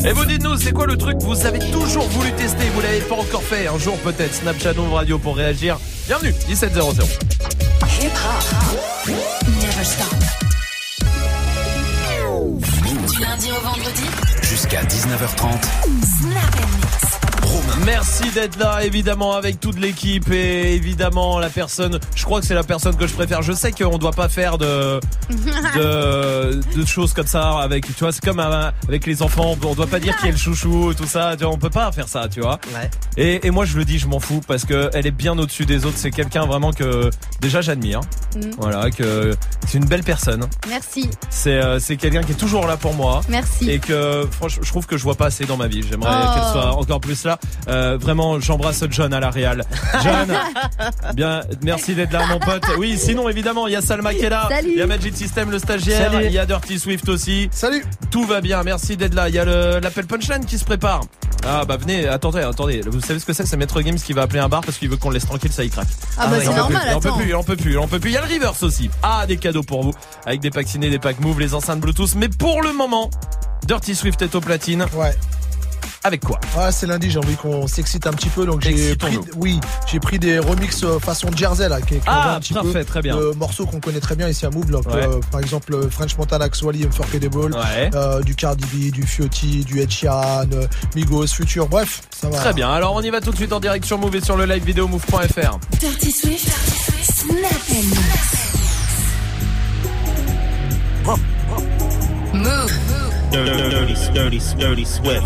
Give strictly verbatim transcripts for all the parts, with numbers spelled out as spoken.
Et vous dites-nous, c'est quoi le truc que vous avez toujours voulu tester, vous l'avez pas encore fait, un jour peut-être. Snapchat Move Radio pour réagir. Bienvenue, dix-sept zéro zéro. Hip hop, never stop. Du lundi au vendredi jusqu'à dix-neuf heures trente. Snap and Mix. Merci d'être là, évidemment, avec toute l'équipe et évidemment la personne, je crois que c'est la personne que je préfère. Je sais qu'on doit pas faire de, de, de choses comme ça avec, tu vois, c'est comme avec les enfants, on doit pas dire qui est le chouchou, tout ça, tu vois, on peut pas faire ça, tu vois. Ouais. Et, et moi je le dis, je m'en fous parce que elle est bien au-dessus des autres. C'est quelqu'un vraiment que déjà j'admire. Mm. Voilà, que c'est une belle personne. Merci. C'est euh, c'est quelqu'un qui est toujours là pour moi. Merci. Et que franchement, je trouve que je vois pas assez dans ma vie. J'aimerais oh. qu'elle soit encore plus là. Euh, vraiment, j'embrasse John à la Real. John, bien, merci d'être là, mon pote. Oui, sinon évidemment, il y a Salma qui est là. Salut. Il y a Magic System, le stagiaire. Salut. Il y a Dirty Swift aussi. Salut. Tout va bien. Merci d'être là. Il y a le, l'appel punchline qui se prépare. Ah bah venez, attendez, attendez. Vous savez ce que c'est? C'est Maître Games qui va appeler un bar parce qu'il veut qu'on le laisse tranquille, ça y craque. Ah bah Ah c'est ouais, normal, Il en peut attends. plus, il en peut plus, il en peut plus. Il y a le reverse aussi. Ah, des cadeaux pour vous. Avec des packs ciné, des packs move, les enceintes Bluetooth. Mais pour le moment, Dirty Swift est au platine. Ouais. Avec quoi? Ouais, c'est lundi, j'ai envie qu'on s'excite un petit peu, donc j'ai pris, Excitons-nous. oui, j'ai pris des remixes euh, façon Jersey là, qui, qui Ah, ont un petit parfait, peu très bien. de morceaux qu'on connaît très bien ici à Move, donc, Ouais. euh, par exemple euh, French Montana, Axwally, Unforgettable, Ouais. euh, du Cardi B, du Fiotti, du Ed Sheeran, euh, Migos, Future, bref, ça va. Très bien, alors on y va tout de suite en direct sur Move et sur le live vidéo move point f r. Dirty Swift, Snap and Mix. Move. Dirty, dirty, dirty, dirty Swift.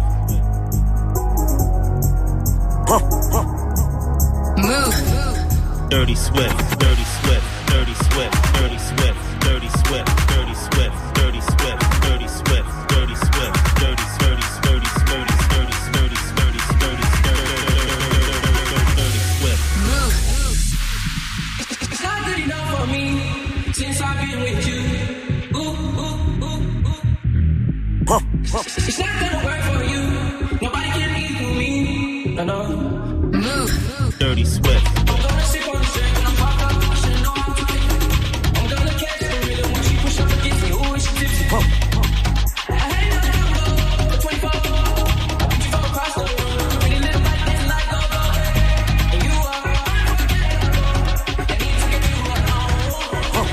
Move. Dirty Swift, dirty Swift, dirty Swift, dirty Swift, dirty Swift, dirty Swift, dirty Swift, dirty Swift, dirty Swift, dirty, dirty, dirty, dirty, dirty, dirty, dirty, dirty, dirty Swift. Move. It's not good enough for me since I've been with you. Ooh, ooh, ooh, ooh. It's not gonna work for you. Nobody can equal me. No, no. Move. Dirty Swift. I'm gonna sip on the drink and I'm fucked up. I should know how to fix it. I'm gonna catch the rhythm when she push up against me. Ooh, she tipsy. I hate that number, the twenty-four. I beat you from across the room. Really live like this, like no go. And you are unforgettable. I need to get you alone.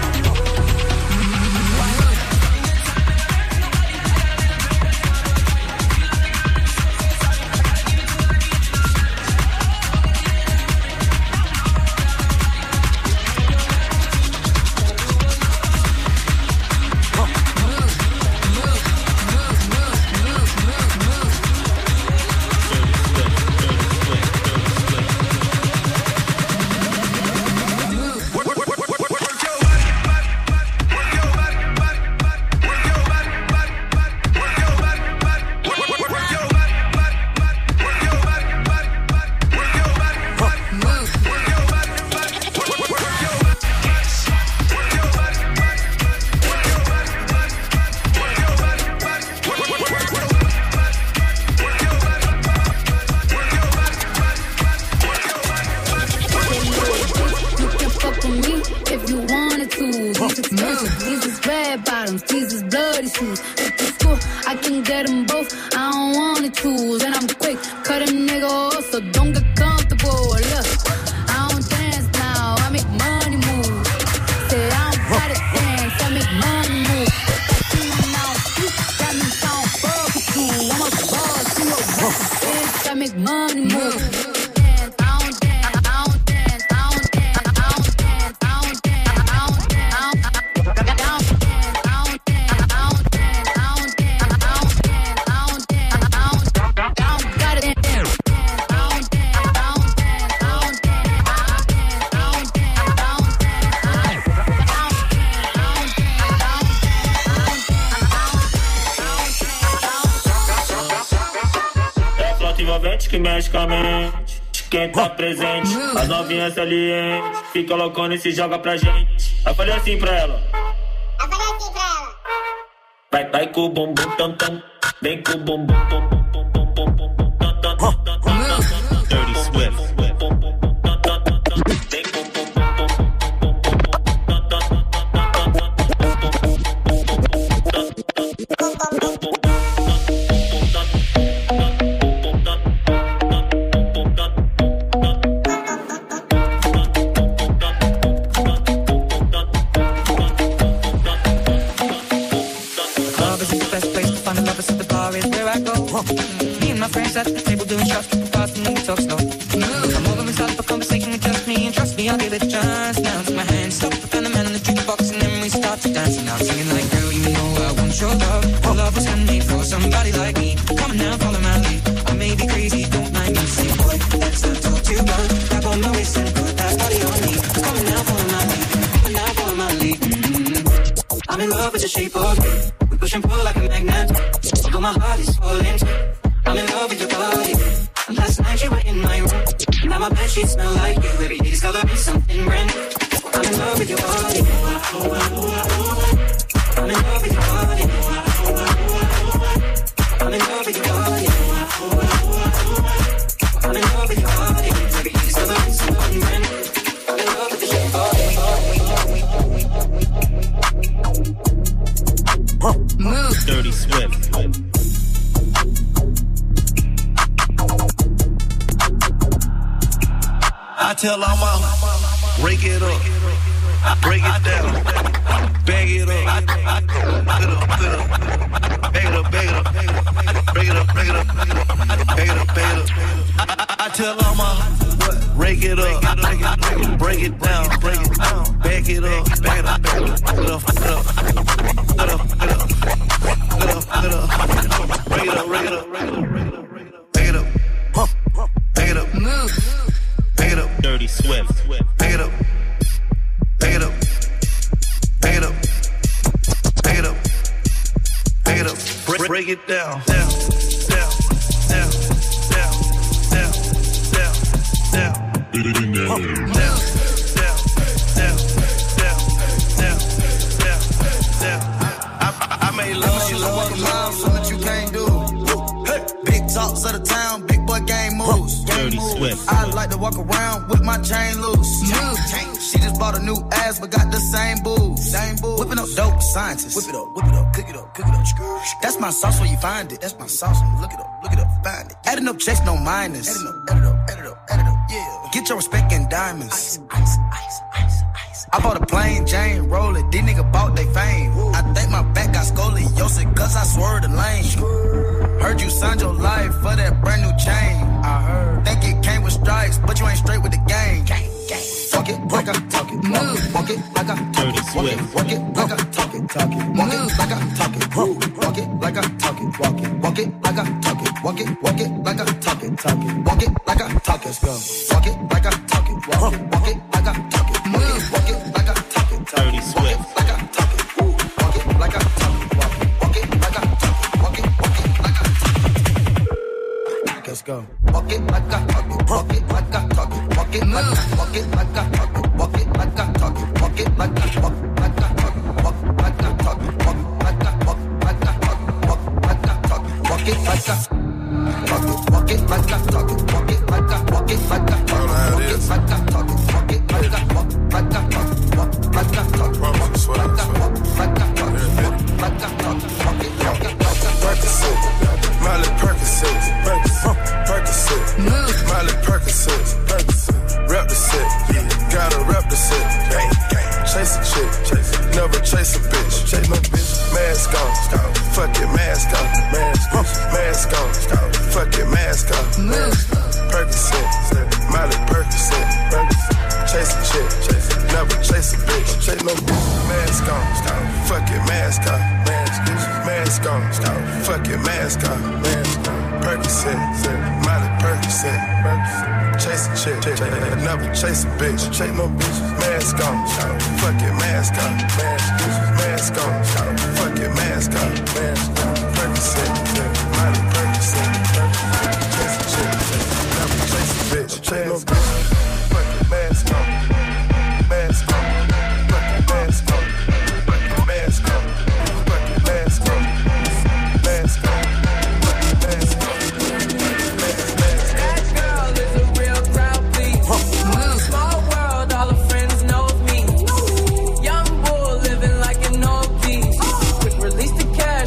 You can fuck with me if you wanted to. These expensive, these is red bottoms, these is bloody shoes. If it's cool, I can get them both. I don't wanna choose, and I'm quick, cut a nigga off, so don't get comfortable. Look, I don't dance now, I make money move. Say I don't gotta dance, I make money move. Now, that means I don't fuck with you. I'm a boss, you a boss, bitch, I make money move. É a flauta envolvente que mexe com a mente. Quem tá presente, as novinhas salientes. Fica loucona e se joga pra gente. Eu falei assim pra ela. Eu falei assim pra ela. Vai, vai com o bumbum tam tam. Vem com o bumbum tam tam tam tam tam tam tam tam tam. Dirty Swift. Me and my friends at the table doing shots, tripping fast and then we talk slow. Come over and start up a conversation with just me, and trust me, I'll give it a chance. Now take my hand, stop, and the man on the jukebox, and then we start to dance. And I'm singing like, girl, you know I want your love. Your love was handmade for somebody like me. Come on now, follow my lead. I may be crazy, don't mind me. Say, boy, let's not talk too much. Grab on my waist and put that body on me. Come on now, follow my lead. Come on now, follow my lead. Mm-hmm. I'm in love with the shape of you. We push and pull like a magnet. Although my heart is falling. I'm in love with your body. And last night you were in my room. Now my bedsheets smell like you. Every day's coloring something brand new. I'm in love with your body. I'm in love with your body. I'm in love with your body. I'm in love with your body. Every day's coloring something brand new. I'm in love with the shape of you. Move. Dirty Swift. I tell all my break it up, break it down, bag it up, put it up, put it up, bag it up, bag it up, break it up, break it up, bag it up, bag it up. I, I tell all my break it up, break it down, break it down, bag it up, bag it up, put it up, put it up, put it up, put it up, put it up, put it up, break it up, break it up, bag it up, bag it up, Move. bag it up. Dirty Swift. Bag it up, bag it up, bag it up, bag it up, bag it up, break, break it down, down, down, down, down, down, down, down, down, down, down, down, down, down, down, down. I, I made love, you know what love, something you can't do. Hey, big talks of the town, big boy game moves. Dirty Swift. I like to walk around with my chain loose. Move. She just bought a new ass, but got the same boobs. Same boobs. Whipping up dope scientists. Whip it up, whip it up, cook it up, cook it up. That's my sauce where you find it. That's my sauce. Look it up, look it up, find it. Adding up checks, no minus. Adding up, add it up, add it up, add it up, yeah. Get your respect in diamonds. Ice, ice, ice, ice, ice. I bought a plain Jane, roll it. These niggas bought they fame. I think my back got scoliosis, cause I swerved the lane. Heard you signed your life for that brand new chain. I heard. Think it came with stripes, but you ain't straight with the game. Walk it like I talk it. Move. Walk it like I talk Dirty it. Walk it, Swift. walk it like I talk it. Talk it. Walk it like I talk it. Walk it like I talk it. Walk it. Walk it like I talk it. Walk it. Walk it like I talk it. Talk it. Walk it like I talk it. Let's go. Walk it like I talk it. Walk it. Walk it like I talk it. Move. Walk it like I talk it. Dirty Swift. Like I talk it. Walk it like I talk it. Walk it. Walk it like I talk it. Walk it. Walk it like I talk it. Let's go. Walk it like I talk it. Walk it like I talk it. Walk it like I walk it like I talk it. Walk it like I talk it. Walk it like I walk like I talk it. Walk like I talk it. Walk like I walk like I talk it. Walk like I talk it. Walk it like I talk it. Walk it like I talk it. Walk it like I walk it like I talk it. Walk it like I talk it. Walk it like I walk like I talk it. Walk like I talk it. Walk like I walk like I talk it. Walk like I talk it. Walk it like I talk it. Percocet, Miley Percocet, Percocet, Miley Percocet, rep the set, gotta rep the set, chase a chick, never chase a bitch, chase no bitch, mask on, fuck it, mask on, mask on, fuck it, mask on, Percocet, Miley Percocet, chase a chick, never chase a bitch, chase no bitch, mask on, fuck it, mask on, mask on, fuck it, mask on, Percocet, Miley Percocet, chase a chick, never chase a bitch, chase no bitch, mask on, fuck it, mask on, mask on, fuck it, mask on, Percocet, Miley Percocet, chase a chick, never chase a bitch, chase no bitch, fuck it, mask on, mask on, fuck it, mask on, fuck it, mask on, fuck it, mask on, mask on. Small world, all her friends know of me. Young bull living like an old piece. Quick release the cash.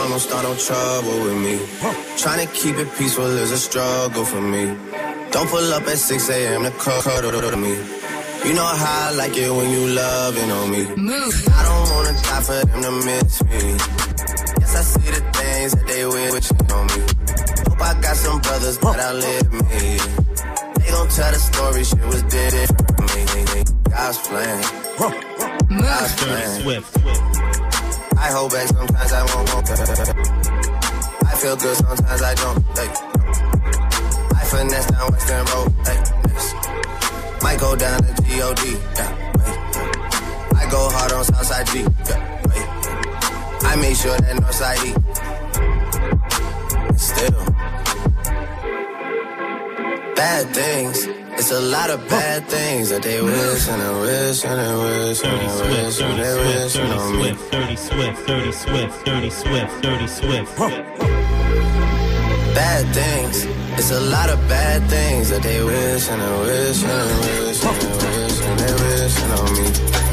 calm, don't start no trouble with me. Trying to keep it peaceful is a struggle for me. Don't pull up at six a.m. to cuddle to me. You know how I like it when you loving on me. Move. I don't wanna die for them to miss me. Yes, I see the things that they wish on me. Hope I got some brothers that outlive me. They gon' tell the story, shit was different for me. God's plan. God's plan. I hold back sometimes I won't want that. I feel good sometimes I don't. Like, I finesse down Western Road. Like, might go down to G O D. Yeah, I go hard on Southside G. Yeah, I make sure that Northside E. Still, bad things. It's a lot of bad things that they wish and they wish and they wish and they wish and they wish on me. Dirty Swift, Dirty Swift, Dirty Swift, Dirty Swift. Bad things. It's a lot of bad things that they wish and they wish and they wish and they wish and they wish on me.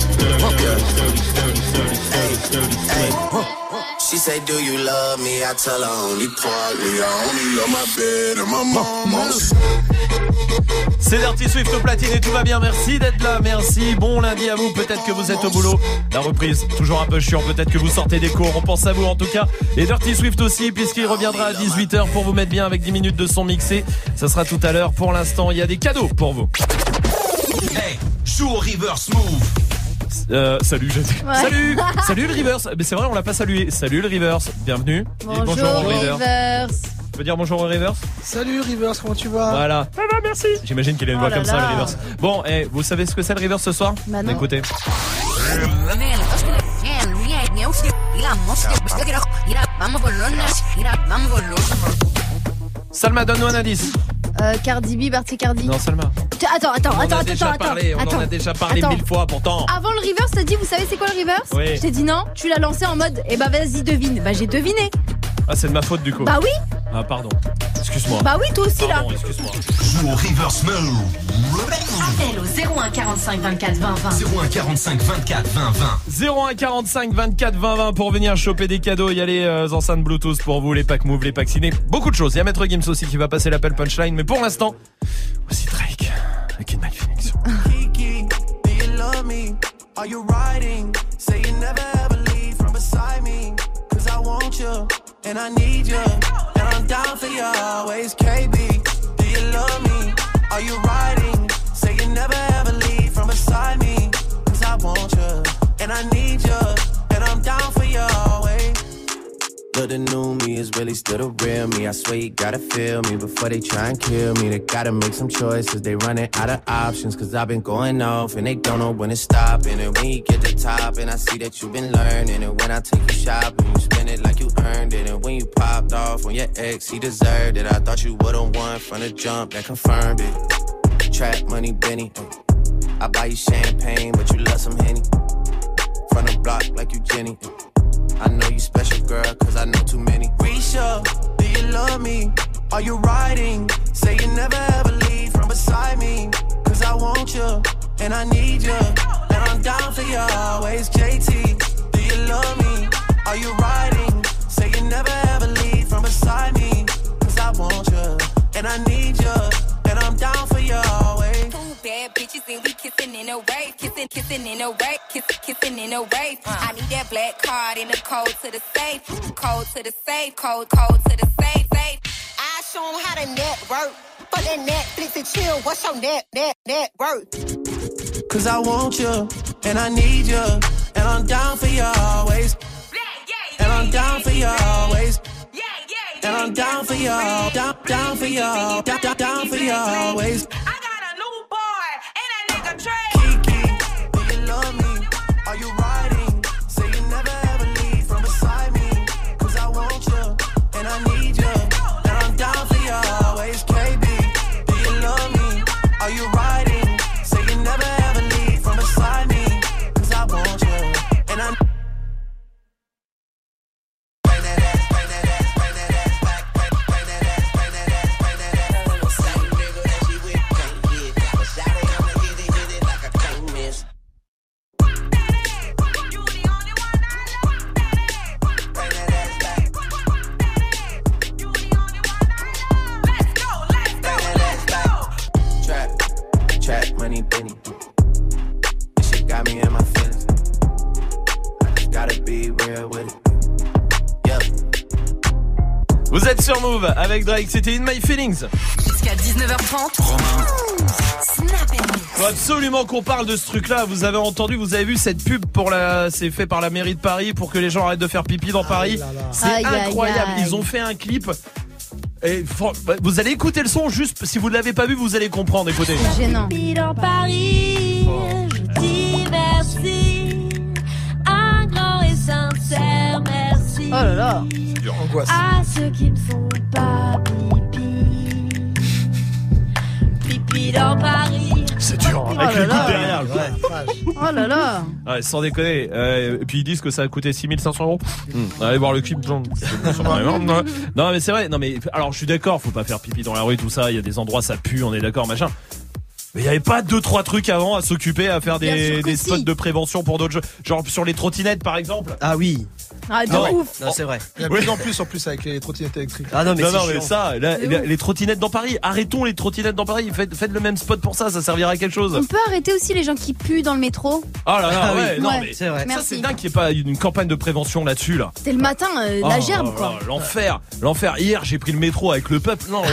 Hey, she say, do you love me? I tell her only partly. I only love my bed and my mama. C'est Dirty Swift au platine et tout va bien, merci d'être là, merci, bon lundi à vous, peut-être que vous êtes au boulot, la reprise, toujours un peu chiant, peut-être que vous sortez des cours, on pense à vous en tout cas, et Dirty Swift aussi, puisqu'il reviendra à dix-huit heures pour vous mettre bien avec dix minutes de son mixé, ça sera tout à l'heure, pour l'instant il y a des cadeaux pour vous. Hey, joue au reverse move. Euh, salut, j'ai dit. Ouais. Salut, salut le reverse, mais c'est vrai on l'a pas salué, salut le reverse, bienvenue. Bonjour, Et bonjour au reverse. Reverse. Tu peux dire bonjour au reverse? Salut Rivers, comment tu vas? Voilà. Ça va, merci. J'imagine qu'il a une Oh voix là comme ça, là. le reverse. Bon, eh, vous savez ce que c'est le reverse ce soir? Bah non. Écoutez. Salma, donne-nous un indice. Euh, Cardi B, Barty Cardi. Non, Salma. Tu- Attends, attends, On en attends, a attends, déjà attends. parlé, on attends. en a déjà parlé Attends. mille fois pourtant. Avant le reverse, t'as dit, vous savez c'est quoi le reverse? Oui. Je t'ai dit non, tu l'as lancé en mode, eh bah vas-y devine. Bah j'ai deviné. Ah, c'est de ma faute du coup. Bah oui, Ah, pardon. Excuse-moi. bah oui, toi aussi là. Pardon, excuse-moi. Joue au reverse move. Appel au zéro un quarante-cinq vingt-quatre vingt vingt. zéro un quarante-cinq vingt-quatre vingt vingt. zéro un quarante-cinq vingt-quatre vingt vingt pour venir choper des cadeaux. Il y a les euh, enceintes Bluetooth pour vous, les packs Move, les packs ciné. Beaucoup de choses. Il y a Maître Gims aussi qui va passer l'appel punchline. Mais pour l'instant, voici Drake avec une Mike Phoenix. Kiki, do you love me? Are you riding? Say you never ever leave from beside me. Cause I want you, and I need you, and I'm down for you always. K B, do you love me? Are you riding? Say you never ever leave from beside me. Cause I want you, and I need you, and I'm down for you always. But the new me is really still the real me. I swear you gotta feel me before they try and kill me. They gotta make some choices, they running out of options. Cause I've been going off and they don't know when it's stopping. And when you get to top and I see that you've been learning. And when I take you shopping, you spend it like you earned it. And when you popped off on your ex, he deserved it. I thought you would've won from the jump, that confirmed it. Trap money, Benny. I buy you champagne, but you love some Henny. From the block like you Jenny. I know you special, girl, cause I know too many. Risha, do you love me? Are you riding? Say you never ever leave from beside me. Cause I want you, and I need you, and I'm down for you always. J T, do you love me? Are you riding? Say you never ever leave from beside me. Cause I want you, and I need you, and I'm down for you always. Two bad bitches and we kissing in a wave, kissing, kissing in a wave, kissing, kissing in a wave. Uh. I need that black card in the code to the safe, code to the safe, code, code to the safe, safe. I show 'em how to network. Fuck that Netflix and chill. What's your net, net, net worth? Cause I want you, and I need you, and I'm down for you always. And I'm down for you always. And I'm down for you, down, down for you, down, down, down for you always. I got a new boy, and that nigga Trey. Kiki, do you love me? Are you riding? Say you never ever leave from beside me. Cause I want you, and I need you, and I'm down for you always. K B, do you love me? Are you riding? Say you never ever leave from beside me. Cause I want you, and I Henny. This shit got me in my feelings. I just gotta be real with it. Yeah. Vous êtes sur Move avec Drake, c'était In My Feelings. Jusqu'à dix-neuf heures trente. Snap and Mix. Faut absolument qu'on parle de ce truc-là. Vous avez entendu, vous avez vu cette pub pour la, c'est fait par la mairie de Paris pour que les gens arrêtent de faire pipi dans Paris. là là. C'est Aïe, aïe, incroyable. aïe. Ils ont fait un clip. Et vous allez écouter le son juste. Si vous ne l'avez pas vu, vous allez comprendre. Écoutez. C'est gênant. Dans Paris, je dis merci, un grand et sincère merci. Oh là là. Angoisse. À ceux qui ne font pas pipi, pipi dans Paris. C'est dur. Oh Avec là le là. coup derrière. Ouais. Oh là là. Ouais, sans déconner. Euh, et puis ils disent que ça a coûté six mille cinq cents euros. Mmh. Allez voir le clip. Non, mais c'est vrai. Non mais alors je suis d'accord. Faut pas faire pipi dans la rue, tout ça. Il y a des endroits ça pue. On est d'accord, machin. Mais il y avait pas deux trois trucs avant à s'occuper, à faire Bien sûr des, que des si. spots de prévention pour d'autres jeux, genre sur les trottinettes par exemple. Ah oui. Ah, de Non, ouf. Non, c'est vrai. Il y a de plus en plus en plus avec les trottinettes électriques. Ah non, mais non, c'est non, mais chiant. ça, là, C'est les, ouf. les trottinettes dans Paris. Arrêtons les trottinettes dans Paris. Faites, faites le même spot pour ça. Ça servira à quelque chose. On peut arrêter aussi les gens qui puent dans le métro. Oh là là, Ah oui. ouais, non Ouais. mais C'est vrai. ça Merci. c'est dingue qu'il n'y ait pas une campagne de prévention là-dessus là. C'était le matin, euh, la Oh, gerbe oh, quoi. oh, l'enfer, l'enfer. Hier, j'ai pris le métro avec le peuple. Non,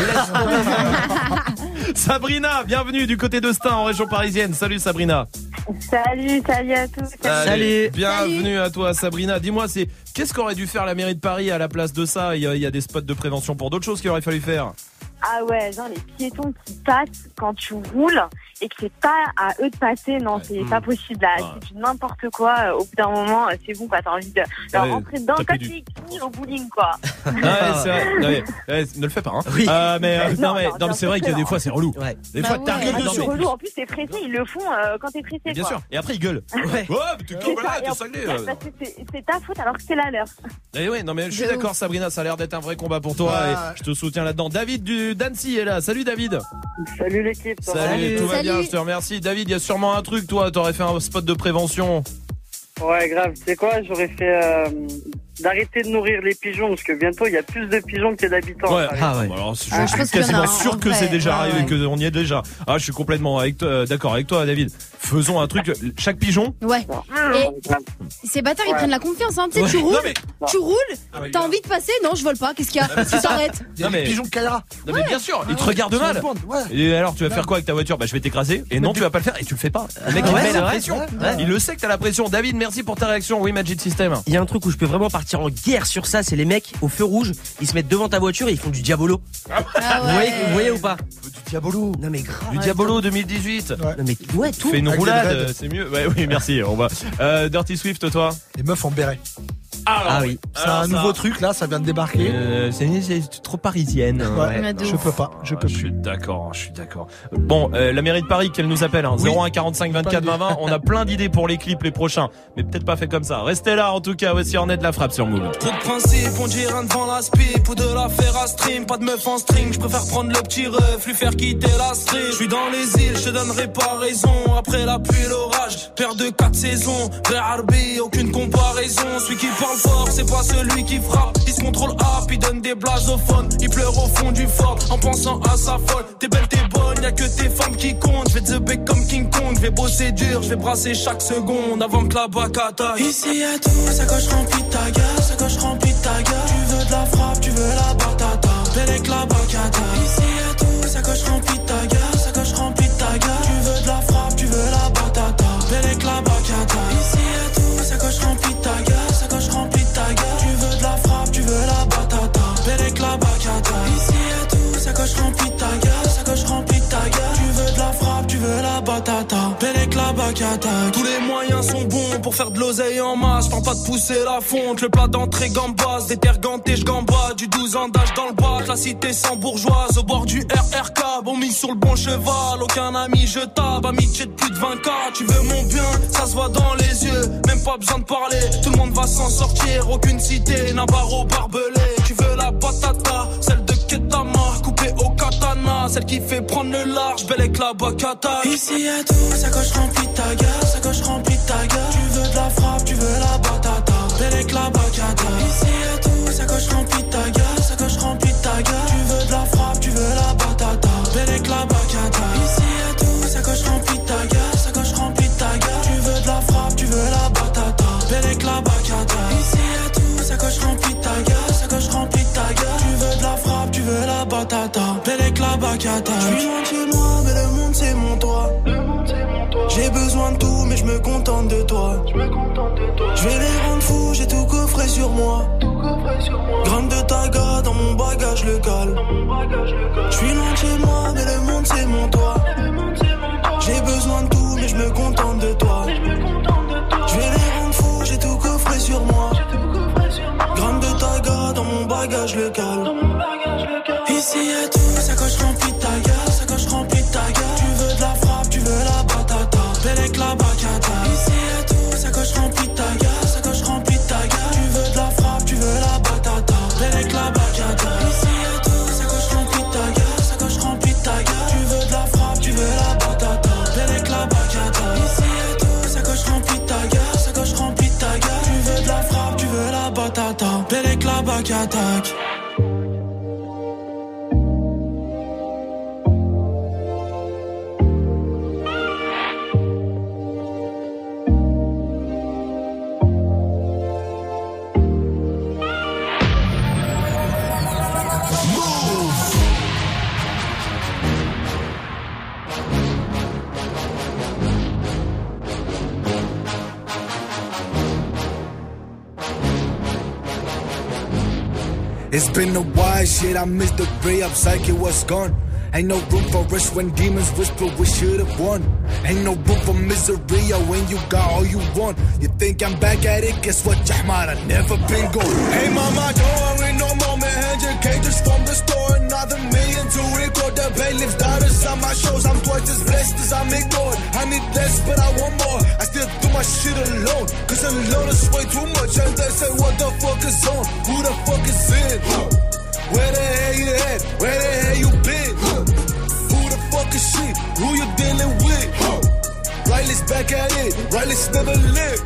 laisse. Sabrina, bienvenue du côté de Stein en région parisienne. Salut Sabrina. Salut, salut à tous. Allez, bienvenue à toi Sabrina. Dis-moi, c'est qu'est-ce qu'aurait dû faire la mairie de Paris à la place de ça? Il y a, il y a des spots de prévention pour d'autres choses qu'il aurait fallu faire. Ah ouais, genre les piétons qui passent quand tu roules et que c'est pas à eux de passer, non, c'est Mmh. pas possible là, Ouais. c'est du n'importe quoi. euh, Au bout d'un moment, euh, c'est bon quoi, t'as envie de leur Ouais, rentrer dedans taper comme du- des au bowling quoi. Ah ouais, c'est vrai. Non, mais, ouais, ne le fais pas. Hein. Oui. Euh, mais euh, non, Non, mais non, non, mais bien c'est sûr vrai que qu'il y a des non. fois c'est relou. Ouais. Des Bah fois ouais. t'arrives Ah, dedans. c'est mais- relou, en plus t'es pressé, ils le font euh, quand t'es pressé Bien quoi. sûr. Et après ils gueulent. Ouais. Ouais, mais t'es C'est voilà, ça, et t'es en cinglé. plus, euh. parce que c'est c'est ta faute alors que c'est la leur. Eh ouais, non mais je suis De d'accord ouf. Sabrina, ça a l'air d'être un vrai combat pour toi Ouais. et je te soutiens là-dedans. David du d'Annecy est là. Salut David. Salut l'équipe. Salut, Salut. tout va Salut. bien, je te remercie. David, il y a sûrement un truc, toi, t'aurais fait un spot de prévention. Ouais, grave, tu sais quoi, j'aurais fait euh, d'arrêter de nourrir les pigeons parce que bientôt il y a plus de pigeons que d'habitants. Ouais. Ah ouais. Bon, alors, je, Ah, je je pense suis qu'il y en a quasiment un, sûr en que vrai. c'est déjà Ouais, arrivé, ouais. qu'on y est déjà. Ah, je suis complètement avec toi, d'accord avec toi, David. Faisons un truc. Chaque pigeon. Ouais. Et ces bâtards ils Ouais. prennent la confiance, hein. Tu sais, Ouais. tu roules, Non, mais- tu roules, Ah, mais t'as gars. envie de passer, non, je vole pas, qu'est-ce qu'il y a? mais c'est Tu ça. t'arrêtes. Il y a Non, des mais- pigeons de Kaira. Non mais bien sûr, ils te Ouais, regardent ils mal. se répondent, ouais. Et alors, tu vas faire quoi avec ta voiture? Bah, je vais t'écraser. Et non, tu vas pas le faire et tu le fais pas. Le mec, il Ouais, met c'est la vrai, pression. ouais, ouais. Il le sait que t'as la pression. David, merci pour ta réaction. Oui, Magic System. Il y a un truc où je peux vraiment partir en guerre sur ça, c'est les mecs au feu rouge, ils se mettent devant ta voiture et ils font du diabolo. Ah Vous, voyez, ouais. vous voyez ou pas? Du diabolo. Non mais grave. Du Diabolo deux mille dix-huit. Ouais. Non mais ouais, tout. Fais une Avec des roulade, dreads. euh, c'est mieux. Ouais, oui, merci. On va. Euh, Dirty Swift, toi. Les meufs en béret. Ah oui. C'est Alors, un ça- nouveau truc là, ça vient de débarquer. Euh, c'est c'est trop parisienne. Ouais, Ouais, de je ouf. peux pas, je Ah, peux je plus. suis d'accord, je suis d'accord. Bon, euh, la mairie de Paris, qu'elle nous appelle, hein, Oui. zéro un quarante-cinq vingt-quatre vingt vingt. On a plein d'idées pour les clips, les prochains, mais peut-être pas fait comme ça. Restez là, en tout cas. Voici Ornette de la frappe sur Move. Trop de principe, on dit rien devant la spip ou de la faire à stream, pas de meuf en string, je préfère prendre le petit ref, lui faire quitter la street. Je suis dans les îles, je te donnerai pas raison, après la pluie l'orage, père de quatre saisons, vrai Harbi, aucune comparaison, celui qui parle fort, c'est pas celui qui frappe, il se contrôle up, il donne des blasophones, il pleure au fond du fort, en pensant à sa folle, t'es belle, t'es bonne, y'a que tes femmes qui comptent, je vais te bec comme King Kong, je vais bosser dur, je vais brasser chaque seconde, avant que la bac attaque. Ici y'a tout, ça coche remplie de ta gueule, ça coche remplie de ta gueule, tu veux de la frappe, tu veux la batata, belle avec la bacata. Ici y'a tout, ça coche remplie de ta gueule, ça coche remplie de ta gueule, tu veux de la frappe, tu veux la batata, belle avec la bacata. Ici y'a tout, ça coche remplie de ta gueule, ça coche remplie de ta gueule, tu veux de la frappe, tu veux la batata, belle avec la bacata. Ici y'a tout, ça coche remplie de ta gueule, ça coche remplie de ta gueule, tu veux de la frappe, tu veux la batata, belle avec la bacata. Tous les moyens sont bons pour faire de l'oseille en masse, tente pas de pousser la fonte, le plat d'entrée gambas, des terres gantées, j'gambas, du douze ans d'âge dans le bac, la cité sans bourgeoise, au bord du R R K, bon mis sur le bon cheval, aucun ami je tape, amitié de plus de vingt K, tu veux mon bien, ça se voit dans les yeux, même pas besoin de parler, tout le monde va s'en sortir, aucune cité n'a barreau barbelé, tu veux la batata, celle de Ketama, coupée au katana, celle qui fait prendre le large, belle avec la bacata. Ici y'a tout, ça coche remplie de ta gueule, ça coche remplie de ta gueule, tu veux de la frappe, tu veux la batata, belle avec la bacata. Ici y'a tout, ça coche remplie de ta gueule, ça coche remplie de ta gueule, tu veux de la frappe, tu veux la batata, belle avec la bacata. Ici y'a tout, ça coche remplie de ta gueule, bac à table. Je suis loin de chez moi, mais le monde c'est mon toit. J'ai besoin de tout, mais je me contente de toi. Je vais les rendre fous, j'ai tout coffré sur moi. Gramme de taga dans mon bagage local. Je suis loin de chez moi, mais le monde c'est mon toit. J'ai besoin de tout, mais je me contente de toi. Je vais les rendre fous, j'ai tout coffré sur moi. Gramme de taga dans mon bagage local. Ici y'a tout, sacoche remplie de taga, sacoche remplie de taga. Tu veux de la frappe, tu veux la batata. Bellec la bacata. Ici y'a tout, sacoche remplie de taga, sacoche remplie de taga. Tu veux de la frappe, tu veux la batata. Bellec la bacata. Ici y'a tout, sacoche remplie de taga, sacoche remplie de taga. Tu veux de la frappe, tu veux la batata. Bellec la bacata. Ici y'a tout, sacoche remplie de taga, sacoche remplie de taga. Tu veux de la frappe, tu veux la batata. Bellec la bacata. It's been a while, shit, I missed the ray up, psyche was gone. Ain't no room for us when demons whisper we should've won. Ain't no room for misery when you got all you want. You think I'm back at it, guess what, Jahmar, I never been gone. Hey mama, don't worry no more, man, hand your cages from the store. Another million to record the bailiff's daughters on my shows. I'm twice as blessed as I'm ignored. I need less, but I want more. I still do my shit alone, cause alone is way too much. And they say, what the fuck is on? Who the fuck is in? Where the hell you at? Where the hell you been? Who the fuck is she? Who you dealing with? Riley's back at it. Riley's never lived.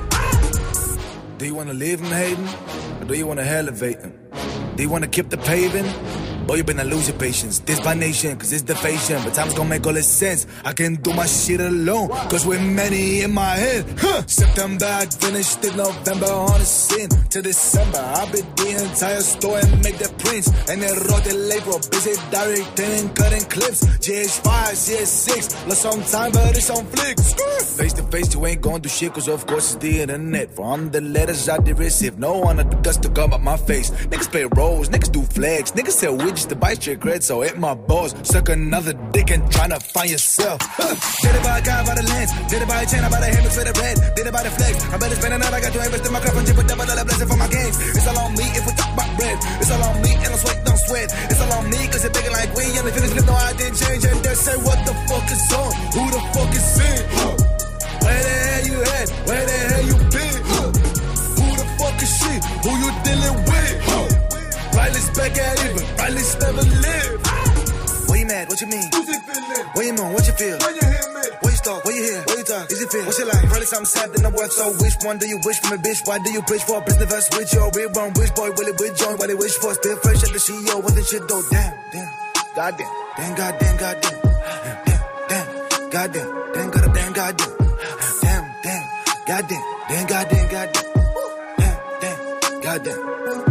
Do you wanna leave him hating? Or do you wanna elevate him? Do you wanna keep the paving? Boy, you better lose your patience. This my nation, cause it's the fashion. But time's gonna make all this sense. I can do my shit alone, cause we're many in my head. Huh. September, I finished it. November on the scene. To December, I beat the entire store and make the prints. And then wrote the label, busy directing, cutting clips. G H five, C S six. Lost some time, but it's on flicks. Face to face, you ain't gonna do shit, cause of course it's the internet. From the letters I did receive, no one had the guts to come up my face. Niggas play roles, niggas do flags, niggas sell widgets to buy your cred, so hit my balls. Suck another dick and tryna find yourself. Huh. Did it by a guy by the lens, did it by a chain, I buy the hammers for the red, did it by the flex. I better spend another, I got to invest in my craft and chip a double dollar blessing for my games. It's all on me if we talk about bread. It's all on me and don't sweat, don't sweat. It's all on me cause you're bigger like we and the finish live, no I didn't change. And they say what the fuck is on? Who the fuck is in? Huh. Where the hell you at? Where the hell you been? Huh. Who the fuck is she? Who you dealing with? Huh. Riley's back at it, but Riley's never lived. Where you mad? What you mean? Who's it feeling? Where you on? What you feel? When you hear me? Where you start? Where you hear? Where you talk? Is it feel? What's your life? Riley, something sad in the world, so which one do you wish from a bitch? Why do you preach for a business verse with your real wrong? Which boy will it with join? What they wish for? Still fresh at the C E O with the shit though. Damn, damn, goddamn, damn, goddamn, goddamn, damn, damn, goddamn, damn, goddamn, damn, goddamn, damn, damn, goddamn, damn, goddamn, goddamn, damn, damn, goddamn.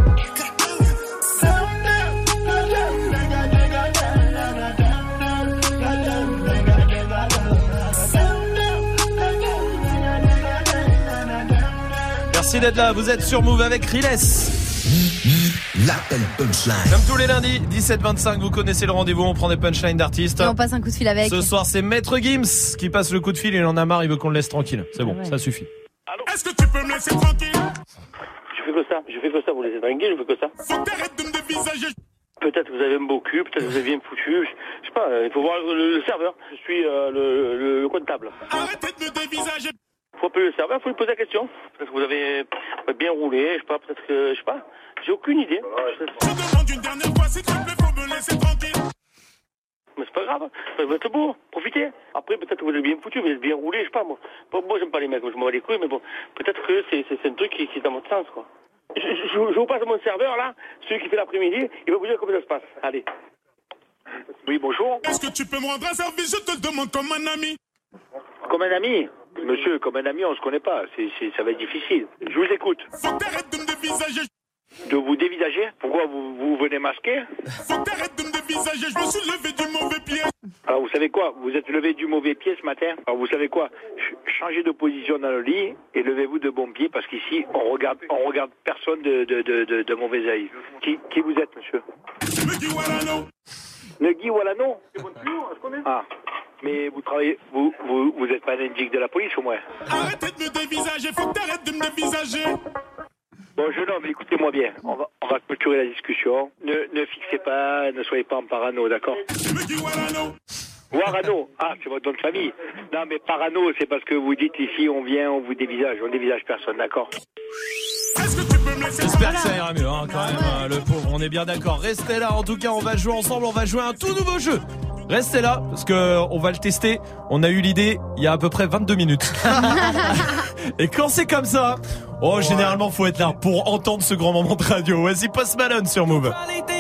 Merci d'être là, vous êtes sur Move avec Riles. L'appel punchline. Comme tous les lundis, dix-sept vingt-cinq, vous connaissez le rendez-vous, on prend des punchlines d'artistes. Et on passe un coup de fil avec. Ce soir, c'est Maître Gims qui passe le coup de fil, il en a marre, il veut qu'on le laisse tranquille. C'est bon, ouais. Ça suffit. Allô ? Est-ce que tu peux me laisser tranquille ? Je fais que ça, je fais que ça, vous laissez tranquille, je fais que ça. Faut t'arrêter de me dévisager. Peut-être que vous avez un beau cul, peut-être que vous avez bien foutu, je, je sais pas, il faut voir le, le serveur, je suis euh, le, le, le comptable. Arrêtez de me dévisager. Faut appeler le serveur, faut lui poser la question. Peut-être que vous avez bien roulé, je sais pas, peut-être que, je sais pas, j'ai aucune idée. Je demande une dernière fois, s'il te plaît, faut me laisser tranquille. Mais c'est pas grave, vous êtes beau, profitez. Après, peut-être que vous avez bien foutu, vous êtes bien roulé, je sais pas, moi. Moi, j'aime pas les mecs, moi, je m'en bats les couilles, mais bon, peut-être que c'est, c'est, c'est un truc qui, qui est dans votre sens, quoi. Je, je, je vous passe mon serveur, là, celui qui fait l'après-midi, il va vous dire comment ça se passe. Allez. Oui, bonjour. Est-ce que tu peux me rendre un service, je te le demande comme un ami. Comme un ami ? Monsieur, comme un ami, on se connaît pas, c'est, c'est, ça va être difficile. Je vous écoute. Faut t'arrêter de me dévisager. De vous dévisager? Pourquoi vous, vous venez masquer? Faut que t'arrêtes de me dévisager, je me suis levé du mauvais pied. Alors vous savez quoi? Vous êtes levé du mauvais pied ce matin. Alors vous savez quoi? Ch- Changez de position dans le lit et levez-vous de bon pied parce qu'ici on regarde on regarde personne de, de, de, de, de mauvais œil. Qui, qui vous êtes, monsieur? Nugui Walano. Nugui Walano? Ah. Mais vous travaillez, vous, vous, vous êtes pas un indique de la police au moins? Arrêtez de me dévisager, faut que t'arrêtes de me dévisager. Bon, jeune homme, écoutez-moi bien. On va, on va clôturer la discussion. Ne, ne fixez pas, ne soyez pas en parano, d'accord? Nugui Walano. Warano, ah, c'est votre nom de famille. Non, mais parano, c'est parce que vous dites ici, on vient, on vous dévisage. On dévisage personne, d'accord? J'espère que ça ira mieux, hein, quand même, hein, le pauvre. On est bien d'accord. Restez là, en tout cas, on va jouer ensemble. On va jouer à un tout nouveau jeu. Restez là, parce que on va le tester. On a eu l'idée il y a à peu près vingt-deux minutes. Et quand c'est comme ça, oh, ouais. Généralement, faut être là pour entendre ce grand moment de radio. Voici Post Malone sur Move.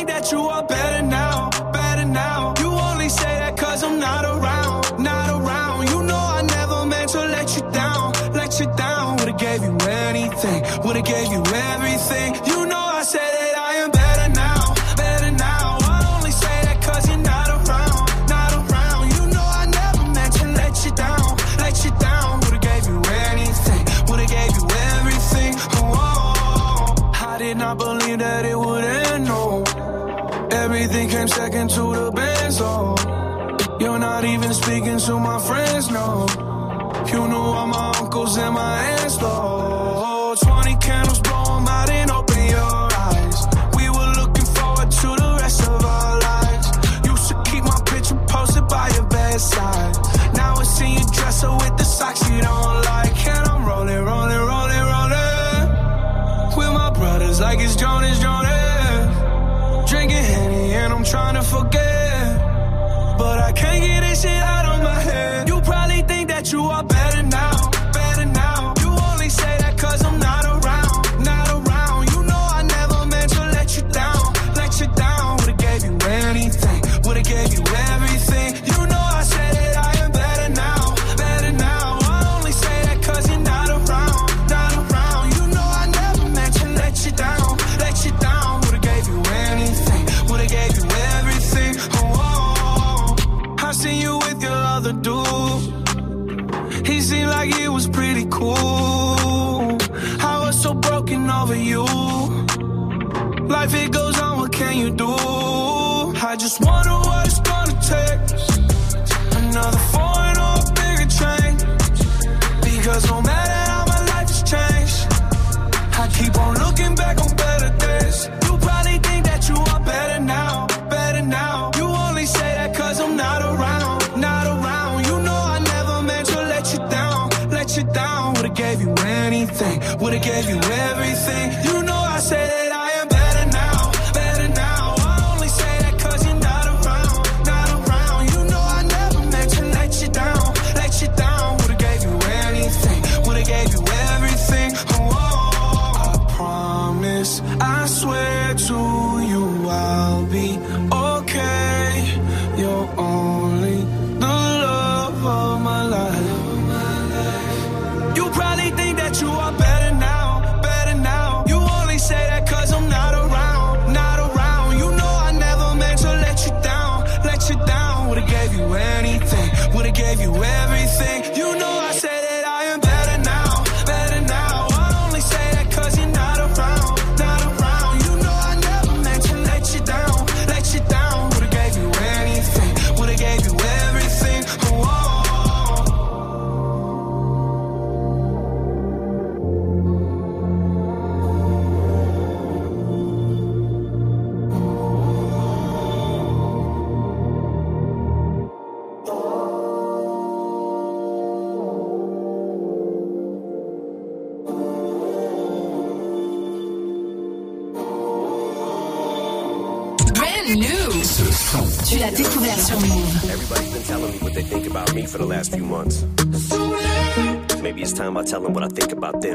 Gave you anything, would've gave you everything. You know I said that I am better now, better now. I only say that cause you're not around, not around. You know I never meant to let you down, let you down. Would've gave you anything, would've gave you everything. Oh, I did not believe that it would end, no. Everything came second to the best, oh. You're not even speaking to my friends, no. You knew all my uncles and my aunts, Lord. Twenty candles, blow them out and open your eyes. We were looking forward to the rest of our lives. Used to keep my picture posted by your bedside. Now I see you dresser with the socks you don't like. And I'm rolling, rolling, rolling, rolling with my brothers like it's Jonas, Jonas. Drinking Henny and I'm trying to forget, but I can't get this shit out of my head. You probably think that you are better now, better now. You only say that cause I'm not around, not around. You know I never meant to let you down, let you down. Would've gave you anything, would've gave you everything. You know I said that I am better now, better now. I only say that cause you're not around, not around. You know I never meant to let you down, let you down. Would've gave you anything, would've gave you everything. Oh, oh, oh. I seen you with your other dude. He seemed like he was pretty cool. I was so broken over you. Life it goes on, what can you do? I just wonder what it's gonna take. Another foreign or a bigger change. Because no matter how my life has changed, I keep on looking back on better days. You probably think that you are better now, better now. You only say that cause I'm not around, not around. You know I never meant to let you down, let you down. Would've gave you anything, would've gave you everything. You know I said that I am better now, better now. I only say that cause you're not around, not around. You know I never meant to let you down, let you down. Would've gave you anything, would've gave you everything. Oh, oh, I promise, I swear to you I'll be okay. You're only the love of my life. You probably think that you are better now, better now. You only say that cause I'm not around, not around. You know I never meant to let you down, let you down. Would've gave you anything, would've gave you everything. You know I said that I am better now, better now. I only say that cause you're not around, not around. You know I never meant to let you down, let you down. Would've gave you anything, would've gave you everything. Oh, oh. Brand new. Tu l'as découvert sur Move. Everybody's been telling me what they think about me for the last few months. Maybe it's time I tell them what I think about them.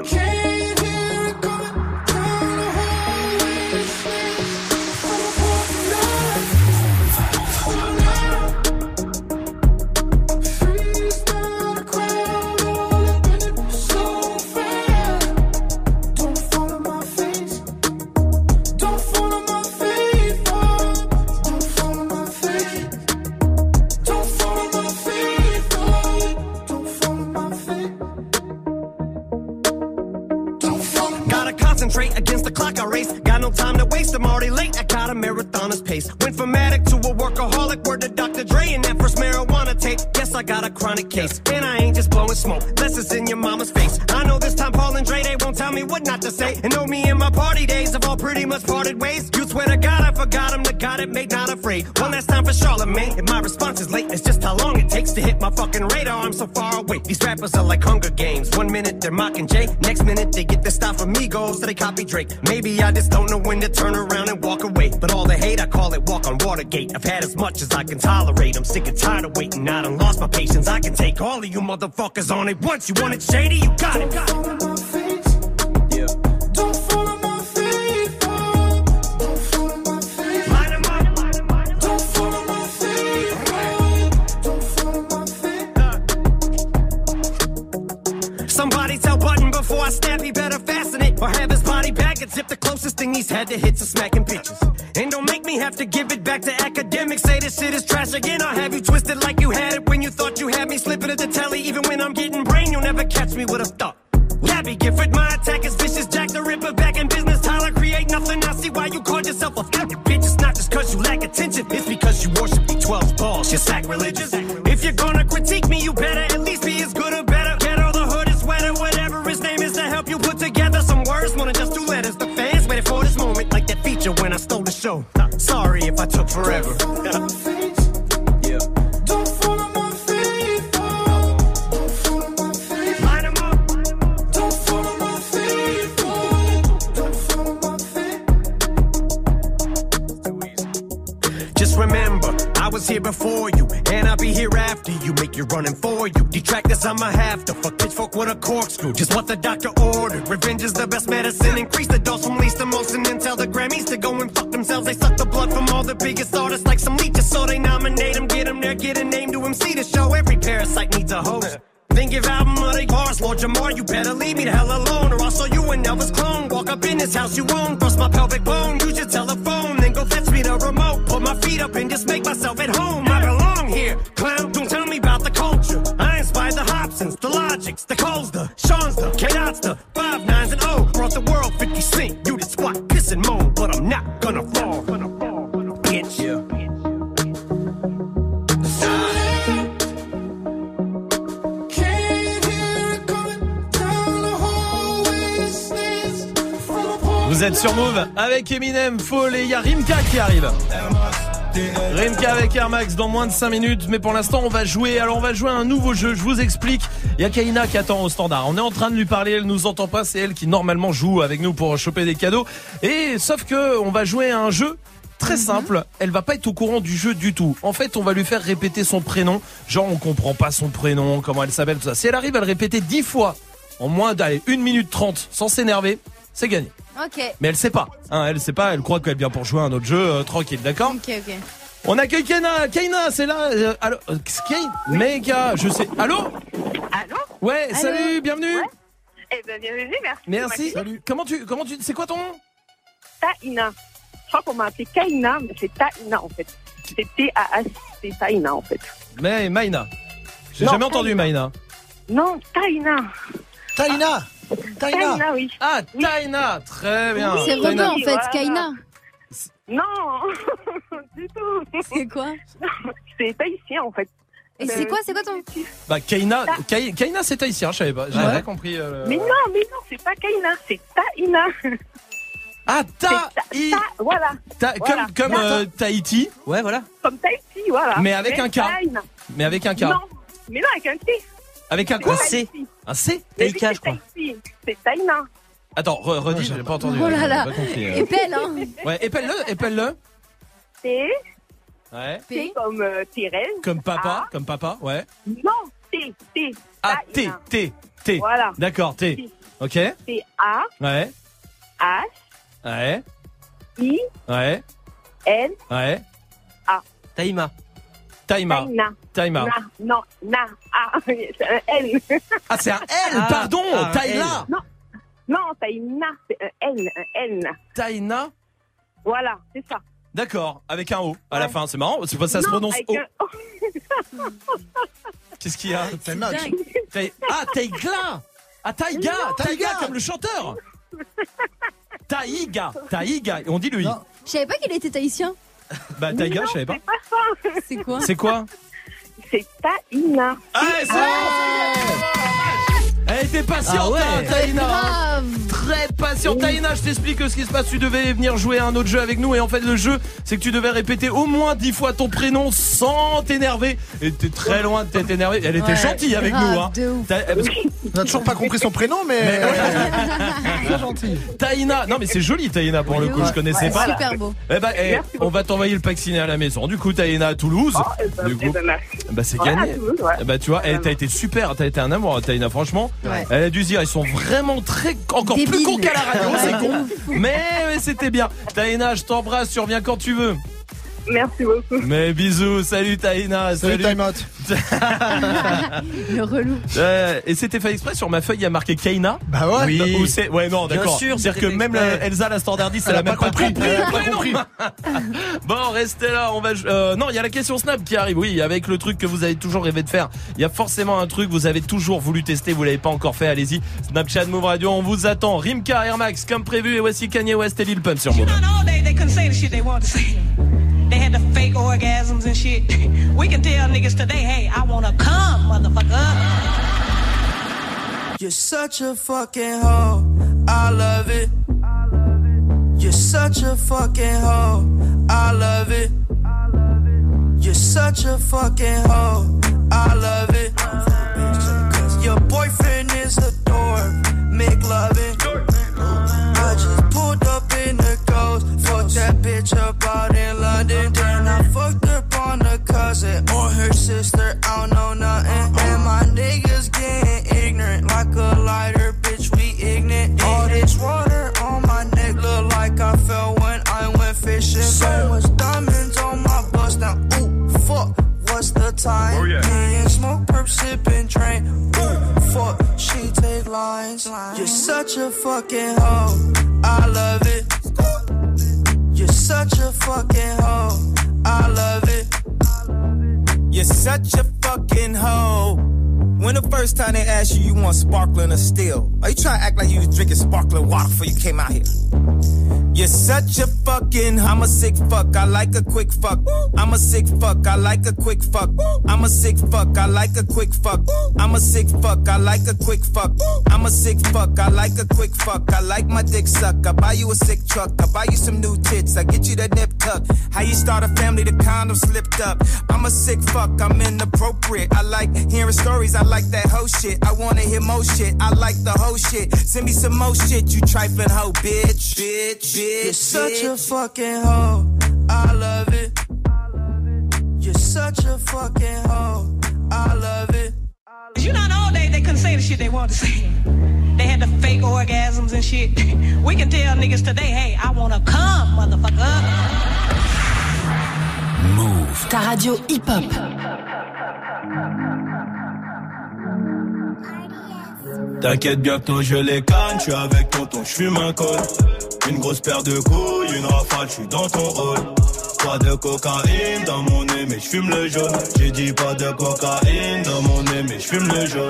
clock I race. Got no time to waste, I'm already late. I got a marathoner's pace. Went from addict to a workaholic, word to Doctor Dre and that first marijuana tape. Guess I got a chronic case, and I ain't just blowing smoke, unless it's in your mama's face. I know this time Paul and Dre, they won't tell me what not to say. And know me and my party days have all pretty much parted ways. You swear to God I forgot him, the God it made not afraid. One last time for Charlemagne, and my response is late. It's just how long it takes to hit my fucking radar. I'm so far away. These rappers are like Hunger Games. One minute they're mocking Jay, next minute they get their stuff from Migos, so they copy Drake. Maybe I just don't know when to turn around and walk away. But all the hate, I call it walk on Watergate. I've had as much as I can tolerate. I'm sick and tired of waiting. I done lost my patience. I can take all of you motherfuckers on it once. You want it shady? You got it. Got it. Somebody tell Button before I snap, he better fasten it or have his body back and zip. The closest thing he's had to hits are smacking bitches. And don't make me have to give it back to academics. Say this shit is trash again. I'll have you twisted like you had it when you thought you had me. Slipping at the telly even when I'm getting brain. You'll never catch me with a thought. Gabby Gifford, my attack is vicious. Jack the Ripper back in business. Tyler create nothing. I see why you called yourself a fucking bitch. It's not just cause you lack attention. It's because you worship B twelve's balls. You're sacrilegious. If you're gonna critique me, you better at least be as good or better. Get all the hood is wetter, whatever his name is to help you put together some words. More than just two letters. The fans waited for this moment like that feature when I stole the show. Sorry if I took forever. Yeah. Don't follow my feet. Don't follow my feet. Line 'em up. Don't follow my feet. Don't follow my feet. Just remember, I was here before you, and I'll be here after you. Make you running for you. Detractors, I'ma have to fuck pitchfork with a corkscrew. Just what the doctor ordered. Revenge is the best medicine. Increase the dose from least to most, and then tell the Grammys to go and fuck themselves. They suck the blood from all the biggest artists like some leeches, so they nominate them, get them there, get a name to M C to show. Every parasite needs a host. Then give album of the bars, Lord Jamar, you better leave me the hell alone, or I'll show you an Elvis clone. Walk up in this house you own, bust my pelvic bone, use your telephone, then go fetch me the remote. Put my feet up and just make myself at home. I belong here, clown, don't tell me about the culture. I inspired the Hobsons, the Logics, the Coles, the Sean's, the K-Dots, the five nines and O. Brought the world fifty cent, you did squat, piss and moan, but I'm not gonna fall. Bitch. Yeah. Vous êtes sur Move avec Eminem, Fall et il y a Rimka qui arrive. Rimka avec Air Max dans moins de cinq minutes. Mais pour l'instant on va jouer. Alors on va jouer à un nouveau jeu, je vous explique. Il y a Kaina qui attend au standard. On est en train de lui parler, elle nous entend pas. C'est elle qui normalement joue avec nous pour choper des cadeaux. Et sauf que on va jouer à un jeu très simple. Elle va pas être au courant du jeu du tout. En fait on va lui faire répéter son prénom. Genre on comprend pas son prénom, comment elle s'appelle, tout ça. Si elle arrive à le répéter dix fois en moins d'allez une minute trente sans s'énerver, c'est gagné. Ok. Mais elle sait pas, hein, elle sait pas, elle croit qu'elle vient pour jouer à un autre jeu, euh, tranquille, d'accord? Ok, ok. On accueille Kaina, Kaina, c'est là, euh, allô, euh, Kaina, méga, je sais, allô? Allô? Ouais, Allô? salut, bienvenue. Ouais. Eh ben, bienvenue, merci. Merci. Salut. Comment tu, comment tu, c'est quoi ton nom? Taïna. Je crois qu'on m'a appelé Kaina, mais c'est Taïna en fait. C'est T A S, c'est Taïna en fait. Mais Maïna. J'ai Non, jamais entendu Taïna. Maïna. Non, Taïna. Taïna. Taïna. Taïna, oui. Ah, Taïna, très bien. C'est Renaud Taïna. en fait, Kaina. Non, du tout. C'est quoi? C'est tahitien en fait. Et c'est quoi, c'est quoi ton... Bah, Kaina, Kay- Kaina, c'est tahitien, je savais pas, j'avais pas compris. euh, Mais non, mais non, c'est pas Kaina, c'est Taïna. Ah, Ta, I. Voilà. Ta- Voilà. Comme, comme euh, Tahiti. Ouais, voilà. Comme Tahiti, voilà. Mais avec un K. Taïna. Mais avec un K. Non, mais non, avec un T. Avec un quoi? Un C. Un C? Mais oui, c'est Tahiti. C'est Taïna. Attends, re- redis, j'ai pas entendu. Oh là là. J'ai pas compris, euh. Épelle, hein. Ouais, épelle-le, épelle-le. T. Ouais. T comme euh, Thérèse. Comme papa, A. comme papa, ouais. Non, T, T. Ah, T, T, T. Voilà. D'accord, T. Ok. T, A. Ouais, H. ouais, I. ouais, N. ouais. A. Taïma. Taïma. Taïna. Taïma. Na, non, Na, A. C'est un N. Ah, c'est un L, Ah, pardon, ah, un Taïla. Non, non, Taïna, c'est un N, un N. Taïna. Voilà, c'est ça. D'accord, avec un O à la fin, c'est marrant, c'est pas ça se Non, prononce avec O. un- Qu'est-ce qu'il y a? Taïma. Taï- Ah, Taïgla. Ah, Taïga, Non. Taïga Taïga. comme le chanteur. Ta- Taïga. Taïga. On dit le i. Je savais pas qu'il était tahitien. Bah Taïga, je savais pas. C'est quoi? C'est quoi? C'est Taïna. Ah, c'est Elle était patiente, Ah ouais. hein, Taïna. Grave. Très patiente. Taïna, je t'explique ce qui se passe. Tu devais venir jouer à un autre jeu avec nous. Et en fait, le jeu, c'est que tu devais répéter au moins dix fois ton prénom sans t'énerver. Et t'es très loin de t'être énervé. Elle était Ouais, gentille avec grave, nous. Hein. de ouf. T'as- parce que- On a toujours pas compris son prénom, mais. Très gentil. Taïna, non mais c'est joli Taïna pour le coup, je connaissais Ouais, pas. super beau. Eh ben, eh, Merci on va t'envoyer le pack ciné à la maison. Du coup, Taïna à Toulouse. Oh, eh ben, du coup, eh ben, merci. bah c'est Ouais, gagné. à Toulouse, ouais. Eh ben, tu vois, elle t'as été super, t'as été un amour, Taïna. Franchement, Ouais. elle a dû se dire, ils sont vraiment très, encore plus Débiles. cons qu'à la radio, Ouais, c'est de con. ouf. Mais, mais c'était bien. Taïna, je t'embrasse, tu reviens quand tu veux. Merci beaucoup. Mais bisous, salut Taïna, Salut, Time Out. Le relou. Euh, et c'était fait exprès, sur ma feuille il y a marqué Kaina. Bah ouais. Oui. Ou c'est- ouais non Bien d'accord. sûr, C'est-à-dire que c'était même fait exprès. la- Elsa la standardiste, elle, Elle a a même pas pas compris. compris. Elle a pas Ouais, non. compris. Bon, restez là, on va euh, non, il y a la question Snap qui arrive. Oui, avec le truc que vous avez toujours rêvé de faire. Il y a forcément un truc que vous avez toujours voulu tester, vous l'avez pas encore fait. Allez-y. Snapchat Move Radio, on vous attend. Rimka, Air Max comme prévu et voici Kanye West et Lil Pump sur Move. All day they couldn't say the shit they wanted to say. They had the fake orgasms and shit. We can tell niggas today, hey, I wanna come, motherfucker. You're such a fucking hoe. I love it. You're such a fucking hoe. I love it. You're such a fucking hoe. I love it. Your boyfriend is a dork. Make loving. I just pulled up in the ghost. Fucked that bitch up out in London. Then I fucked up on her cousin or her sister. I don't know nothing. And my niggas getting ignorant like a lighter, bitch. We ignorant. All this water on my neck look like I fell when I went fishing. So much diamonds on my bust now. Ooh, fuck. What's the time? Oh, yeah. Me and smoke, perp, sipping, train. Ooh, fuck. She take lines. You're such a fucking hoe. I love it. You're such a fucking hoe. I love it. You're such a fucking hoe. When the first time they asked you, you want sparkling or still? Are you trying to act like you was drinking sparkling water before you came out here? You're such a fucking, I'm a sick fuck, I like a quick fuck. I'm a sick fuck, I like a quick fuck. I'm a sick fuck, I like a quick fuck. I'm a sick fuck, I like a quick fuck. I'm a sick fuck, I like a quick fuck. I like my dick suck, I buy you a sick truck. I buy you some new tits, I get you that nip tuck. How you start a family, the condom slipped up. I'm a sick fuck, I'm inappropriate. I like hearing stories, I like that hoe shit. I wanna hear more shit, I like the whole shit. Send me some more shit, you trifling hoe, bitch, bitch, bitch. You're such a fucking hoe. I love it. You're such a fucking hoe. I love it. You know, all day they couldn't say the shit they wanted to say. They had the fake orgasms and shit. We can tell niggas today, hey, I wanna come, motherfucker. Move. Ta radio hip-hop. T'inquiète, bientôt je les canne, j'suis avec tonton, j'fume un col. Une grosse paire de couilles, une rafale, j'suis dans ton hall. Pas de cocaïne dans mon nez, mais j'fume le jaune. J'ai dit pas de cocaïne dans mon nez, mais j'fume le jaune.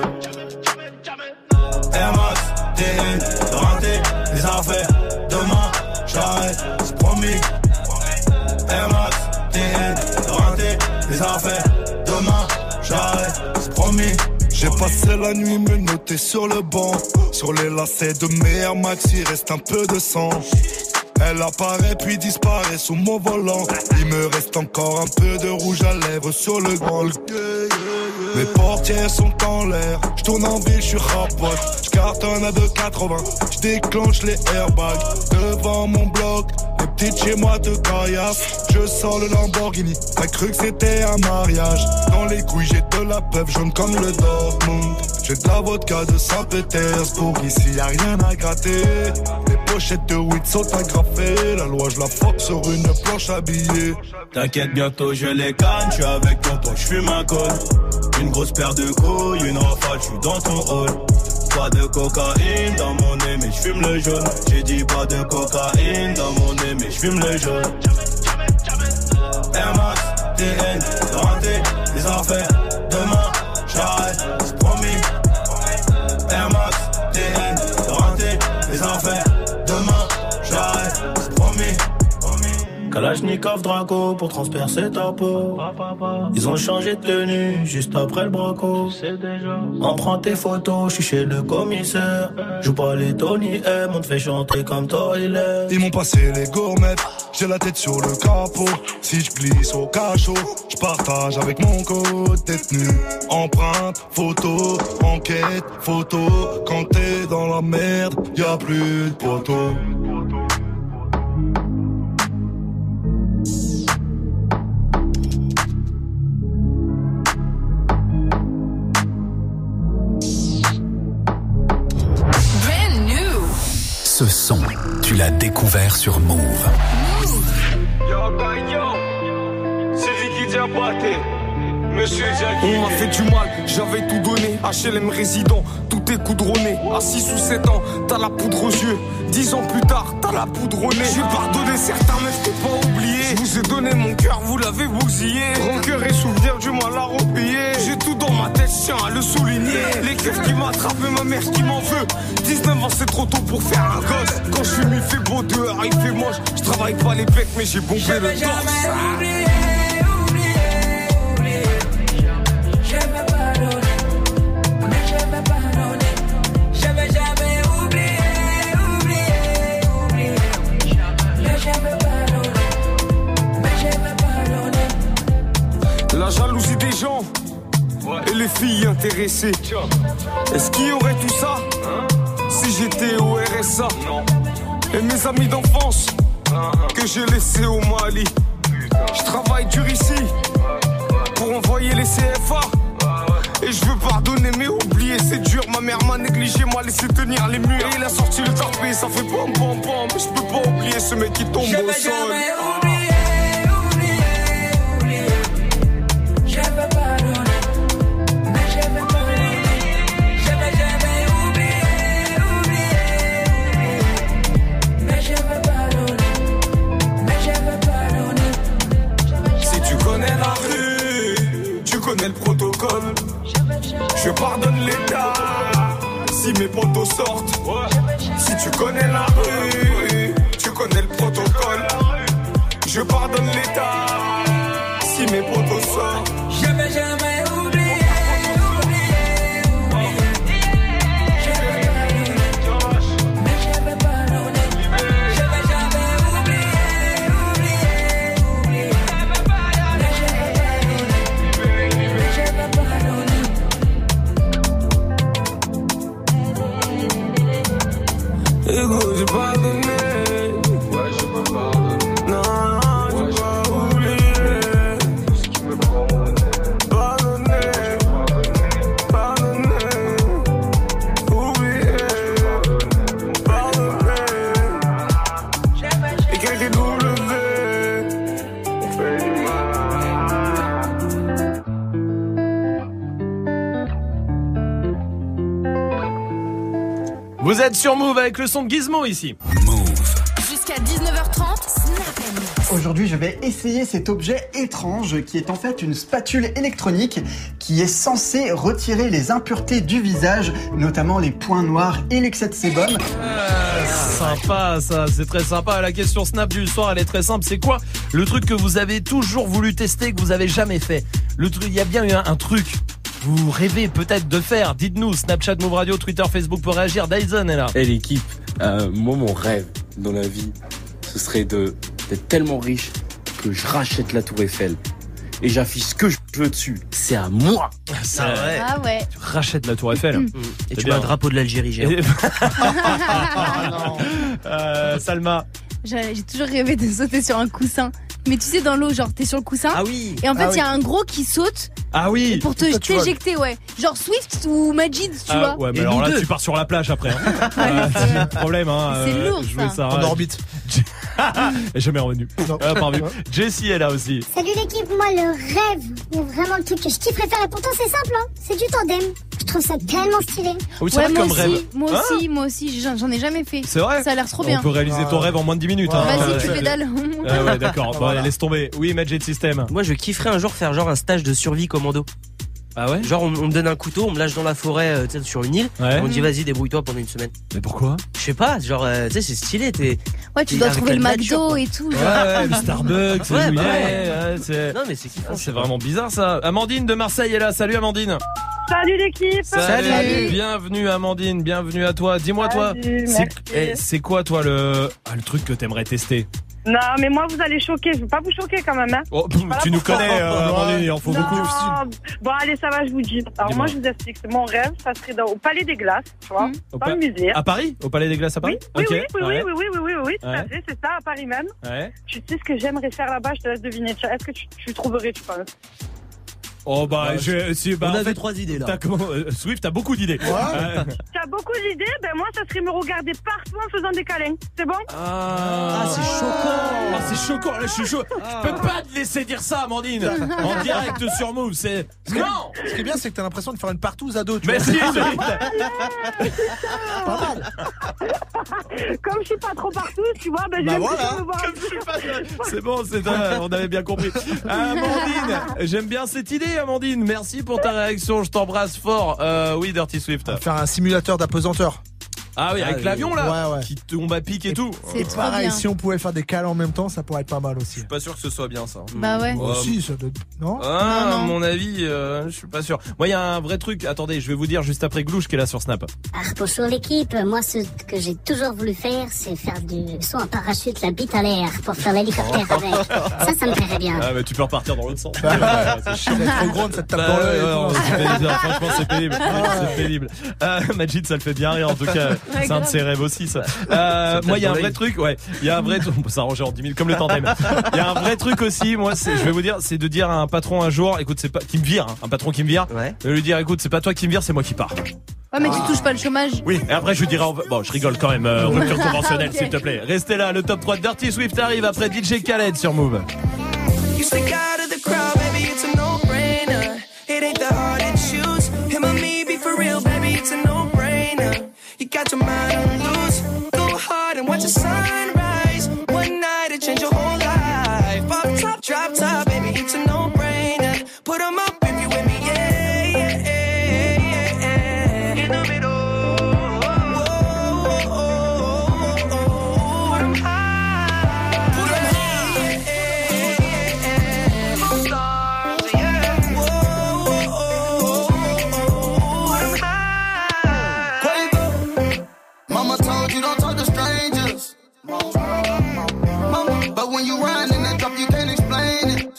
Air Max, T N, rentré, les affaires, demain, j'arrête, c'est promis. Air Max, T N, rentré, les affaires, demain, j'arrête, c'est promis. J'ai passé la nuit me noter sur le banc. Sur les lacets de mes Air Max, il reste un peu de sang. Elle apparaît puis disparaît sous mon volant. Il me reste encore un peu de rouge à lèvres sur le grand. Mes portières sont en l'air. J'tourne en ville, j'suis rapote. J'cartonne à deux quatre-vingts. J'déclenche les airbags devant mon bloc. Les petites chez moi te caillassent. Je sors le Lamborghini. T'as cru que c'était un mariage. Dans les couilles j'ai de la peuple jaune comme le Dortmund. J'ai de la vodka de Saint-Pétersbourg. Ici y'a rien à gratter. Les pochettes de weed sont agrafées. La loi je la fuck sur une planche habillée. T'inquiète, bientôt je les canne, j'suis avec tonton, j'fume un col. Une grosse paire de couilles, une rafale, j'suis dans ton hall. Pas de cocaïne dans mon nez, mais j'fume le jaune. J'ai dit pas de cocaïne dans mon nez, mais j'fume le jaune. Air Max, T N, rentré, les affaires, demain, j'arrête, c'est promis. Air Max, T N, rentré, les affaires, demain, j'arrête. Kalachnikov Draco pour transpercer ta peau. Ils ont changé de tenue juste après le braco. On prend tes photos, je suis chez le commissaire. Joue pas les Tony M, on te fait chanter comme Toilet. Ils m'ont passé les gourmettes, j'ai la tête sur le capot. Si je glisse au cachot, je partage avec mon code détenu. Empreinte, photo, enquête, photo. Quand t'es dans la merde, y'a plus de poteaux. Ce son, tu l'as découvert sur Move. Yo, Gagnon, c'est Vicky Diabaté. Monsieur Jackie. On m'a fait du mal, j'avais tout donné. H L M résident, tout est coudronné. À six ou sept ans, t'as la poudre aux yeux. dix ans plus tard, t'as la poudre au nez. J'ai pardonné certains, mais je t'ai pas oublié. Je vous ai donné mon cœur, vous l'avez bousillé. Rancœur et souvenir du mal à repayer. J'ai tout dans ma tête, je tiens à le souligner. Les keufs qui m'attrapent et ma mère qui m'en veut. dix-neuf ans, c'est trop tôt pour faire un gosse. Quand je fume, il fait beau dehors, il fait moche. Je travaille pas les becs, mais j'ai bombé le torse. La jalousie des gens et les filles intéressées. Est-ce qu'il y aurait tout ça si j'étais au R S A? Et mes amis d'enfance que j'ai laissés au Mali. Je travaille dur ici pour envoyer les C F A. Et je veux pardonner mais oublier c'est dur. Ma mère m'a négligé, m'a laissé tenir les murs. Et il a sorti le tapé, ça fait pom pom pom. Mais je peux pas oublier ce mec qui tombe Je au vais sol. jamais oublier, oublier, oublier. Je vais pardonner, mais je vais pardonner. Je vais jamais oublier, oublier, oublier. Mais je vais pardonner, mais je vais pardonner. Si tu connais la rue, tu connais le protocole. Je pardonne l'État si mes potos sortent. Si tu connais la rue, tu connais le protocole. Je pardonne l'État si mes potos sortent. Je vais jamais oublier, oublier, oublier. Je vais pardonner, mais je vais pardonner. Je vais jamais oublier, oublier, oublier. Mais je vais pardonner, mais je vais pardonner. Ego, j'ai pardonné. Ouais, je peux pardonner. Non, non, j'ai pas oublié. Ce qui me pardonner. Pardonner. Pardonner. Oublier. Pardonner. Écrire des W. On fait du Vous êtes sur Move avec le son de Gizmo ici. Jusqu'à dix-neuf heures trente, Snap and Mix. Aujourd'hui, je vais essayer cet objet étrange qui est en fait une spatule électronique qui est censée retirer les impuretés du visage, notamment les points noirs et l'excès de sébum. Ah, sympa ça, c'est très sympa. La question Snap du soir, elle est très simple. C'est quoi le truc que vous avez toujours voulu tester, que vous avez jamais fait? Le truc, il y a bien eu un, un truc. Vous rêvez peut-être de faire. Dites-nous, Snapchat, Move Radio, Twitter, Facebook pour réagir. Dyson est là. Et l'équipe, euh, moi mon rêve dans la vie, ce serait de d'être tellement riche que je rachète la Tour Eiffel et j'affiche ce que je veux dessus. C'est à moi. C'est vrai. Ah ouais. Tu rachètes la Tour Eiffel. Mmh. Et tu mets un drapeau de l'Algérie géant. Et... euh, Salma. J'ai j'ai toujours rêvé de sauter sur un coussin. Mais tu sais, dans l'eau, genre, t'es sur le coussin. Ah oui. Et en fait, il Ah y a oui. un gros qui saute. Ah oui. Pour te Toi, tu vois. t'éjecter, ouais. Genre Swift ou Majid, tu Ah, vois. ouais, mais Et alors nous là, deux. tu pars sur la plage après. Hein. euh, c'est le problème. Hein. C'est euh, lourd, jouer ça. ça. En orbite. Et jamais revenu. Ah, pas revenu. Jessie est là aussi. Salut l'équipe, moi le rêve, mais vraiment le truc que je kifferais faire, et pourtant c'est simple, hein, c'est du tandem. Je trouve ça tellement stylé. Oui, c'est Ouais, vrai moi comme aussi, rêve. moi Hein aussi, moi aussi, j'en j'en ai jamais fait. C'est vrai. Ça a l'air trop On bien. peut réaliser ton rêve en moins de dix minutes. Hein. Vas-y, Euh, tu c'est- pédales. Ah ouais, d'accord. Bon, Voilà. allez, laisse tomber. Oui, Magic System. Moi, je kifferais un jour faire genre un stage de survie commando. Ah ouais? Genre, on, on me donne un couteau, on me lâche dans la forêt, euh, tu sais, sur une île. Ouais. On me dit, vas-y, débrouille-toi pendant une semaine. Mais pourquoi? Je sais pas, genre, euh, tu sais, c'est stylé. T'es, Ouais, tu t'es dois avec trouver le la nature, McDo quoi. et tout. Ouais, genre. ouais, le Starbucks, c'est Ouais, où il bah est, ouais. ouais, c'est... Non, mais c'est kiffant. Ah, c'est vraiment bizarre ça. Amandine de Marseille est là. Salut Amandine. Salut l'équipe. Salut. Salut. Bienvenue Amandine, bienvenue à toi. Dis-moi toi, Salut, c'est, merci. eh, c'est quoi toi le, ah, le truc que t'aimerais tester? Non, mais moi, vous allez choquer. Je veux pas vous choquer quand même. Hein. Oh, Je suis pas là tu nous pour ça. connais, euh, Amandine, il en faut Non. beaucoup. Bon, allez, ça va, je vous dis. Alors, Dis-moi. moi, je vous explique. C'est mon rêve. Ça serait dans, au Palais des Glaces, tu vois, Au dans pa- le musée. À Paris? Au Palais des Glaces à Paris? Oui, Ok, oui, oui, ouais. oui, oui, oui, oui, oui, oui, tout à Ouais. fait. C'est ça, à Paris même. Ouais. Tu sais ce que j'aimerais faire là-bas? Je te laisse deviner. Tiens, est-ce que tu, tu trouverais, tu penses? Oh bah, je, si, bah On en a fait, deux, trois idées là. t'as comment, euh, Swift, t'as beaucoup d'idées. Euh, Tu as beaucoup d'idées? Ben, moi, ça serait me regarder partout en faisant des câlins. C'est bon? Ah, c'est choquant. Ah, c'est choquant. Là, je suis chaud. Je peux pas te laisser dire ça, Amandine. En direct sur Move, c'est non. Ce qui est bien, c'est que t'as l'impression de faire une partouze à dos. Tu Mais vois. si, Swift. Pas mal. Comme je suis pas trop partout, tu vois, ben, je Bah vais voilà. me voir. C'est bon, c'est un- on avait bien compris. Amandine, j'aime bien cette idée, Amandine. Merci pour ta réaction. Je t'embrasse fort. Euh, oui, Dirty Swift. Faire un simulateur d'apesanteur. Ah oui, avec Ah, l'avion là, ouais, ouais. qui tombe à pic et, tout. C'est Et trop pareil, bien. si on pouvait faire des câlins en même temps, ça pourrait être pas mal aussi. Je suis pas sûr que ce soit bien ça. Bah ouais. Oh, si, ça doit... Non Ah, Non, à non. mon avis, euh, je suis pas sûr. Moi, il y a un vrai truc. Attendez, je vais vous dire juste après Glouche qui est là sur Snap. Ah, bonjour l'équipe, moi ce que j'ai toujours voulu faire, c'est faire du saut en parachute, la bite à l'air, pour faire l'hélicoptère avec. Ça, ça me plairait bien. Ah, mais tu peux repartir dans l'autre sens. C'est chiant d'être trop grande, ça te tape Bah dans ouais, l'œil. et ouais, tout. non, c'est pénible. Franchement, c'est pénible. C'est pénible. Euh, Majid, ça le fait bien rire. En tout cas, c'est un de ses rêves aussi, ça. Euh, moi, il y a un vrai truc. Ouais, il y a un vrai. On peut s'arranger en dix minutes comme le tandem. Il y a un vrai truc aussi. Moi, c'est, je vais vous dire, c'est de dire à un patron un jour, écoute, c'est pas qui me vire, hein, un patron qui me vire, Ouais. de lui dire, écoute, c'est pas toi qui me vire, c'est moi qui pars. Ouais, mais tu touches pas le chômage. Oui, et après je lui dirai, bon, je rigole quand même, euh, rupture conventionnelle, s'il te plaît. Restez là, le top trois de Dirty Swift arrive après D J Khaled sur Move. You stick out of the crowd, baby, it's a no-brainer. It ain't the hard to choose. Him or me, be for real, baby, it's a no-brainer. You got your mind on loose. Go hard and watch the sunrise. One night it change your whole life. Pop top, drop top, baby, it's a no-brainer. Put 'em up if you with me, yeah, yeah, yeah, yeah, yeah. In the middle. Whoa, whoa, whoa, whoa. Put 'em high. Put 'em high. Stars, yeah. Whoa, whoa, whoa. Put 'em high. Quavo. Mama told you don't talk to strangers. Mama, but when you run in that drop, you can't explain it.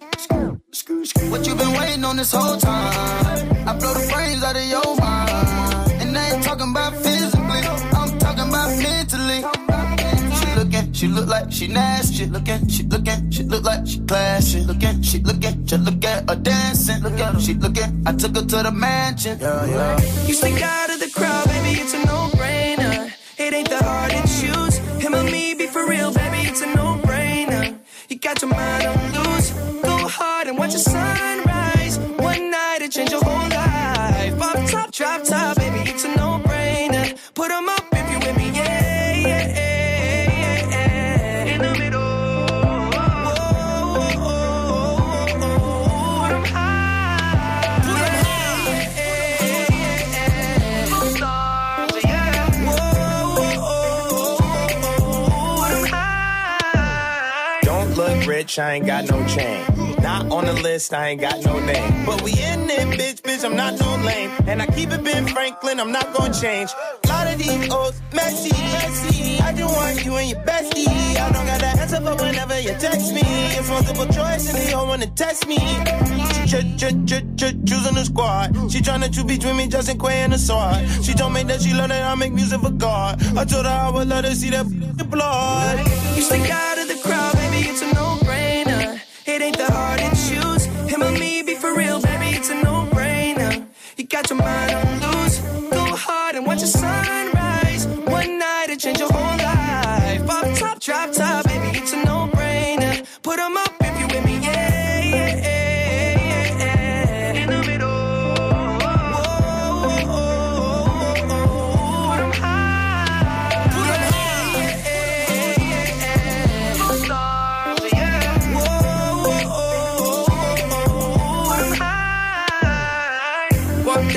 What you been waiting on this whole time? I blow the brains out of your mind. And I ain't talking about physically, I'm talking about mentally. She looking, she look like she nasty. She looking, she looking, she look like she classy. Looking, she looking, just look at her dancing. Look at her, she looking. I took her to the mansion. Yeah, yeah. You stick out of the crowd, baby, it's a no-brainer. It ain't the hard to choose. Him or me, be for real, baby, it's a no-brainer. You got your mind on loose. Go hard and watch the sunrise. One night it change your whole life. Pop top, drop top, baby, it's a no-brainer. Put 'em up if you with me, yeah, yeah, yeah, yeah. In the middle. Whoa, whoa, whoa, whoa. Put 'em high. Put 'em high. Yeah, yeah, yeah. Stars, yeah. Whoa, whoa, whoa. Put 'em high. Don't look rich, I ain't got no chain. Not on the list, I ain't got no name. But we in it, bitch, bitch, I'm not no lame. And I keep it Ben Franklin, I'm not gonna change. Lot of these old messy, messy. I just want you and your bestie. I don't got the answer for whenever you text me. It's multiple choice and they all wanna test me. Ch ch ch ch choosing the squad. She tryna choose between me, Justin Quay and the sword. She told me that she love that I make music for God. I told her I would let her see that blood. You stick out of the crowd, baby, it's a no-brainer. It ain't the hard to choose. Him or me, be for real, baby, it's a no-brainer. You got your mind on loose. Go hard and watch the sunrise. One night it change your whole life. Pop top, drop top, baby, it's a no-brainer. Put 'em up if you with me, yeah, yeah, yeah, yeah. In the middle. Whoa, whoa, whoa, whoa. Put 'em high. Put 'em high. Yeah, yeah, yeah. Stars, yeah. Whoa, whoa, whoa, whoa. Put 'em high.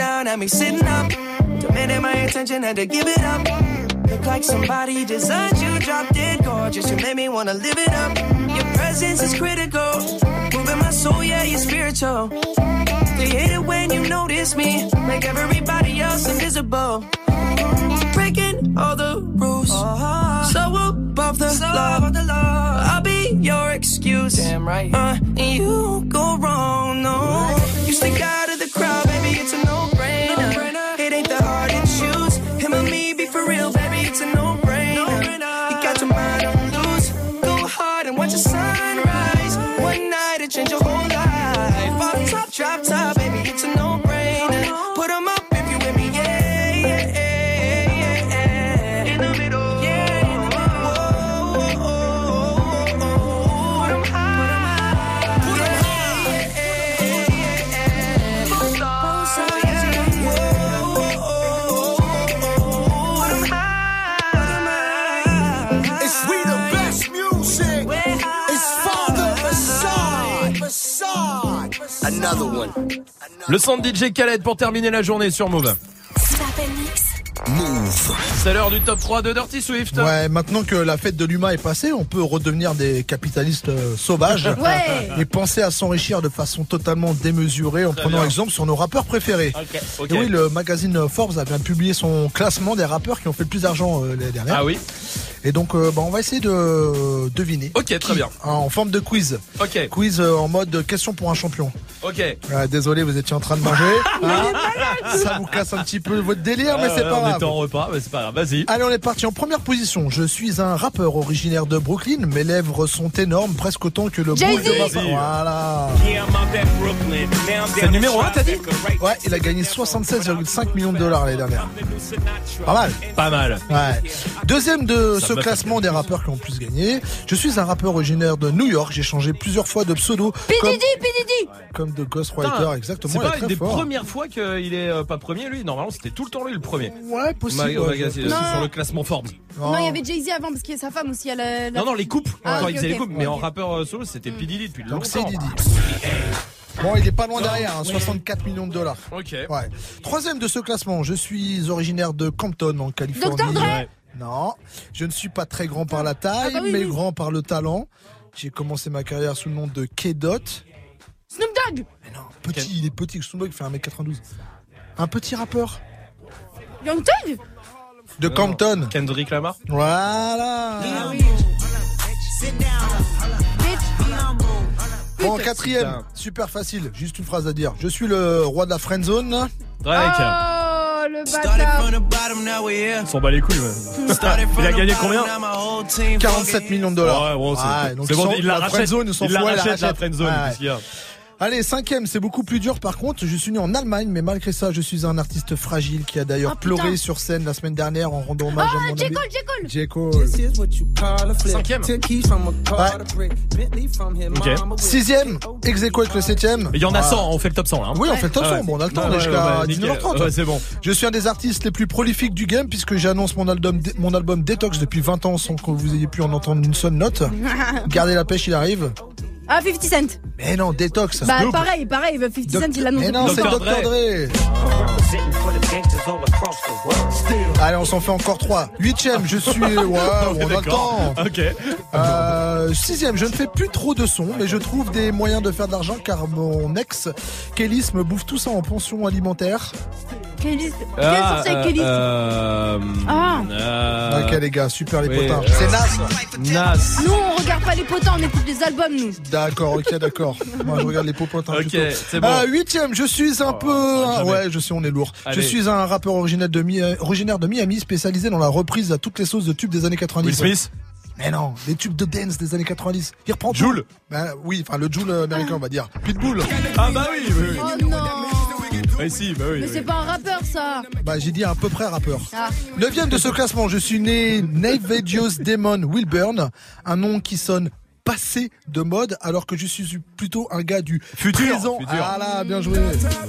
down, had me sitting up. Demanding my attention, had to give it up. Look like somebody designed you, drop dead gorgeous. You made me wanna live it up. Your presence is critical, moving my soul, yeah, you're spiritual. They hate it when you notice me, make everybody else invisible. Breaking all the rules, so above the law. I'll be your excuse, damn right. Uh, and you go wrong, no. You stick out of the crowd, baby, it's a no-brainer. It ain't that hard to choose. Him or me, be for real, baby, it's a no-brainer. You got your mind on loose. Go hard and watch the sunrise. One night it changed your whole life. Off top, drop top, baby, it's a no-brainer. Put 'em up if you with me, yeah, yeah, yeah, yeah. In the middle, yeah, in the middle. Whoa, whoa, whoa, whoa, whoa. Put 'em high, put 'em high, yeah, yeah, yeah, yeah. Both sides, yeah, whoa, whoa, whoa, whoa. Put 'em high, put 'em high. It's we the best music. It's Father Facade. Facade. Another one. Le son de D J Khaled pour terminer la journée sur Move. Move. C'est l'heure du top trois de Dirty Swift. Ouais, maintenant que la fête de l'humain est passée, on peut redevenir des capitalistes euh, sauvages Ouais. et penser à s'enrichir de façon totalement démesurée en Très prenant bien. exemple sur nos rappeurs préférés. Ok, ok. Et oui, le magazine Forbes a bien publié son classement des rappeurs qui ont fait le plus d'argent euh, l'année dernière. Ah oui. Et donc, euh, bah, on va essayer de deviner. Ok, très bien. En forme de quiz. Ok. Quiz euh, en mode question pour un champion. Ok. Ouais, désolé, vous étiez en train de manger. Hein, ça vous casse un petit peu votre délire, mais Ah, c'est ouais, pas on grave. était en repas, mais c'est pas grave. Vas-y. Allez, on est parti en première position. Je suis un rappeur originaire de Brooklyn. Mes lèvres sont énormes, presque autant que le Jay-Z. boule de ma Jay-Z. Voilà. C'est le numéro un, t'as dit? Ouais, il a gagné soixante-seize virgule cinq millions de dollars l'année dernière. Pas mal. Pas mal. Ouais. Deuxième de Ça ce me fait classement des rappeurs qui ont le plus gagné. Je suis un rappeur originaire de New York. J'ai changé plusieurs fois de pseudo. P. Comme, Diddy, P. Diddy. comme de Ghostwriter, Putain, exactement. C'est il est pas très une des fort. premières fois qu'il est euh, pas premier, lui. Normalement, c'était tout le temps lui le premier. Ouais, possible. Ma- ouais, magazine, je- Non. sur le classement Forbes. Non, il y avait Jay-Z avant parce qu'il y a sa femme aussi. À la, la- Non, non, les couples. Ah, Quand ok, ils faisaient ok. les couples. Mais Ouais. en rappeur euh, solo, c'était P. Diddy depuis Donc c'est longtemps. Diddy. Bon, il est pas loin derrière, hein, soixante-quatre millions de dollars. Ok. Ouais. Troisième de ce classement, je suis originaire de Compton en Californie. docteur Dre. Ouais. Non, je ne suis pas très grand par la taille, Ah bah oui, mais oui. grand par le talent. J'ai commencé ma carrière sous le nom de K-Dot. Snoop Dogg. Petit, Ken- il est petit, Snoop Dogg fait un mètre quatre-vingt-douze. Un petit rappeur Young Thug. de Non, Compton. Kendrick Lamar. Voilà. Ah oui. Bon, quatrième, super facile, juste une phrase à dire. Je suis le roi de la friendzone. Drake. Oh, le bâtard. On s'en bat les couilles, ouais. Il a gagné combien? quarante-sept millions de dollars. Ouais, bon, c'est Ouais, donc c'est bon, sans- il la la rachète. friendzone, il s'en Il la fout, elle la rachète, la rachète. friendzone. Ouais. Qu'est-ce qu'il y a? Allez, cinquième, c'est beaucoup plus dur par contre. Je suis né en Allemagne, mais malgré ça, je suis un artiste fragile qui a d'ailleurs Ah, putain. pleuré sur scène la semaine dernière en rendant hommage à Ah, mon J. ami. Cole, J. Cole. J. Cole. Cinquième. Ok. Sixième, ex aequo avec le septième. Il y en a Ah. cent, on fait le top cent là. hein. Oui, on fait le top Ah cent. ouais. Bon, on a le temps, Ouais, on est ouais, jusqu'à ouais, dix-neuf heures trente. nickel. Ouais, c'est bon. Je suis un des artistes les plus prolifiques du game puisque j'annonce mon album, mon album Detox depuis vingt ans sans que vous ayez pu en entendre une seule note. Gardez la pêche, il arrive. Ah, cinquante Cent. Mais non, Detox. Bah, Snoop. pareil, pareil. cinquante Doc- Cent, il l'annonce. Mais non, c'est Docteur docteur Dre. Allez, on s'en fait encore trois. Huitième, je suis. Ouais, on a le D'accord. temps. Ok. Euh, sixième, je ne fais plus trop de sons, mais je trouve des moyens de faire de l'argent car mon ex, Kélis, me bouffe tout ça en pension alimentaire. Quelle liste Ah, Quelle source avec quelle liste euh, Ah. euh, Ok, les gars, super les oui, potins. euh, C'est Nas. Nas. Nous, on regarde pas les potins, on écoute des albums, nous. D'accord, ok, d'accord. Moi, je regarde les popotins. Ok, plutôt. c'est bon. Euh, huitième, je suis un Oh, peu. jamais. Ouais, je sais, on est lourd. Allez. Je suis un rappeur originaire de, Mi- euh, originaire de Miami, spécialisé dans la reprise à toutes les sauces de tubes des années quatre-vingt-dix. Will Smith. Mais non, les tubes de dance des années quatre-vingt-dix. Il reprend tout. Joule. Ben, oui, enfin le Joule américain, on va dire. Pitbull. Ah bah oui, oui, oui. Oh non. Oui, si, bah oui. Mais oui. c'est pas un rappeur, ça. Bah, j'ai dit à peu près rappeur. Ah. Neuvième de ce classement, je suis né Navedios Demon Wilburn, un nom qui sonne passé de mode, alors que je suis plutôt un gars du Futur, présent. futur. Ah là, bien joué.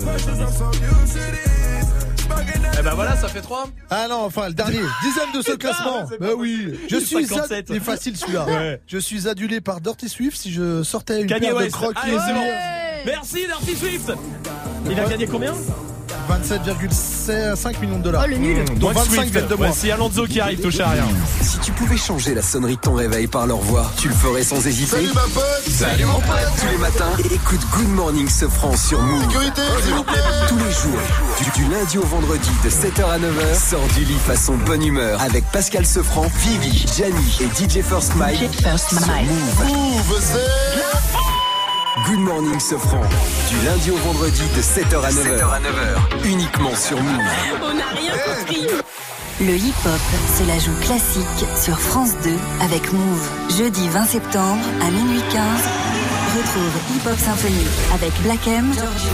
Eh ben voilà, ça fait trois. Ah non, enfin, le dernier, dixième de ce classement. c'est Bah pas oui, je suis cinquante-sept. ad- c'est facile celui-là. Ouais. Je suis adulé par Dirty Swift si je sortais une Kanye paire de West. crocs. Allez, c'est bon. Merci, Dirty Swift. Il a gagné combien? vingt-sept virgule cinq millions de dollars. Oh, le nul. Mmh, donc vingt-cinq viennent de moi. Ouais, c'est Alonso qui arrive, touche à rien. Si tu pouvais changer la sonnerie de ton réveil par leur voix, tu le ferais sans hésiter. Salut ma pote. Salut mon pote. Tous les matins, écoute Good Morning Sofran sur Move. Sécurité, s'il vous plaît. Tous les jours, du, du lundi au vendredi de sept heures à neuf heures, sors du lit façon bonne humeur avec Pascal Sofran, Vivi, Gianni et D J First Mike. D J First Mike. Move. Move, c'est... Good Morning Sofran, du lundi au vendredi de sept heures à neuf heures, uniquement sur Move. On n'a rien compris. Le hip-hop se la joue classique sur France deux avec Move. Jeudi vingt septembre à minuit quinze, retrouve Hip Hop Symphony avec Black M,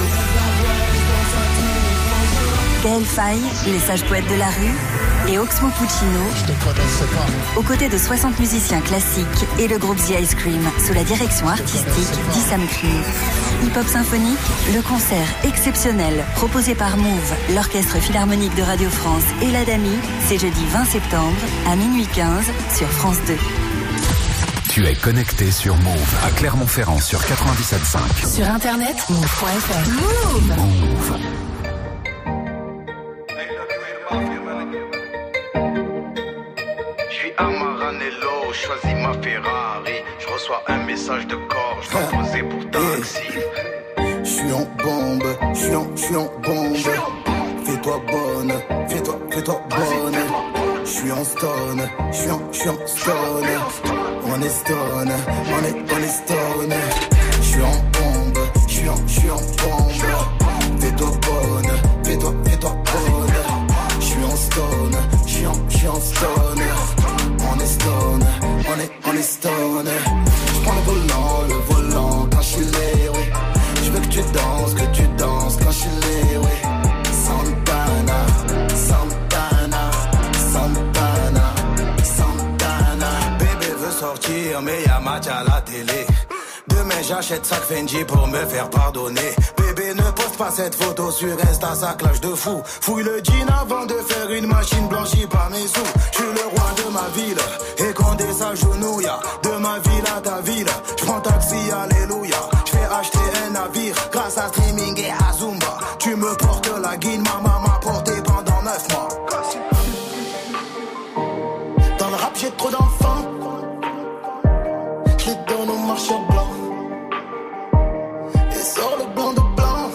Gaël Faye, les sages poètes de la rue et Oxmo Puccino, aux côtés de soixante musiciens classiques et le groupe The Ice Cream, sous la direction artistique d'Issam Cream. Hip Hop Symphonique, le concert exceptionnel proposé par Move, l'Orchestre Philharmonique de Radio France et l'Adami, c'est jeudi vingt septembre à minuit quinze sur France deux. Tu es connecté sur Move à Clermont-Ferrand sur quatre-vingt-dix-sept virgule cinq. Sur internet, move point f r. Move. Move. Maranello, choisis ma Ferrari. Je reçois un message de corps, je dois poser pour taxi. Je suis en bombe, je suis en, je suis en bombe. Fais-toi bonne, fais-toi, fais-toi bonne. Je suis en stone, je suis en, je suis en stone. On est stone, on est, on est stone. Je suis en bombe, je suis en, je suis en bombe. Fais-toi bonne, fais-toi, fais-toi bonne. Je suis en stone, je suis en, je suis en stone. On est stone, on est, on est stone. Je prends le volant, le volant quand je suis lé, oui. Je veux que tu danses, que tu danses quand je suis lé, oui. Santana, Santana, Santana, Santana. Bébé veut sortir, mais y'a match à la télé. Demain j'achète sac Fendi pour me faire pardonner. Bébé ne poste pas cette photo sur Insta, ça clash de fou. Fouille le jean avant de faire une machine blanchie par mes sous. Je suis le roi de ma ville, et Condé s'agenouille. De ma ville à ta ville, je prends taxi, alléluia. Je fais acheter un navire, grâce à streaming et à Zumba. Tu me portes la guine, ma maman m'a porté pendant neuf mois. Dans le rap j'ai trop d'enfants, je les donne au marchand blanc. Et sort le blanc de blanc,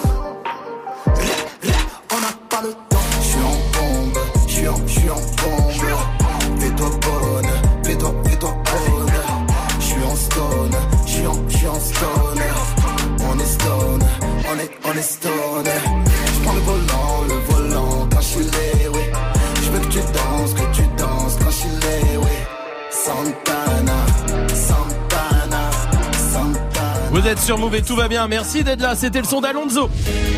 on n'a pas le temps. Je suis en bombe, je suis en, je suis en bombe. Fais-toi bonne, fais-toi, fais-toi bonne. Je suis en stone, je suis en, je suis en stone. On est stone, on est, on est stone. Je prends le volant, le volant quand je suis lé, oui. Je veux que tu danses, que tu danses quand je suis lé, oui. Santana, Santana, Santana. Vous êtes sur Move et tout va bien, merci d'être là, c'était le son d'Alonso.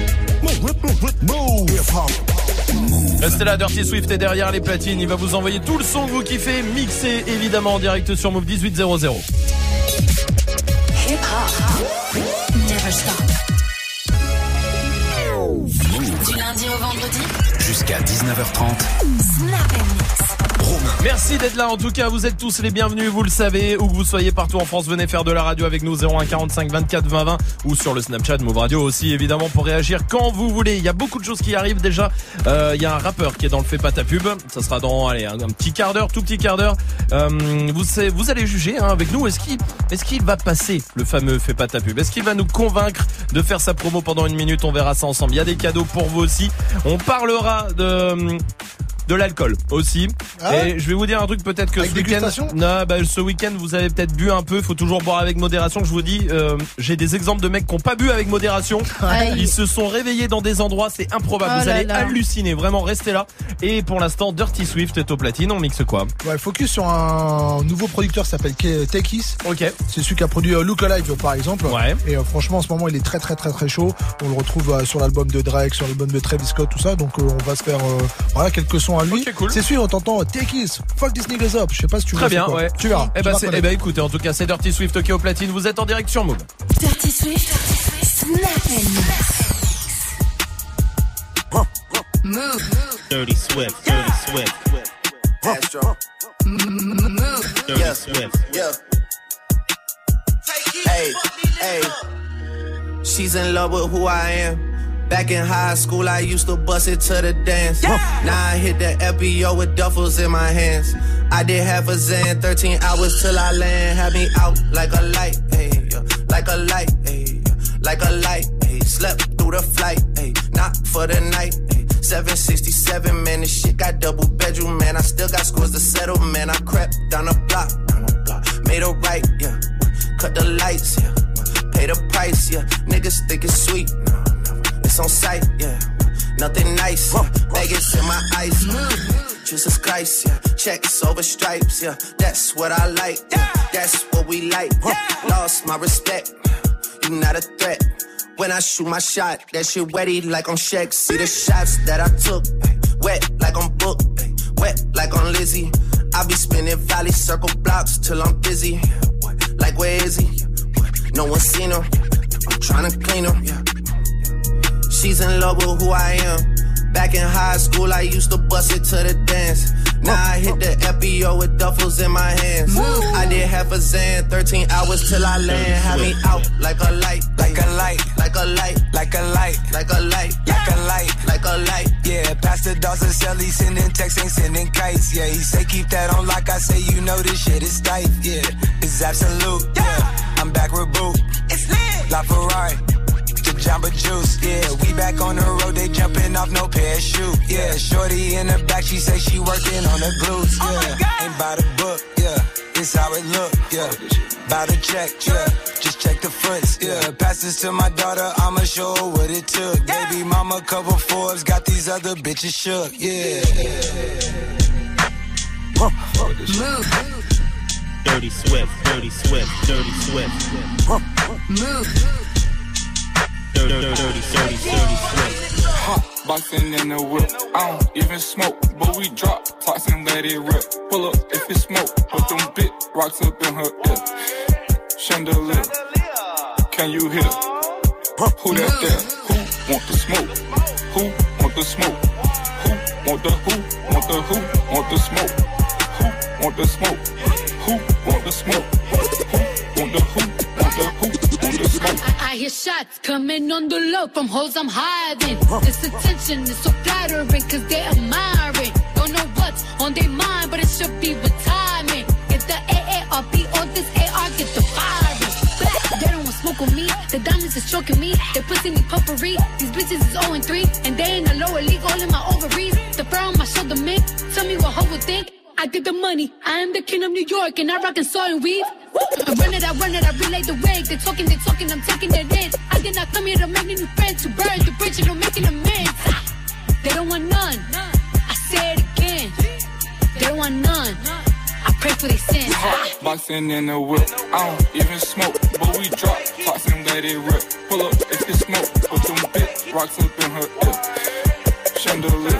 Restez là, Dirty Swift est derrière les platines, il va vous envoyer tout le son que vous kiffez, mixé évidemment en direct sur Move dix-huit zéro zéro. Hip hop, never stop. Du lundi au vendredi, jusqu'à dix-neuf heures trente. Snap and Mix. Merci d'être là, en tout cas vous êtes tous les bienvenus, vous le savez, où que vous soyez partout en France, venez faire de la radio avec nous, zéro un quarante-cinq vingt-quatre vingt vingt, ou sur le Snapchat Move Radio aussi évidemment pour réagir quand vous voulez. Il y a beaucoup de choses qui arrivent déjà, euh, il y a un rappeur qui est dans le Fais pas ta pub, ça sera dans allez, un, un petit quart d'heure, tout petit quart d'heure, euh, vous, vous allez juger hein, avec nous, est-ce qu'il, est-ce qu'il va passer le fameux Fais pas ta pub, est-ce qu'il va nous convaincre de faire sa promo pendant une minute, on verra ça ensemble, il y a des cadeaux pour vous aussi, on parlera de... de l'alcool aussi. Ah ouais. Et je vais vous dire un truc peut-être que avec ce week-end, non, bah, ce week-end vous avez peut-être bu un peu. Il faut toujours boire avec modération. Je vous dis, euh, j'ai des exemples de mecs qui n'ont pas bu avec modération. Aïe. Ils se sont réveillés dans des endroits, c'est improbable. Oh vous allez là. halluciner. Vraiment, restez là. Et pour l'instant, Dirty Swift est au platine. On mixe quoi? Ouais, focus sur un nouveau producteur qui s'appelle Tekis. Ok. C'est celui qui a produit Look Alive par exemple. Ouais. Et euh, franchement, en ce moment, il est très très très très chaud. On le retrouve euh, sur l'album de Drake, sur l'album de Travis Scott, tout ça. Donc euh, on va se faire euh, voilà quelques sons à lui. Okay, cool. C'est sûr, on t'entend Tekis, fuck this niggas up. Je sais pas si tu Très bien, ouais. Tu verras. Eh bah, c'est, eh bah écoutez, en tout cas, c'est Dirty Swift, ok au platine. Vous êtes en direct sur Move. Dirty Swift, Snap and Mix. Move. Dirty Swift, Dirty Swift. Astro. Move. Dirty Yeah. Swift. Yeah. Hey, hey. She's in love with who I am. Back in high school, I used to bust it to the dance. Yeah. Now I hit the F B O with duffels in my hands. I did half a Zan, thirteen hours till I land. Had me out like a light, ayy, yeah. Like a light, ayy, yeah. Like a light, ayy. Slept through the flight, ayy, not for the night, ayy. seven sixty-seven, man, this shit got double bedroom, man. I still got scores to settle, man. I crept down the block, down the block. Made a right, yeah. Cut the lights, yeah. Pay the price, yeah. Niggas think it's sweet, no, no. It's on sight, yeah. Nothing nice, yeah. Vegas in my ice, yeah. Jesus Christ, yeah. Checks over stripes, yeah. That's what I like, yeah. That's what we like, yeah. Lost my respect, you not a threat. When I shoot my shot, that shit wetty like on Shaq. See the shots that I took, wet like on Book, wet like on Lizzie. I be spinning valley circle blocks till I'm busy. Like where is he? No one seen him. I'm tryna clean him. She's in love with who I am. Back in high school, I used to bust it to the dance. Now I hit the F B O with duffels in my hands. I did half a Zan, thirteen hours till I land. Had me out like a light, like a light, like a light, like a light, like a light, like a light, like a light. Yeah, Pastor Dawson Shelly sending texts, ain't sending kites. Yeah, he say keep that on like I say, you know this shit is tight. Yeah, it's absolute. Yeah, I'm back with Boo. It's lit. La Ferrari. Jamba Juice, yeah, we back on the road, they jumping off no parachute, yeah, shorty in the back, she say she working on the glutes, yeah, oh ain't by the book, yeah, it's how it look, yeah, by the check, yeah, just check the fronts, yeah, pass this to my daughter, I'ma show her what it took, yeah. Baby mama cover Forbes, got these other bitches shook, yeah. Move. Dirty Swift, Dirty Swift, Dirty Swift. Move. Dirty, dirty, dirty, dirty, dirty Swift. Hot boxing in the whip. I don't even smoke, but we drop tops and let it rip. Pull up if it smoke, put them big rocks up in her ear. Chandelier, can you hear? Who that there? Who want the smoke? Who want the smoke? Who want the who? Want the who? Want the smoke? Who want the smoke? Who want the smoke? Who want the who? Want the who? Want the smoke? I, I hear shots coming on the low from hoes I'm hiding. This attention is so flattering cause they admiring. Don't know what's on their mind, but it should be retirement. If the A A R P on this A R, get the firing. They don't want smoke with me, the diamonds is choking me. They pussy me puffery, these bitches is oh and three. And they in the lower league, all in my ovaries. The fur on my shoulder, man, tell me what hoe would think. I get the money, I am the king of New York, and I rock and saw and weave. I run it, I run it, I relay the wig. They talking, they talking, I'm taking it in. I did not come here to make new friends, to burn the bridge and I'm making amends. They don't want none, I say it again. They don't want none, I pray for their sins. Hot boxing in the whip, I don't even smoke, but we drop tops and let it rip. Pull up if it smoke, put them big rocks up in her ear. Chandelier,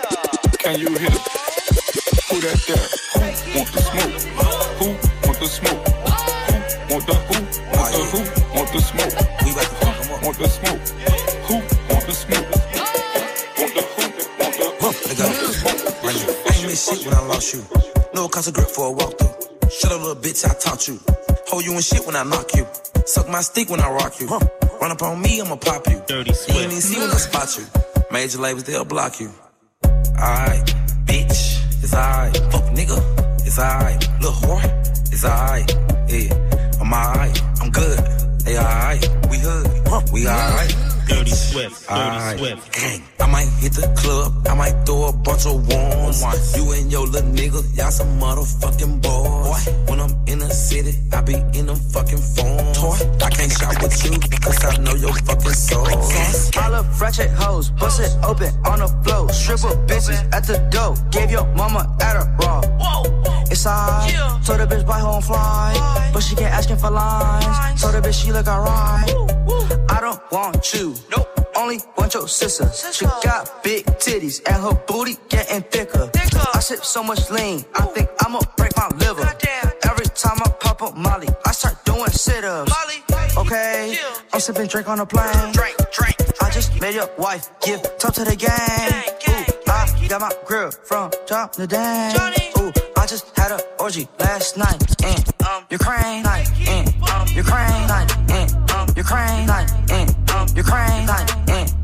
can you hear? Who that there? Who want the smoke? Who want the smoke? Who want the who? Want the who? Want the smoke? Who want the smoke? Who want the smoke? Want the who? Want the who? Want the smoke? I ain't miss shit when I lost you. No cost of grip for a walkthrough. Shut up, little bitch, I taught you. Hold you in shit when I knock you. Suck my stick when I rock you. Run up on me, I'ma pop you. Dirty Swift. You ain't even see when I spot you. Major labels, they'll block you. Alright, bitch. It's alright, fuck nigga, it's alright, little whore, it's alright, yeah, I'm alright, I'm good, they alright, we hood, we alright. Dirty Swift, Dirty right. Swift. Gang, I might hit the club, I might throw a bunch of ones. You and your little nigga, y'all some motherfucking boys. When I'm in the city, I be in them fucking phones. I can't shop with you, cause I know your fucking soul. All the ratchet hoes, bust it open on the floor. Stripper bitches at the door, gave your mama Adderall. It's alright, yeah. Told the bitch buy home fly, fly, but she kept asking for lines. lines. Told the bitch she look alright. I don't want you, nope. Only want your sister. sister. She got big titties and her booty getting thicker. thicker. I sip so much lean, I think I'ma break my liver. Goddamn. Every time I pop up Molly, I start doing sit-ups. Molly, okay, chill. I'm sipping drink on the plane. Drink, drink. I just made your wife give top to the game. Gang, gang, Ooh, gang, I got my grill from John the Dang. Ooh, I just had an orgy last night in um, Ukraine, night in um, Ukraine, night in um, Ukraine, night in um, Ukraine, night in um,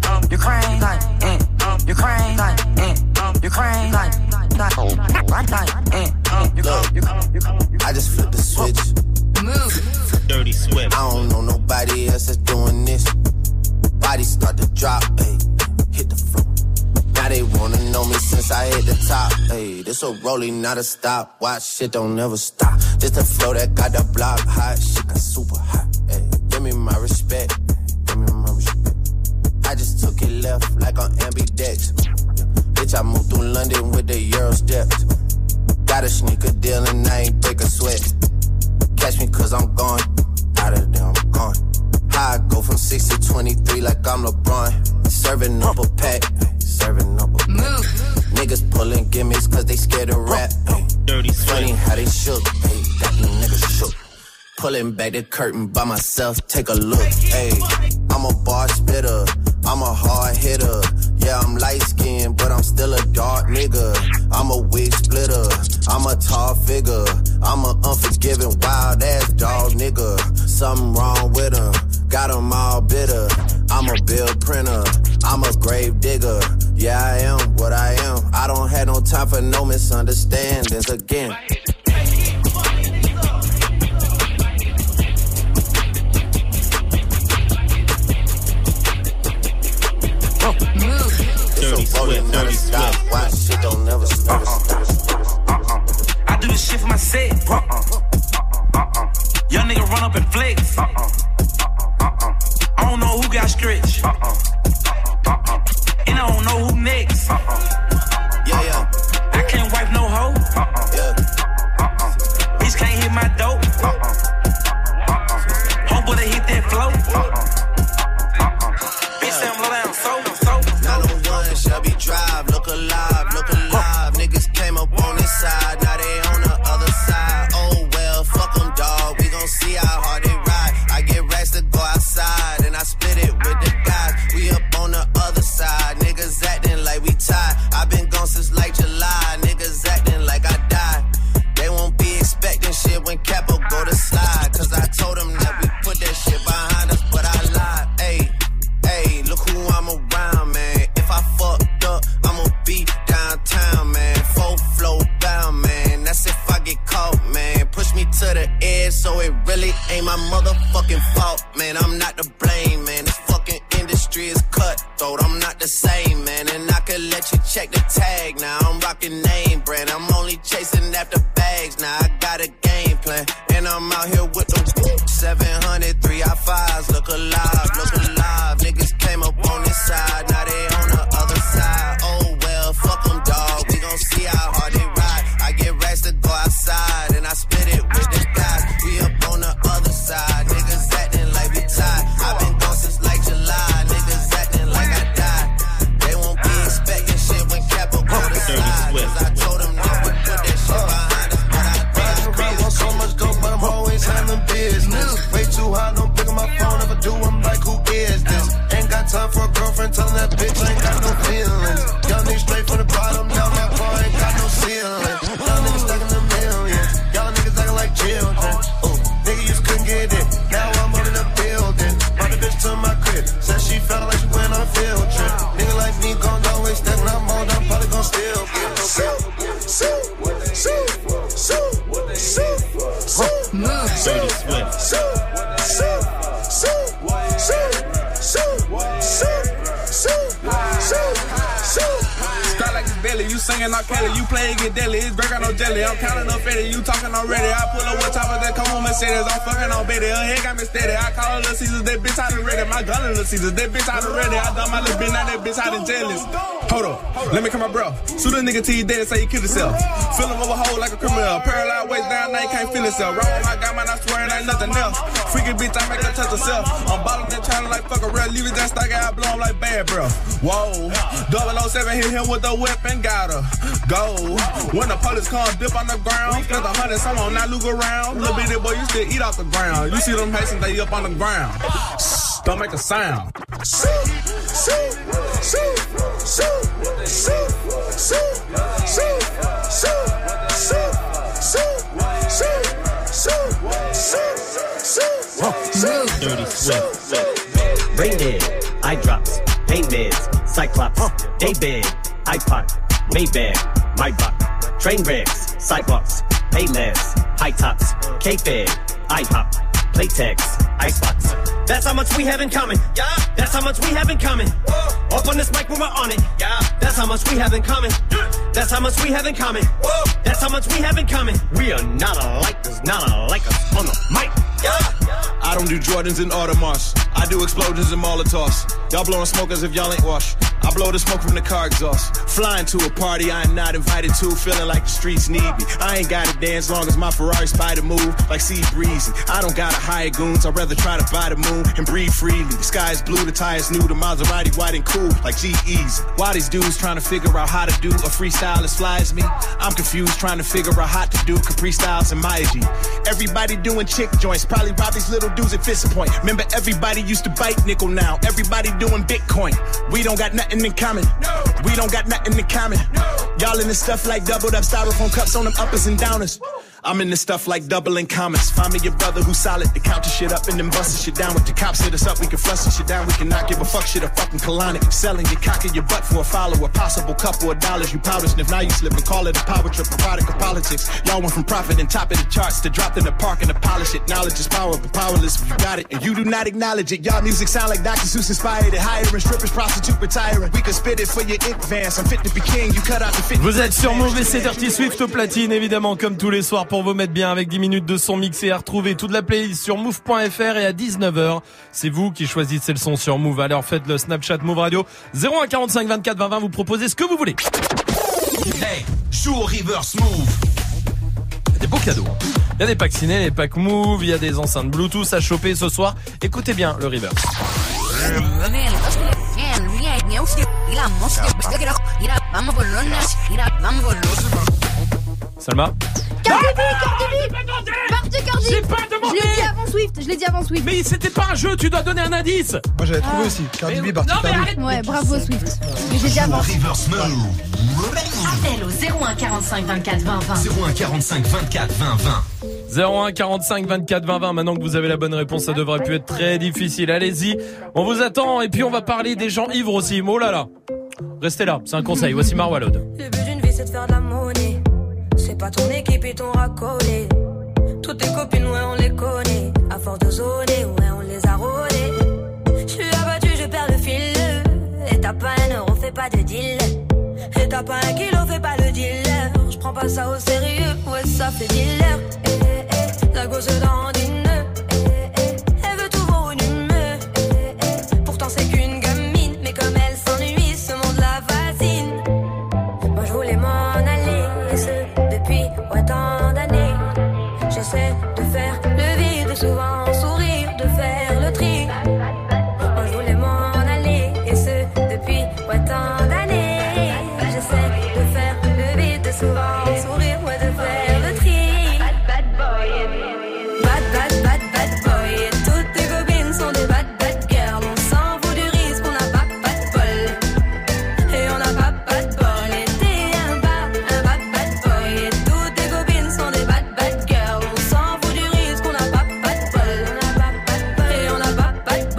Ukraine, like, eh, Ukraine, like, eh, Ukraine, like, like, like, eh, Look, I just flipped the switch. Move. Dirty Swift. I don't know nobody else that's doing this. Body start to drop, ayy, hit the floor. Now they wanna know me since I hit the top, ayy. This a rolling, not a stop. Watch, shit don't never stop. This the flow that got the block hot. Shit got super hot, ayy. Give me my respect, give me my respect. I just took it left like on ambidex. Bitch, I moved through London with the Euro steps. Got a sneaker deal and I ain't break a sweat. Catch me cause I'm gone, out of there I'm gone. How I go from six to twenty-three like I'm LeBron. Serving up a pack, serving up a pack. Move. Niggas pulling gimmicks cause they scared to rap. Dirty Funny how they shook, ay, got these niggas shook. Pulling back the curtain by myself, take a look. Ay, I'm a bar spitter, I'm a hard hitter. Yeah, I'm light skinned, but I'm still a dark nigga. I'm a wig splitter, I'm a tall figure. I'm a unforgiving, wild ass dog nigga. Something wrong with him, got him all bitter. I'm a bill printer, I'm a grave digger. Yeah, I am what I am. I don't have no time for no misunderstandings again. Dirty Swift, Dirty Swift. Why shit don't never stop. I do this shit for my set. Uh-uh. Young nigga run up and flex. Uh-uh. I don't know who got stretched. Uh-uh. And I don't know who next. Uh-uh. Yeah, yeah. I can't wipe no hoe. Uh-uh. Yeah. Uh-uh. Bitch can't hit my dope. Uh-uh. Uh-uh. Homeboy they hit that flow. Uh-uh. Uh-uh. Bitch say I'm low down so, so. nine oh one Shelby Drive, look alive, look alive. Niggas came up on this side, now they on the other side. Oh well, fuck them dawg, we gon' see how hard they ride. I get racks to go outside, and I split it with the guys. We up on the other side, niggas acting like we tied. I been gone since like July, niggas acting like I died. They won't be expecting shit when Capo go to slide. Cause I told them that we put that shit behind us, but I lied. Ayy, ayy, look who I'm around, man. If I fucked up, I'ma be downtown, man. Full flow bound, man. That's if I get caught, man. Push me to the edge, so it really ain't my motherfucking fault, man. I'm not to blame, man. This fucking industry is cutthroat. I'm not the same, man. And I could let you check the tag now. I'm rocking name brand. I'm only chasing after bags now. I got a game plan, and I'm out here with the seven hundred, three I fives. Look alive, look alive. Niggas came up on this side, now they on the other side. Oh well, fuck them dawg. We gon' see how hard they ride. I get racks to go outside, and I split it with the guys. We up on the other side. Niggas acting like we tied. I been gone since like July. Niggas acting like I died. They won't be expecting shit when Capo go to slide. Cause I told them that we put that shit behind us, but I died. Want so much dope, but I'm always handling business. Way too high, don't pick up my phone. If I do, I'm like, who is this? Ain't got time for a girlfriend, telling that bitch I ain't got no feelings. Young niggas straight from the bottom, now my bar ain't got no ceiling. Young niggas stacking the millions, y'all niggas acting like children. Ooh, nigga, you just couldn't get it. Now I'm up in the building. Brought the bitch to my crib, said she felt like she went on a field trip. Nigga like me gon' always step when I'm on, I'm probably gon' still get no bill. So, so, so, so, so, Move. Dirty Swift. So, so, so, so, so, so, so, so, so. Start like it's belly, you singing not Kelly, you play it get deadly, it's break out no jelly, I'm counting up Fetty, you talking already, I pull up with choppers that come on Mercedes, I'm fucking on Betty, her head got me steady, I call her Little Caesars, that bitch out of ready, my gun in Little Caesars, that bitch out of ready, I done my little bitch, now that bitch out of jealous. Hold up, let me come my bro, shoot a nigga till he dead and say he killed himself, fill him over hole like a criminal, paralyzed waist down, now he can't feel himself, roll my guy, man, I swear it ain't nothing else, freaky bitch, I make her touch herself, I'm ballin' and trying like fuck a real, leave it that stock, I blow him like bad, bro, whoa, double oh seven hit him with the weapon, got her, go, when the police come, dip on the ground, spent a hundred, someone not look around, little bitty boy, you still eat off the ground, you see them Haitians, they up on the ground, don't make a sound. So, so, so, so, so, so, so, so, so, so, so, so, so, Dirty Swift. Brain dead, eye drops, pain meds. Cyclops, Daybed, iPod, Maybach, Maybach, train wrecks, sidewalks, Payless, high tops, K-Fed, IHOP, Playtex, Icebox. That's how much we have in common. Yeah, that's how much we have in common. Whoa. Up on this mic when we're on it. Yeah, that's how much we have in common. That's how much we have in common. Whoa. That's how much we have in common. We are not alike, there's not alike us on the mic. Yeah. I don't do Jordans and Audemars. I do explosions and Molotovs. Y'all blowing smoke as if y'all ain't washed. I blow the smoke from the car exhaust. Flying to a party I am not invited to. Feeling like the streets need me. I ain't gotta dance long as my Ferrari spider move like Sea Breezy. I don't gotta hire goons. I'd rather try to buy the moon and breathe freely. The sky is blue, the tires new. The Maserati white and cool like G-Eazy. Why these dudes trying to figure out how to do a freestyle as fly as me? I'm confused trying to figure out how to do Capri Styles and Maya G. Everybody doing chick joints. Probably rob these little dudes at Fist Point. Remember everybody used to bite nickel now. Everybody doing Bitcoin. We don't got nothing in common. No. We don't got nothing in common. No. Y'all in this stuff like doubled up styrofoam cups on them uppers and downers. I'm in this stuff like doubling commas. Find me your brother who's solid to count the shit up and then bustin' shit down. With the cops hit us up, we can flush the shit down. We cannot give a fuck shit a fucking colonic. Selling your cock in your butt for a follow. A possible couple of dollars you powder sniff. Now you slip and call it a power trip, a product of politics. Y'all went from profit and top of the charts to dropped in the park and to polish it. Knowledge is power, but powerless if you got it. And you do not acknowledge it. Y'all music sound like Doctor Seuss inspired it. Hiring strippers, prostitute retiring. We could spit it for your advance. I'm fit to be king, you cut out the fit. Vous êtes sur Move et c'est Dirty Swift au platine, évidemment, comme tous les soirs pour vous mettre bien avec dix minutes de son mixé à retrouver. Toute la playlist sur move point f r et à dix-neuf heures, c'est vous qui choisissez le son sur Move. Alors faites le Snapchat Move Radio zéro un quarante-cinq vingt-quatre vingt vingt, vous proposez ce que vous voulez. Hey, joue au reverse Move. Il y a des beaux cadeaux. Il y a des packs ciné, des packs Move, il y a des enceintes Bluetooth à choper ce soir. Écoutez bien le reverse. Salma. Cardi B, Cardi B, Cardi Cardi. J'ai pas demandé. Je l'ai dit avant Swift, je l'ai dit avant Swift. Mais c'était pas un jeu, tu dois donner un indice. Moi j'avais trouvé ah. aussi, Cardi B, Barty Cardi. Ouais, bravo Swift. Mais j'ai dit avant. Appel au zéro un quarante-cinq vingt-quatre vingt vingt. zéro un quarante-cinq vingt-quatre vingt vingt. zéro un quarante-cinq vingt-quatre vingt vingt. Maintenant que vous avez la bonne réponse, ça devrait plus être très difficile. Allez-y, on vous attend et puis on va parler des gens ivres aussi. Oh là là. Restez là, c'est un conseil. Voici Marwa Lode. Le but d'une vie c'est de faire de la monnaie. C'est pas ton équipe et ton racolé. Toutes tes copines, ouais, on les connaît. À force de zoner, ouais, on les a rôlées. J'suis abattu, je perds le fil. Et t'as pas un euro, fais pas de deal. Et t'as pas un kilo, fais pas le dealer. J'prends pas ça au sérieux, ouais, ça fait dealer. Eh, eh, eh, la gosse dans une nœud. Eh, eh, elle veut tout voir une humeur. Eh, eh, pourtant c'est qu'une gamine. Mais comme elle s'ennuie, ce monde la fascine. Moi j'voulais m'en aller. Et ce, depuis autant d'années. J'essaie de faire le vide, souvent sourire, de faire le tri. Moi je voulais m'en aller, et ce depuis autant d'années. J'essaie de faire le vide, souvent sourire, ouais, de faire le tri. Bad bad boy, bad bad bad bad boy. Et toutes tes copines sont des bad bad girls. On s'en fout du risque, on n'a pas pas de bol. Et on n'a pas pas de bol. Et t'es un bad, un bad bad boy. Et toutes tes copines sont des bad bad girls. On s'en fout du risque, on n'a pas pas de bol. On n'a pas pas de bol. Et on n'a pas pas de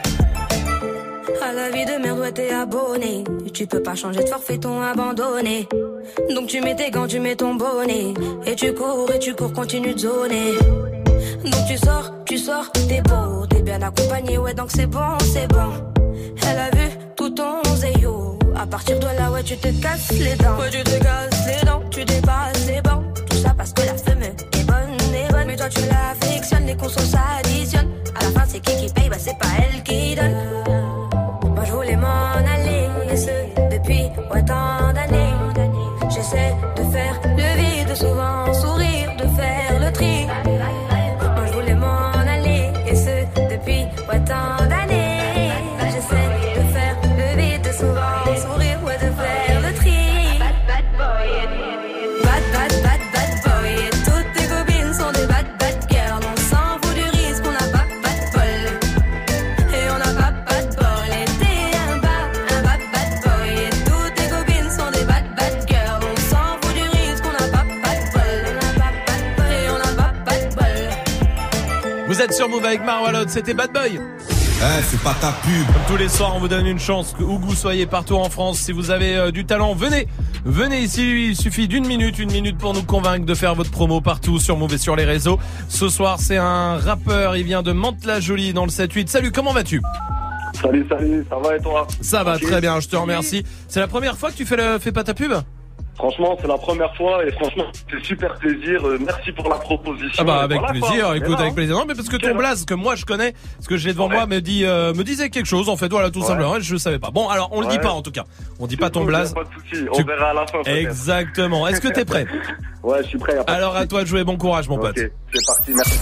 bol. À la vie de merde, ouais, t'es abonné. Tu peux pas changer de forfait, ton abandonné. Donc tu mets tes gants, tu mets ton bonnet. Et tu cours, et tu cours, continue de zoner. Donc tu sors, tu sors, t'es beau. T'es bien accompagné, ouais, donc c'est bon, c'est bon. Elle a vu tout ton zéyo. À partir de là, ouais, tu te casses les dents. Ouais, tu te casses les dents, tu dépasses les bancs. Tout ça parce que la femme est bonne, est bonne. Mais toi tu l'affectionnes, les consos s'additionnent. À la fin, c'est qui qui paye, bah c'est pas elle qui donne. Moi je voulais m'en aller, et ce depuis autant d'années. J'essaie de faire le vide, souvent sourire, de faire le tri. Moi je voulais m'en aller, et ce depuis autant d'années. J'essaie de faire le vide, souvent sourire, ouais, de faire le tri. Bad bad boy, bad bad bad bad boy. Et toutes tes copines sont des bad bad girls. On s'en fout du risque, on n'a pas pas de bol. Et on n'a pas pas de bol. Et t'es un bad, un bad bad boy. Et toutes tes copines sont des bad bad girls. On s'en fout du risque, on n'a pas pas de bol. On n'a pas pas de bol. Et on n'a pas pas de bol. Vous êtes sur Move avec Marwa Lode, c'était Bad Boy. Eh, fais pas ta pub. Comme tous les soirs, on vous donne une chance, que où que vous soyez partout en France. Si vous avez euh, du talent, venez. Venez ici, il suffit d'une minute, une minute pour nous convaincre de faire votre promo partout sur Move et sur les réseaux. Ce soir, c'est un rappeur, il vient de Mantes-la-Jolie dans le sept huit. Salut, comment vas-tu ? Salut, salut, ça va et toi ? Ça va okay. Très bien, je te remercie. C'est la première fois que tu fais le Fais pas ta pub ? Franchement, c'est la première fois et franchement, c'est super plaisir. Euh, merci pour la proposition. Ah bah avec voilà, plaisir, quoi. écoute, là, avec plaisir. Non mais parce que ton blaze que moi je connais, ce que j'ai devant ouais. moi me dit euh, me disait quelque chose en fait, voilà tout ouais. simplement, je savais pas. Bon, alors on le ouais. dit pas en tout cas. On dit c'est pas ton cool, blaze. Pas de soucis. On tu... verra à la fin. Peut-être. Exactement. Est-ce que t'es prêt ? Ouais, je suis prêt. Alors à toi de jouer, bon courage mon okay. pote. C'est parti, merci.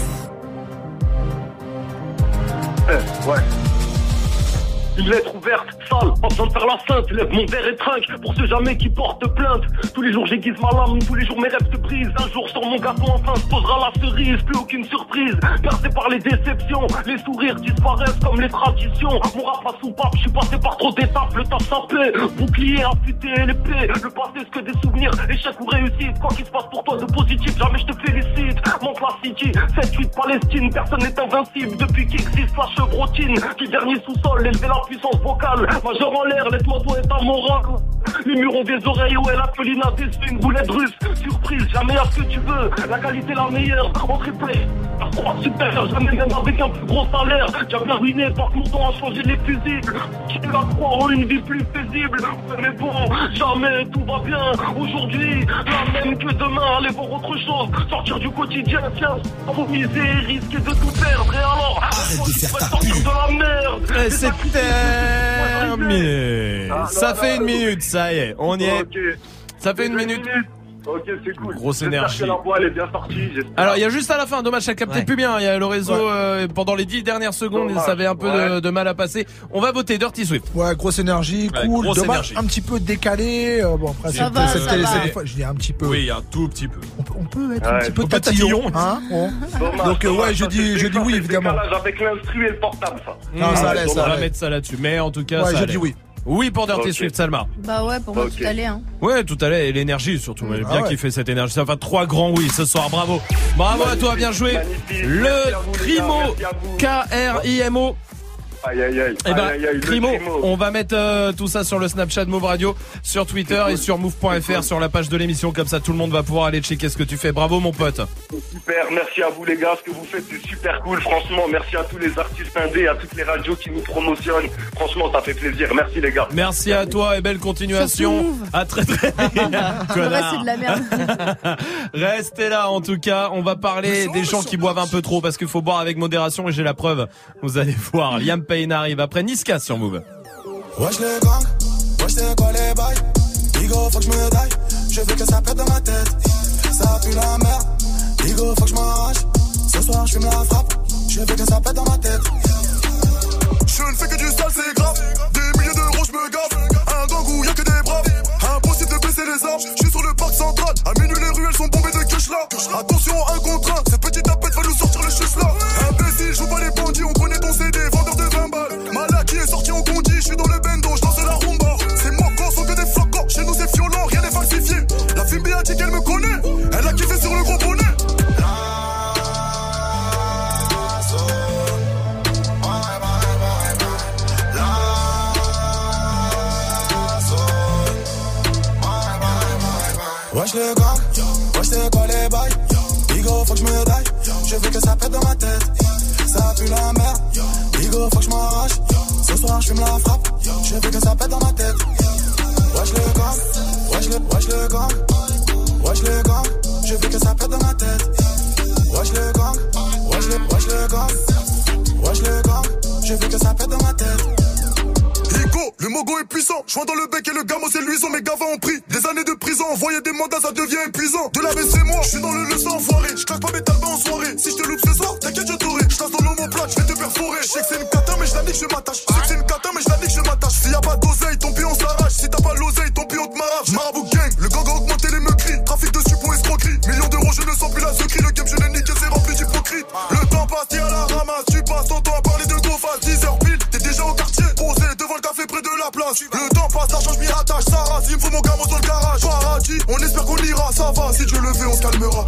Euh, ouais. Une lettre ouverte, sale, pas besoin de faire la sainte. Lève mon verre et trinque pour ceux jamais qui portent plainte. Tous les jours j'aiguise ma lame, tous les jours mes rêves se brisent. Un jour sur mon gâteau enfin se posera la cerise. Plus aucune surprise, percé par les déceptions. Les sourires disparaissent comme les traditions. Mon rap a soupape, je suis passé par trop d'étapes. Le taf ça plaît, bouclier affûté et l'épée. Le passé c'est que des souvenirs, échec ou réussite. Quoi qu'il se passe pour toi de positif, jamais je te félicite. Monte la city, sept huit Palestine. Personne n'est invincible depuis qu'existe la chevrotine. Du dernier sous-sol, élever la puissance vocale, majeur en l'air, laisse-moi toi et ta morale. Les murs ont des oreilles, ouais, la folie n'a des une boulette russe. Surprise, jamais à ce que tu veux, la qualité la meilleure, en triplé. La croix supérieure, jamais même avec un plus gros salaire. J'avais ruiné, par que mon temps a changé les fusibles. Qui la croire en une vie plus paisible. Mais bon, jamais tout va bien. Aujourd'hui, la même que demain, aller voir autre chose. Sortir du quotidien, tiens, sans miser, risquer de tout perdre. Et alors, arrête de faire ta sortir pub. de la merde. Et c'est terminé. Ah, ça non, fait non, une non, minute, ça y est, on y est. Okay. Ça fait une minute. minute. Ok, c'est cool. Grosse énergie. Que la voix, elle est bien sortie, alors, il y a juste à la fin, dommage, ça captait ouais. plus bien. Il y a le réseau, ouais. euh, pendant les dix dernières secondes, dommage. Ça avait un peu ouais. de, de mal à passer. On va voter Dirty Swift. Ouais, grosse énergie, ouais, cool. Grosse dommage, énergie. Un petit peu décalé. Euh, bon, après, ça va, cette ça télé, va. c'est des fois, je dis un petit peu. Oui, un tout petit peu. On peut, on peut être ouais, un petit peu tatillon. Hein bon. Dommage, donc, dommage, ouais, je dis, je dis oui, évidemment. Avec l'instru et le portable, ça. Non, ah, ça laisse, on va mettre ça là-dessus. Mais en tout cas, ouais, ça je allait. dis oui. Oui pour Dirty okay. Swift, Salma. Bah ouais, pour moi okay. tout allait hein. Ouais, tout allait et l'énergie surtout. Mmh. J'ai bien ah ouais. kiffé cette énergie. Ça va trois grands oui ce soir. Bravo. Bravo magnifique, à toi, bien joué. Magnifique. Le Crimo, K R I M O. Aïe aïe aïe. Eh ben, aïe, aïe, Crimo, on va mettre euh, tout ça sur le Snapchat Move Radio, sur Twitter cool. et sur move point f r cool. sur la page de l'émission. Comme ça, tout le monde va pouvoir aller checker ce que tu fais. Bravo, mon pote. Super, merci à vous les gars. Ce que vous faites, c'est super cool. Franchement, merci à tous les artistes indés, à toutes les radios qui nous promotionnent. Franchement, ça fait plaisir. Merci les gars. Merci, merci. à toi et belle continuation. À très très. Connard. C'est de la merde. Restez là. En tout cas, on va parler des gens qui boivent un peu trop parce qu'il faut boire avec modération et j'ai la preuve. Vous allez voir. Liam Payne arrive après. Niska sur Move. Wesh les gangs, wesh c'est quoi les bails? Digo faut que je me daille, je veux que ça pète dans ma tête. Ça pue la merde, Digo faut que je m'arrache. Ce soir je fume la frappe, je veux que ça pète dans ma tête. Je ne fais que du sale, c'est grave. Des milliers d'euros je me gave. Un gang où y'a que des braves. Impossible de baisser les armes, je suis sur le parc central. À minuit les ruelles sont bombées de cash là. Attention un contre un, cette petite tapette va nous sortir le chus là. Imbécile, joue pas les bandits, on connaît ton C D, vendeur de vingt balles. Malaki est sorti en condi, je suis dans le bendo, je danse la rumba. C'est mocos, sont que des flocons, chez nous c'est violent, rien n'est falsifié. La fille B A dit qu'elle me connaît, elle a kiffé sur le gros bonnet. Wesh les gars, wesh c'est quoi les bails? Bigo faut que je me daille, je veux que ça pète dans ma tête. Ça pue la merde, Bigo faut que je m'arrache. Ce soir je fume la frappe, je veux que ça pète dans ma tête. Wesh les gars, wesh les, wesh les gars, wesh les gars, je veux que ça pète dans ma tête. Wesh les gars, wesh les, wesh les gars, wesh les gars, je veux que ça pète dans ma tête. Le mogo est puissant, je vois dans le bec et le gamo c'est luisant. Mes gavas ont pris des années de prison. Envoyer des mandats ça devient épuisant. De la baisse c'est moi, je suis dans le leçon enfoiré. Je claque pas mes talbans en soirée. Si je te loupe ce soir, t'inquiète je t'aurai. Je tasse dans l'homoplate, je vais te perforer. Je sais que c'est une cata mais je la nique je m'attache. Je sais que c'est une cata mais je la nique je m'attache. S'il y a pas d'oseille, ton pion s'arrache. Si t'as pas l'oseille, ton pion te m'arrache. Marabout gang, le gang a augmenté les meurtris. Trafic de suppos escroquerie. Millions d'euros je ne sens plus la secrie. Le game je l'ai niqué c'est rempli d'hypocrite. Le temps passe, t'es à la ramasse. Tu passes ton temps à parler de go face. dix heures pile, t'es déjà au quartier. Posé devant le café près de la place. Le temps passe, l'argent je m'y attache, ça rase, il me faut mon gamin dans le garage. Paradis, on espère qu'on ira, ça va, si Dieu le veut, on se calmera.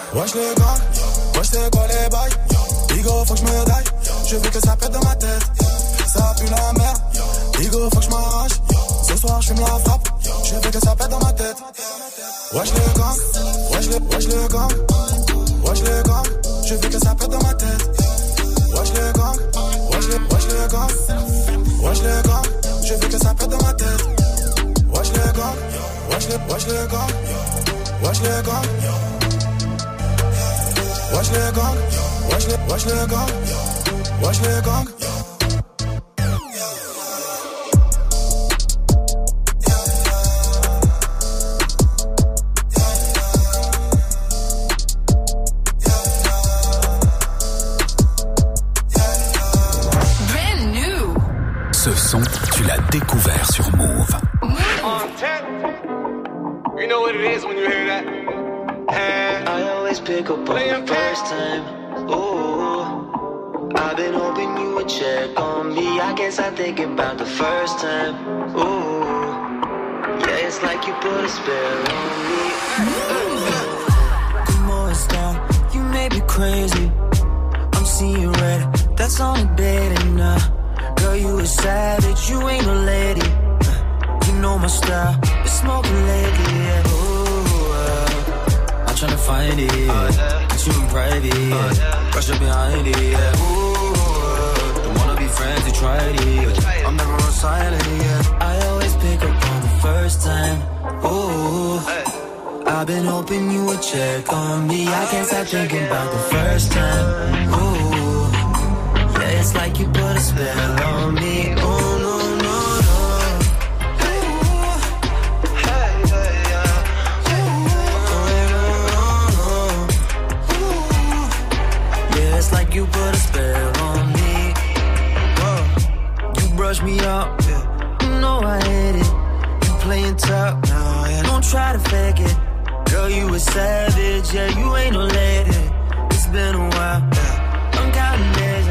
Wesh le gang, wesh c'est quoi les bails? Bigo faut que je me daille, je veux que ça pète dans ma tête. Ça pue la merde, Bigo faut que je m'arrache. Ce soir je fume la frappe, je veux que ça pète dans ma tête. Wesh le gang, wesh le, wesh le gang, wesh le gang, je veux que ça pète dans ma tête. Wesh le gang, wesh le, wesh le gang, wesh le gang, je veux que ça pète dans ma tête. Wesh le gang, wesh le, wesh le gang, wesh le gang, wesh le gang, wesh le, wesh le gang, wesh le gang. Ce son, tu l'as découvert sur Move. On ten. You know what it is when you hear that. And I always pick up on the first time. Ooh, I've been hoping you would check on me. I guess I think about the first time. Ooh, yeah, it's like you put a spell on me. Come on, stop. You may be crazy. I'm seeing red. That's only bad enough. Girl, you a savage, you ain't a lady. You know my style, been smoking lately, yeah. Ooh, uh, I'm tryna find it, yeah. Get you in private, yeah. Rush up behind it, yeah. Ooh, uh, don't wanna be friends, you tried it, yeah. I'm never on silent, yeah. I always pick up on the first time. Ooh, I've been hoping you would check on me. I can't stop thinking about the first time. Ooh, it's like you put a spell on me. Oh no, no, no. Ooh, hey, hey, yeah. Ooh, no, no. Ooh, yeah, it's like you put a spell on me. Whoa. You brush me up, yeah. You know I hate it. You playing tough, no, yeah. Don't try to fake it. Girl, you a savage, yeah. You ain't no lady. It's been a while, yeah. I'm counting days.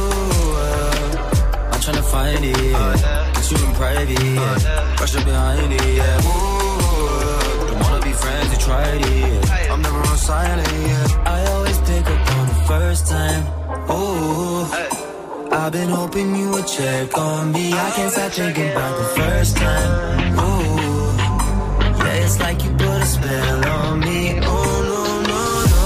Tryna find it, yeah. Get you in private, yeah. Rush up behind it, yeah. Ooh, don't wanna be friends, you tried it, yeah. I'm never on silent, yeah. I always pick up on the first time. Ooh, I've been hoping you would check on me. I can't stop thinking about the first time. Ooh, yeah, it's like you put a spell on me. Oh no, no, no.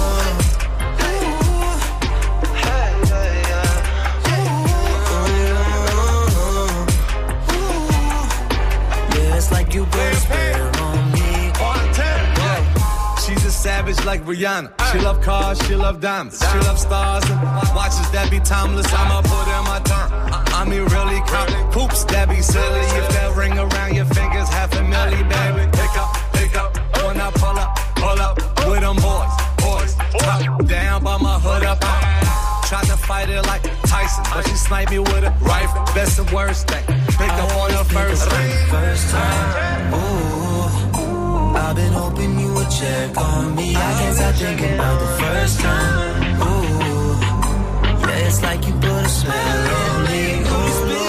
Like you put a spell on me. On ten. Yeah. She's a savage like Rihanna. She love cars, she love diamonds. She love stars and watches that be timeless. I'ma put in my time. I mean really count hoops that be silly. If that ring around your fingers, half a milli, baby. Pick up, pick up. When I pull up, pull up with them boys, boys. Top down by my hood up. Tried to fight it like Tyson, but she sniped me with a rifle. Best and worst thing. Pick up on the first time. First time. Ooh, I've been hoping you would check on me. I can't stop thinking about the first time. Ooh, yeah, it's like you put a spell on me. Ooh,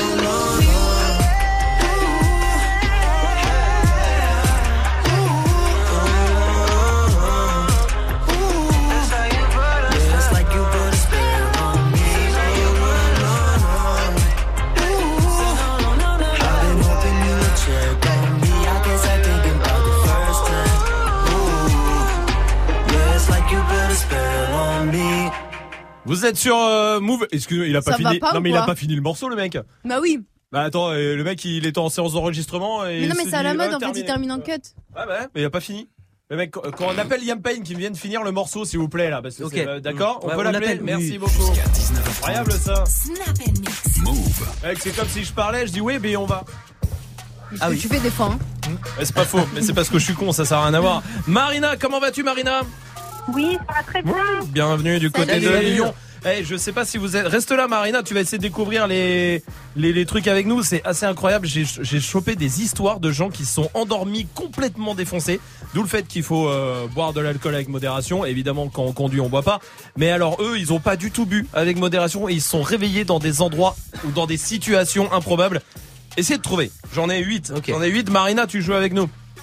Vous êtes sur euh, Move. Excusez-moi, il a pas Ça fini. va pas non ou mais il a quoi pas fini le morceau le mec. Bah oui. Bah attends, euh, le mec il était en séance d'enregistrement et Mais non, mais il c'est à la dit, mode ouais, en fait, terminé. il termine en cut. Ouais bah mais il a pas fini. Le mec, quand on appelle Liam Payne qui vient de finir le morceau s'il vous plaît là, parce que Ok. c'est, euh, d'accord, Ouais, on peut on l'appeler. l'appelle, Merci oui. beaucoup. Jusqu'à dix-neuf heures trente. Incroyable ça. Snap and mix. Move. Mec, c'est comme si je parlais, je dis oui, mais on va. Ah oui. Tu fais des fois. Hein. Ouais, c'est pas faux, mais c'est parce que je suis con, ça sert à rien à voir. Marina, comment vas-tu Marina? Oui, ça va très bien. Bienvenue du côté Salut. de Salut. Lyon. Hey, je sais pas si vous êtes. Reste là, Marina. Tu vas essayer de découvrir les les, les trucs avec nous. C'est assez incroyable. J'ai j'ai chopé des histoires de gens qui se sont endormis complètement défoncés. D'où le fait qu'il faut euh, boire de l'alcool avec modération. Évidemment, quand on conduit, on boit pas. Mais alors eux, ils ont pas du tout bu avec modération et ils se sont réveillés dans des endroits ou dans des situations improbables. Essayez de trouver. J'en ai huit. Ok. J'en ai huit. Marina, tu joues avec nous.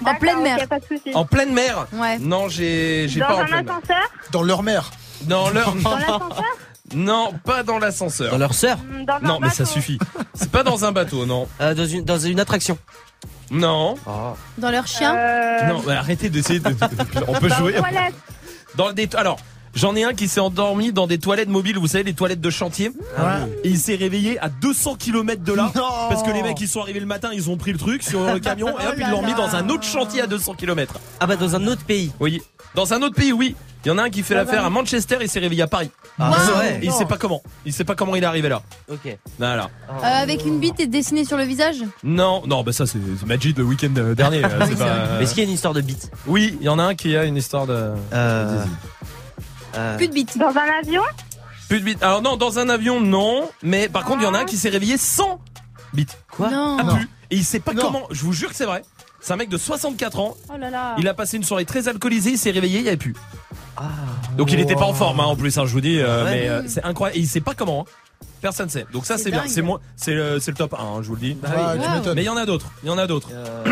En pleine mer. Ok, pas de soucis. En pleine mer. Ouais. Non, j'ai, j'ai Dans pas en un pleine mer. ascenseur. Dans leur mère. Dans leur. Dans l'ascenseur. Non, pas dans l'ascenseur. Dans leur sœur. Mm, Dans un Non, mais ça bateau. suffit. C'est pas dans un bateau, non. Euh, dans, une, dans une attraction. Non. Oh. Dans leur chien. Euh, Non, mais arrêtez d'essayer de. On peut Dans jouer. les toilettes. Dans des. Alors. J'en ai un qui s'est endormi dans des toilettes mobiles, vous savez, les toilettes de chantier. Ouais. Et il s'est réveillé à deux cents kilomètres de là. Non. Parce que les mecs, ils sont arrivés le matin, ils ont pris le truc sur le camion et hop, Oh ils là l'ont mis là. dans un autre chantier à deux cents kilomètres. Ah bah dans un autre pays. Oui. Dans un autre pays, oui. Il y en a un qui fait l'affaire à Manchester et s'est réveillé à Paris. Ah Wow. c'est vrai. Et il sait pas comment. Il sait pas comment il est arrivé là. Ok. Voilà. Euh, avec une bite et dessinée sur le visage. Non, non, bah ça c'est c'est Majid le week-end euh, dernier. euh, c'est pas... Mais est-ce qu'il y a une histoire de bite? Oui, il y en a un qui a une histoire de. Euh... euh... Plus de bite. Dans un avion. Plus de bite. Alors non, dans un avion, non. Mais par contre, il y en a un qui s'est réveillé sans bite. Quoi? Non. Ah, plus. Et il sait pas Non. comment. Je vous jure que c'est vrai. C'est un mec de soixante-quatre ans. Oh là là. Il a passé une soirée très alcoolisée. Il s'est réveillé, il y avait plus. Ah. Donc il était pas en forme hein, en plus. Hein, je vous dis. euh, Ouais. mais euh, c'est incroyable. Et il sait pas comment. hein. Personne sait. Donc ça C'est c'est bien. dingue. C'est moi. C'est le, c'est le top un. hein, je vous le dis. Ouais, tu Wow. m'étonnes. Mais il y en a d'autres. Il y en a d'autres. Euh...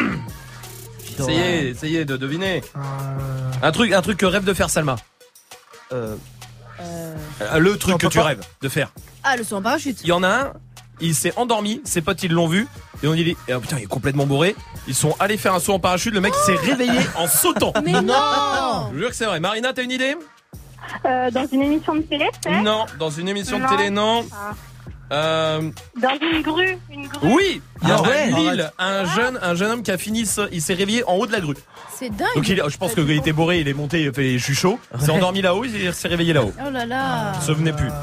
Essayez, essayez de deviner. Euh, Un truc, un truc que rêve de faire Salma. Euh... Euh, Euh, Le truc Non, que tu papa. rêves de faire. Ah, le saut en parachute. Il y en a un. Il s'est endormi. Ses potes ils l'ont vu. Et on dit et, oh, putain il est complètement bourré. Ils sont allés faire un saut en parachute. Le mec il s'est réveillé en sautant. Mais non. Je vous jure que c'est vrai. Marina, t'as une idée? Euh, dans une émission de télé, peut-être. Non. Dans une émission de Non. télé, non. Ah. Euh, Dans une grue. Une grue. oui. Il y a Ah ouais, à Lille arrête. un jeune, un jeune homme qui a fini. ce- Il s'est réveillé en haut de la grue. C'est dingue. Donc il, je pense qu'il était bourré. Il est monté. Il a fait je suis chaud. Il s'est endormi là-haut. Il s'est réveillé là-haut. Oh là là. Il se souvenait plus.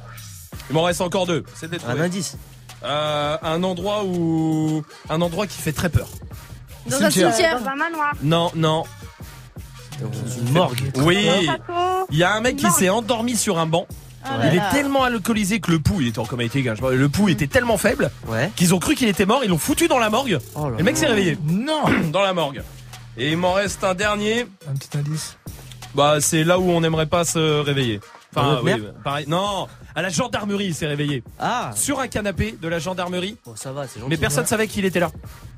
Il m'en reste encore deux. C'était Un indice. Euh, un endroit où, un endroit qui fait très peur. Dans un Cimetière. cimetière. Dans un manoir. Non, non. Dans une morgue. Oui. Un château. Il y a un mec qui Non. s'est endormi sur un banc. Oh là Il là. est tellement alcoolisé que le pouls, il était en coma éthylique, hein, je sais pas, le pouls était tellement faible Ouais. qu'ils ont cru qu'il était mort. Ils l'ont foutu dans la morgue. Oh là Et le mec s'est réveillé Non. dans la morgue. Et il m'en reste un dernier. Un petit indice. Bah, c'est là où on n'aimerait pas se réveiller. Dans Enfin, notre oui, mer pareil. Non, à la gendarmerie, il s'est réveillé. Ah. Sur un canapé de la gendarmerie. Bon ça va, c'est gentil. Mais personne savait qu'il était là.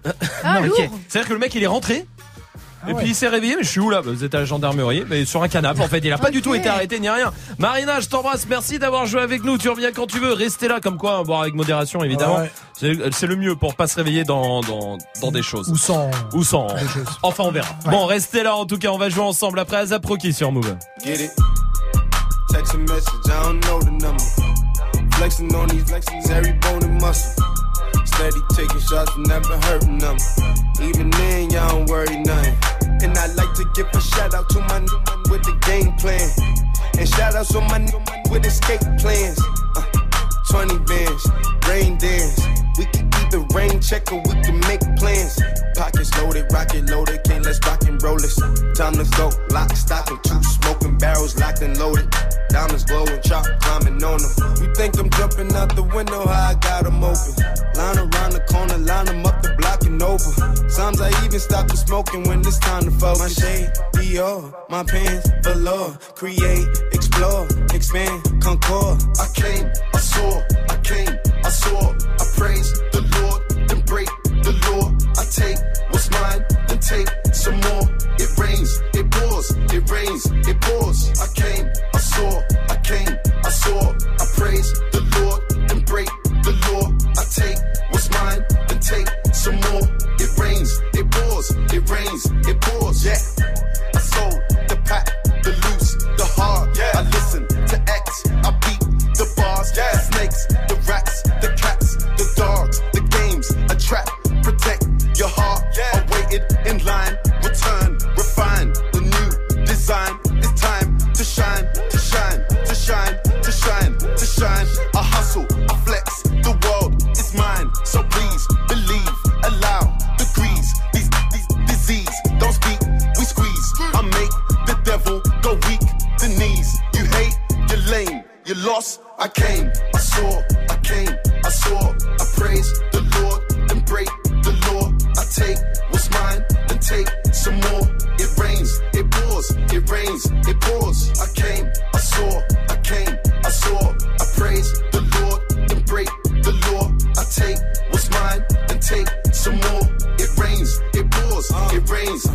Ah, Non, lourd. ok. C'est-à-dire que le mec, il est rentré. Ah Et ouais. puis il s'est réveillé, mais je suis où là? Vous êtes à la gendarmerie, mais sur un canapé en fait. Il a pas Ok. du tout été arrêté ni rien. Marina, je t'embrasse, merci d'avoir joué avec nous. Tu reviens quand tu veux, restez là comme quoi, boire avec modération évidemment. Ouais. C'est c'est le mieux pour pas se réveiller dans, dans, dans des choses. Ou sans. Ou sans. Des choses. Enfin on verra. Ouais. Bon, restez là en tout cas, on va jouer ensemble après Azap Rocky sur Move. Get it? Text a message, I don't know the number. Flexing on these flexes, every bone and muscle. Steady taking shots, never hurting them. Even then, y'all don't worry nothing. And I like to give a shout out to my new man with the game plan. And shout outs to my new man with escape plans. Uh, twenty bands, rain dance. We can either rain check or we can make plans. Pockets loaded, rocket loaded, can't let's rock and roll this. Time to go, lock, stock, and two smoking barrels locked and loaded. Diamonds glowing, chop climbing on them. You think I'm jumping out the window, how I got them open. Line around the corner, line them up the block and over. Sometimes I even stop the smoking when it's time to focus. My shade, Dior, my pants, velour. Create, explore, expand, concord. I came, I saw, I came, I saw. I praise the Lord, then break the law. I take what's mine, then take some more. It rains, it pours, it rains, it pours. I came, I saw, I came, I saw. I praise the Lord, then break the law. I take what's mine, then take some more. It rains, it pours, it rains, it pours. Yeah, I sold the pack, the loose, the hard. Yeah, I listen to X, I beat the bars. Yeah, the snakes, the rats, the cats, the dogs, the games, a trap. Protect your heart. Yeah, I waited in line, return, refine the new design. It's time to shine, to shine, to shine, to shine, to shine. I hustle, I flex, the world is mine. So please believe, allow degrees. These, these disease, don't speak, we squeeze. I make the devil go weak, the knees. You hate, you're lame, you lost. I came, I saw, I came, I saw. I praise the Lord, then break the law. I take what's mine, then take some more. It rains, it pours, it rains, it pours. I came, I saw, I came, I saw. I praise the Lord, then break the law. I take what's mine, then take some more. It rains, it pours, it rains,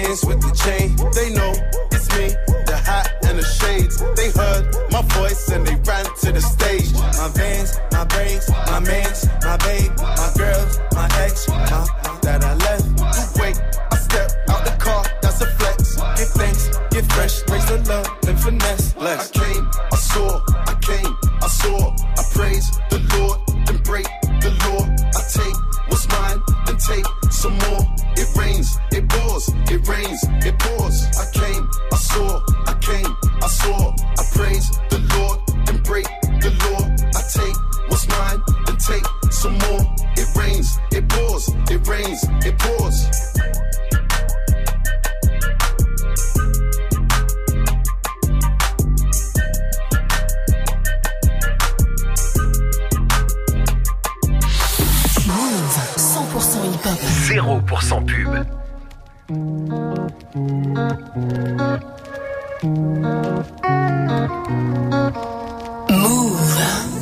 dance with the chain. They know it's me, the hat and the shades. They heard my voice and they ran to the stage. My veins, my brains, my mans, my babe, my girls, my ex, my that I left. You wait, I step out the car, that's a flex. Get thanks, get fresh, raise the love, then finesse. Less. I came, I saw, I came, I saw, I praise the Lord, then break the law. I take what's mine, then take some more. It rains, it pours, it rains, it pours. I came, I saw, I came, I saw, I praise the Lord, then break the law. I take what's mine, then take some more. It rains, it pours, it rains, it pours. cent pour cent hip-hop. zéro pour cent pub. Move.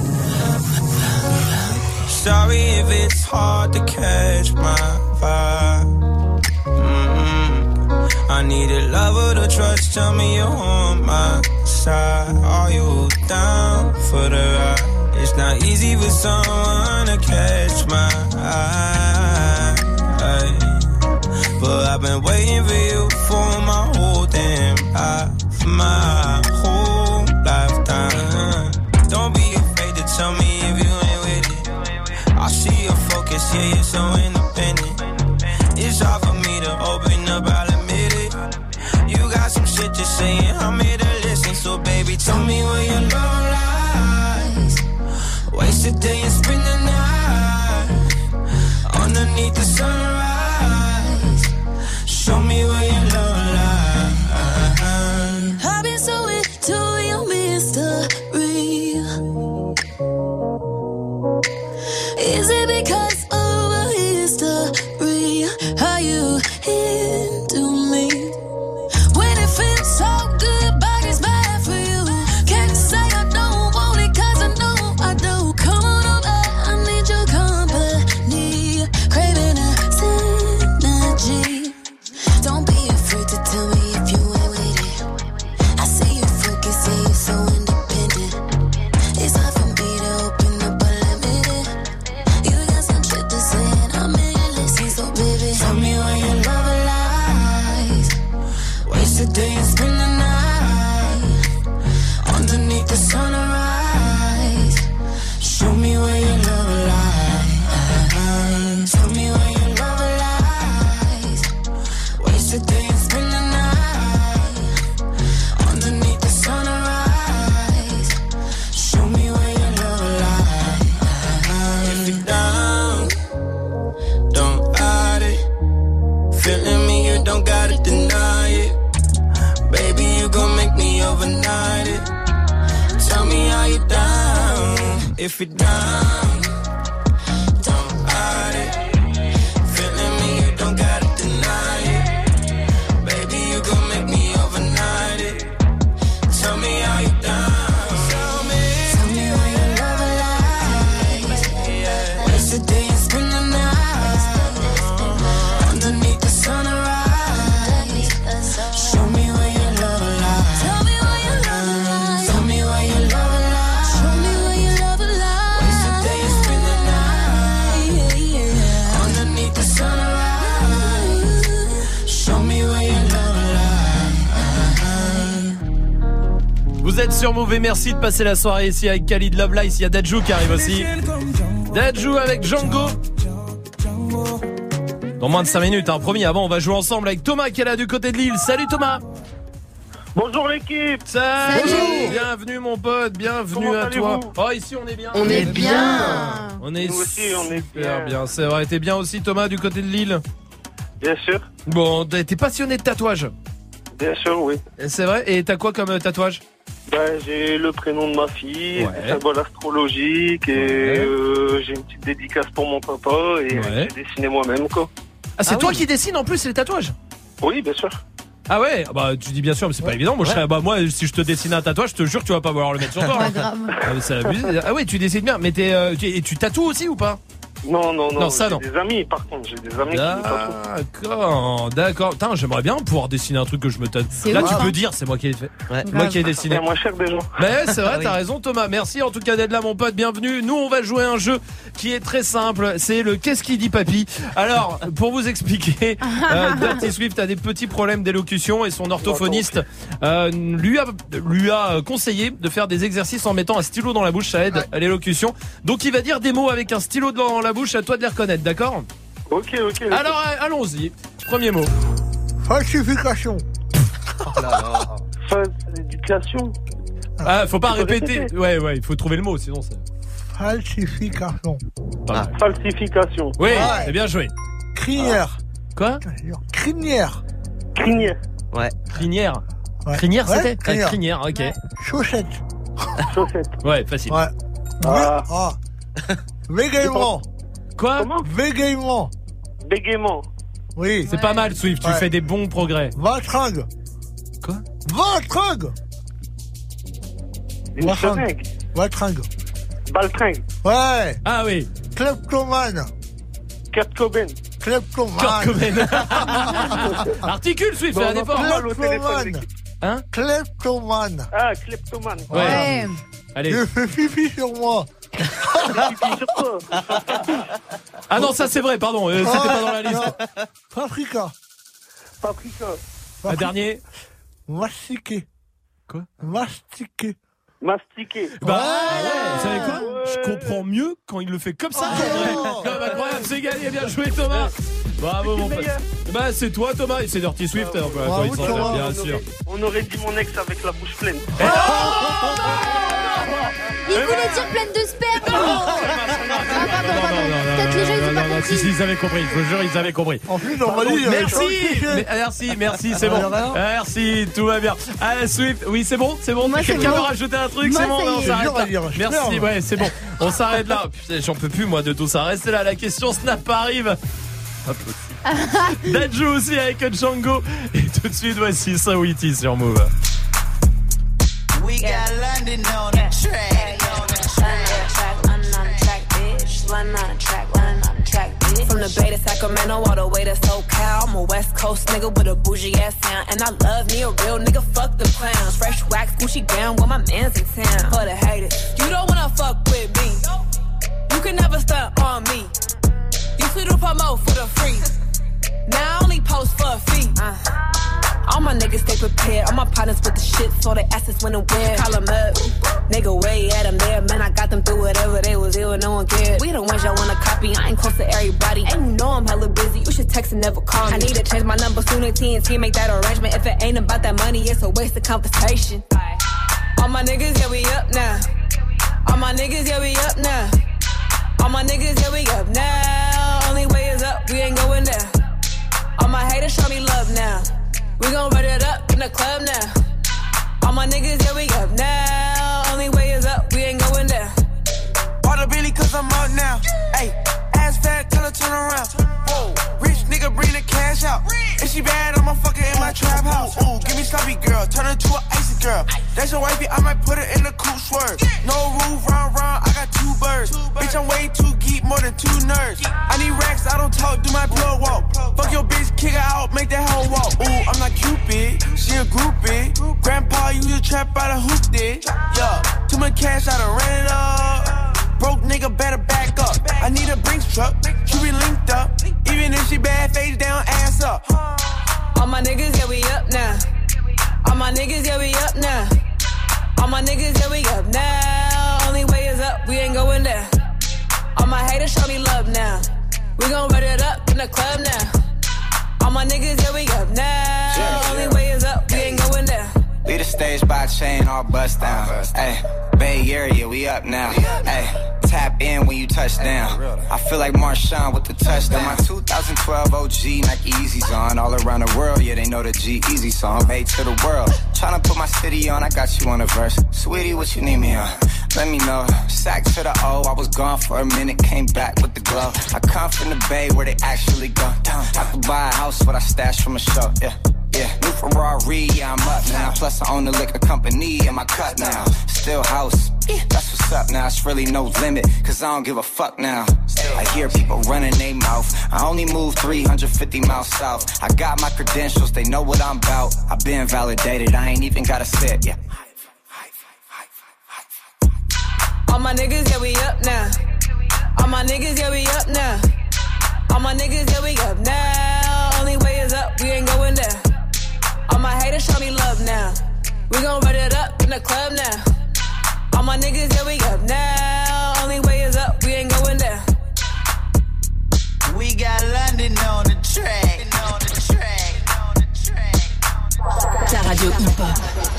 Sorry if it's hard to catch my vibe. Mm-hmm. I need a lover to trust. Tell me you're on my side. Are you down for the ride? It's not easy for someone to catch my eye, but I've been waiting for you for my whole damn life, my whole lifetime. Don't be afraid to tell me if you ain't with it. I see your focus, yeah, you're so independent. It's hard for me to open up, I'll admit it. You got some shit to say and I'm here to listen. So baby, tell me where your love lies. Waste a day and spend the night underneath the sunrise. Show me where your love lies. I've been so into your mystery. Is it because of a history? Are you into me? When it feels so good, body's bad for you. Can't say I don't want it, cause I know I do. Come on over, I need your company. Craving a synergy. Don't be afraid to tell me if you ain't with it. I see you focus, see you so independent. It's hard for me to open up, but admit it. You got some shit to say and I'm in your listen, so baby, tell me where your love lies. Waste a day and spend the night underneath the sunrise. Show me where your love lies. Tell me where your love lies. Waste a day and spend the night underneath the sunrise. Show me where your love lies. If you're down, don't hide it. Feeling me, you don't gotta deny it. Baby, you gon' make me overnight it. Tell me how you down. If you're down, don't hide it. Feeling me, you don't gotta deny it. Baby, you gon' make me overnight it. Tell me how you down. Tell me, tell me where your love lies. Waste a day and spend the night underneath the sunrise. Show me where your love lies. Tell me where your love lies. Tell me where your love lies. Show me where your love lies. Waste a day and spend the night Yeah, yeah. underneath the sunrise. Show me where your love lies. Vous êtes sur Move et merci de passer la soirée ici avec Khalid Love Life. Il y a Dadju qui arrive aussi. Dadju avec Django. Dans moins de cinq minutes, hein, promis. Avant, on va jouer ensemble avec Thomas qui est là du côté de Lille. Salut Thomas. Bonjour l'équipe. Salut. Salut. Bienvenue mon pote, bienvenue Comment à toi. allez-vous Oh ici on est bien. On est bien. On est Nous aussi, on est super bien. bien. C'est vrai, t'es bien aussi Thomas du côté de Lille. Bien sûr, Bon, t'es t'es passionné de tatouage. bien sûr, oui. C'est vrai. Et t'as quoi comme euh, tatouage? Bah, j'ai le prénom de ma fille, Ouais. des symboles astrologiques et Ouais. euh, j'ai une petite dédicace pour mon papa et Ouais. j'ai dessiné moi-même quoi. Ah c'est Ah toi oui. qui dessines en plus les tatouages? Oui, bien sûr. Ah ouais, bah tu dis bien sûr, mais c'est pas évident. Moi, je serais- bah moi, si je te dessine un tatouage, je te jure que tu vas pas vouloir le mettre sur toi. Pas hein. grave. Ah, mais c'est abusé. Ah ouais, tu dessines bien, mais t'es, euh, tu, et tu tatoues aussi ou pas? Non, non, non. Non, ça, j'ai non. des amis, par contre, j'ai des amis qui jouent pas trop. D'accord, d'accord. Putain, j'aimerais bien pouvoir dessiner un truc que je me tâte. Là, ouf, tu hein. peux dire, c'est moi qui ai fait. Ouais. Moi qui ai dessiné. C'est moins cher déjà. Mais ouais, c'est vrai, Ah oui. t'as raison Thomas. Merci en tout cas d'être là mon pote, bienvenue. Nous on va jouer à un jeu qui est très simple, c'est le qu'est-ce qu'il dit papy. Alors, pour vous expliquer, euh, Dirty Swift a des petits problèmes d'élocution et son orthophoniste euh, lui a lui a conseillé de faire des exercices en mettant un stylo dans la bouche, ça aide à l'élocution. Donc il va dire des mots avec un stylo dans la bouche, à toi de les reconnaître, d'accord ? Ok, ok. Alors euh, allons-y. Premier mot. Falsification. Oh là là. Falsification. Ah, faut pas Tu peux répéter. répéter Ouais, ouais, il faut trouver le mot, sinon c'est. Falsification. Pas mal. Falsification. Oui, Ouais. c'est bien joué. Crinière. Quoi ? Crinière. Crinière. Ouais. Crinière. Ouais. Crinière, Ouais, c'était crinière. Ah, crinière, ok. Chaussette. Chaussette. Ouais, facile. Ouais. Ah. Ah. Végaiement. Quoi ? Comment ? Végaiement. Bégaiement. Oui. C'est pas mal, Swift, tu Ouais. fais des bons progrès. Vatringue. Quoi ? Vatringue. Une Vatringue. fenêtre. Vatringue. Baltringue. Ouais. Ah oui. Kleptomane. Kurt Cobain. Kleptomane. Kurt Cobain. Articule, Swift, fais un Non, effort. non, le téléphone, Kleptomane. Hein ? Kleptomane. Ah, kleptomane. Ouais. Ouais. Allez. Je fais pipi sur moi. Pipi sur toi. Ah non, ça c'est vrai, pardon, euh, c'était pas dans la liste. Paprika. Paprika. Un dernier. Mastiquer. Quoi ? Mastiquer. Mastiqué. Bah, vous savez quoi ? Je comprends mieux quand il le fait comme ça. Oh. Comme incroyable, c'est gagné, bien joué Thomas. Bravo mon pote. Bah c'est toi Thomas et c'est Dirty Swift. Bravo, Toi, il s'en sert, Thomas. bien On sûr. aurait, on aurait dit mon ex avec la bouche pleine. Il voulait dire pleine de sperme. Ah, pardon, pardon. Peut-être les gens ils ont pas non, non, si, compris. si, ils avaient compris, je vous jure, ils avaient compris. En plus, on m'a dit, il y avait Merci, Jean-Michel. mais- merci, merci, c'est bon. Ah, rien. Merci, tout va bien. Ah, Swift, oui, c'est bon, c'est bon. Moi, c'est Quelqu'un bon. veut rajouter un truc, Moi, c'est bon, ça y non, on est. s'arrête C'est dur à là. dire, je Merci, pleure. ouais, c'est bon. On s'arrête là. Putain, j'en peux plus, moi, de tout ça. Restez là, la question Snap arrive. Hop. Dadju aussi avec Django. Et tout de suite, voici Sawiti sur Move. We got London on the track. From the Bay to Sacramento, all the way to SoCal. I'm a West Coast nigga with a bougie ass sound. And I love me a real nigga, fuck the clowns. Fresh wax, Gucci gown, when my man's in town. For the haters, you don't wanna fuck with me. You can never stunt on me. Used to do promo for the free. Now I only post for a fee. Uh. All my niggas stay prepared. All my partners with the shit, so they asses when and where. Call them up. Nigga, way at them there. Man, I got them through whatever they was ill and no one cared. We the ones y'all wanna copy. I ain't close to everybody. And you know I'm hella busy. You should text and never call me. I need to change my number soon as T N T make that arrangement. If it ain't about that money, it's a waste of conversation. All my niggas, yeah, we up now. All my niggas, yeah, we up now. All my niggas, yeah, we up now. Only way is up, we ain't going down. All my haters show me love now. We gon' run it up in the club now. All my niggas, yeah, we up now. Only way is up, we ain't going down. Bought a Billy cause I'm up now. Ayy, ass fat till I turn around. Whoa, rich nigga bring the cash out. If she bad, I'ma fuck her in my trap house. Ooh, give me sloppy girl, turn her to an icy girl. That's your wifey, I might put her in the coupe swerve. No roof, round, round, I got two birds. Bitch, I'm way too geek, more than two nerds. I need racks, I don't talk, do my plug walk. Fuck your bitch, kick her out, make that hoe walk. Ooh, I'm not Cupid, she a groupie. Grandpa used to trap out a hoop did. Yeah, too much cash, I done ran it up. Broke nigga better back up. I need a Brinks truck, she be linked up. Even if she bad, face down, ass up. All my niggas, yeah, we up now. All my niggas, yeah, we up now. All my niggas, yeah, we up now. Only way is up, we ain't going down. All my haters show me love now. We gon' run it up in the club now. All my niggas, yeah, we up now. Only way is up, we ain't going down. Lead the stage by chain, all bust down. Ayy, Bay Area, we up now. Ayy, tap in when you touch down. I feel like Marshawn with the touchdown. My two thousand twelve O G Nike Yeezys on. All around the world, yeah, they know the G-Eazy song. Made to the world. Tryna put my city on, I got you on the verse. Sweetie, what you need me on? Let me know. Sack to the O, I was gone for a minute, came back with the glow. I come from the Bay where they actually go. I could buy a house, what I stashed from a show, yeah. Yeah, new Ferrari, yeah, I'm up now. Plus I own the liquor company in my cut now. Still house, That's what's up now, it's really no limit, cause I don't give a fuck now. I hear people running their mouth. I only move three hundred fifty miles south. I got my credentials, they know what I'm about. I've been validated, I ain't even gotta sit, yeah. All my niggas, yeah, we up now. All my niggas, yeah, we up now. All my niggas, yeah, we up now. Only way is up, we ain't going down. All my haters show me love now. We gon' run it up in the club now. All my niggas, yeah, we up now. Only way is up, we ain't going down. We got London on the track. On the track. On the track. Ta radio hip-hop.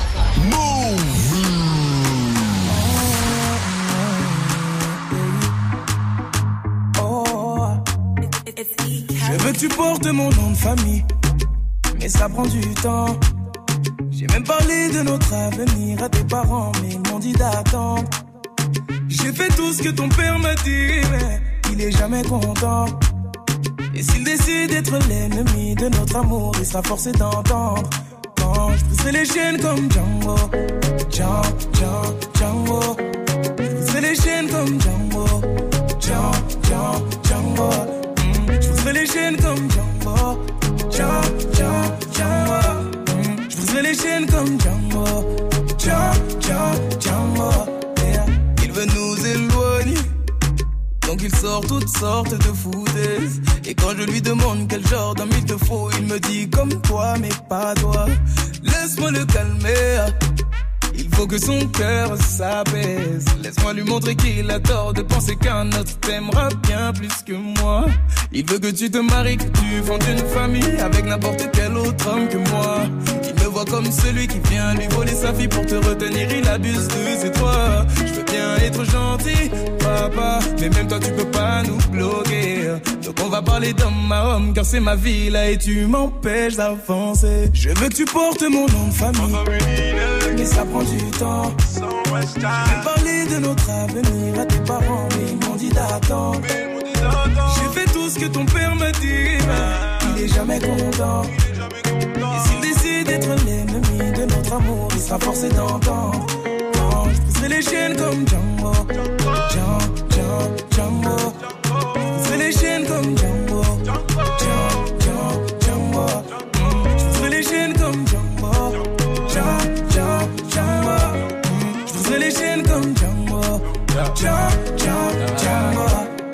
Je veux que tu portes mon nom de famille, mais ça prend du temps. J'ai même parlé de notre avenir à tes parents, mais ils m'ont dit d'attendre. J'ai fait tout ce que ton père m'a dit, mais il est jamais content. Et s'il décide d'être l'ennemi de notre amour, il sera forcé d'entendre. Quand je briserai les chaînes comme Django, Django, Django, Django. Je briserai les chaînes comme Django, Django, Django, Django. Je briserai les chaînes comme Django, Django, Django, Django. Je briserai les chaînes comme Django, Django, Django, Django. Yeah. Il veut nous éloigner, donc il sort toutes sortes de foutaises. Et quand je lui demande quel genre d'homme il te faut, il me dit comme toi mais pas toi. Laisse-moi le calmer, il faut que son cœur s'apaise. Laisse-moi lui montrer qu'il a tort de penser qu'un autre t'aimera bien plus que moi. Il veut que tu te maries, que tu fondes une famille avec n'importe quel autre homme que moi. Il me voit comme celui qui vient lui voler sa fille pour te retenir, il abuse de ses droits. Je veux bien être gentil, papa, mais même toi tu peux pas nous bloquer. Donc on va parler d'homme à homme, car c'est ma vie là et tu m'empêches d'avancer. Je veux que tu portes mon nom de famille, mais ça prend du temps. Je vais parler de notre avenir à tes parents, mais ils m'ont dit d'attendre. J'ai fait tout ce que ton père m'a dit, mais il est jamais content. Et s'il décide d'être l'ennemi de notre amour, il sera forcé d'entendre. Quand je briserai les chaînes comme Django, Django, Django, Django. Je briserai les chaînes comme Django, Django, Django, Django. Je briserai les chaînes comme Django, Django, Django, Django. Je briserai les chaînes comme Django, Django, Django, Django.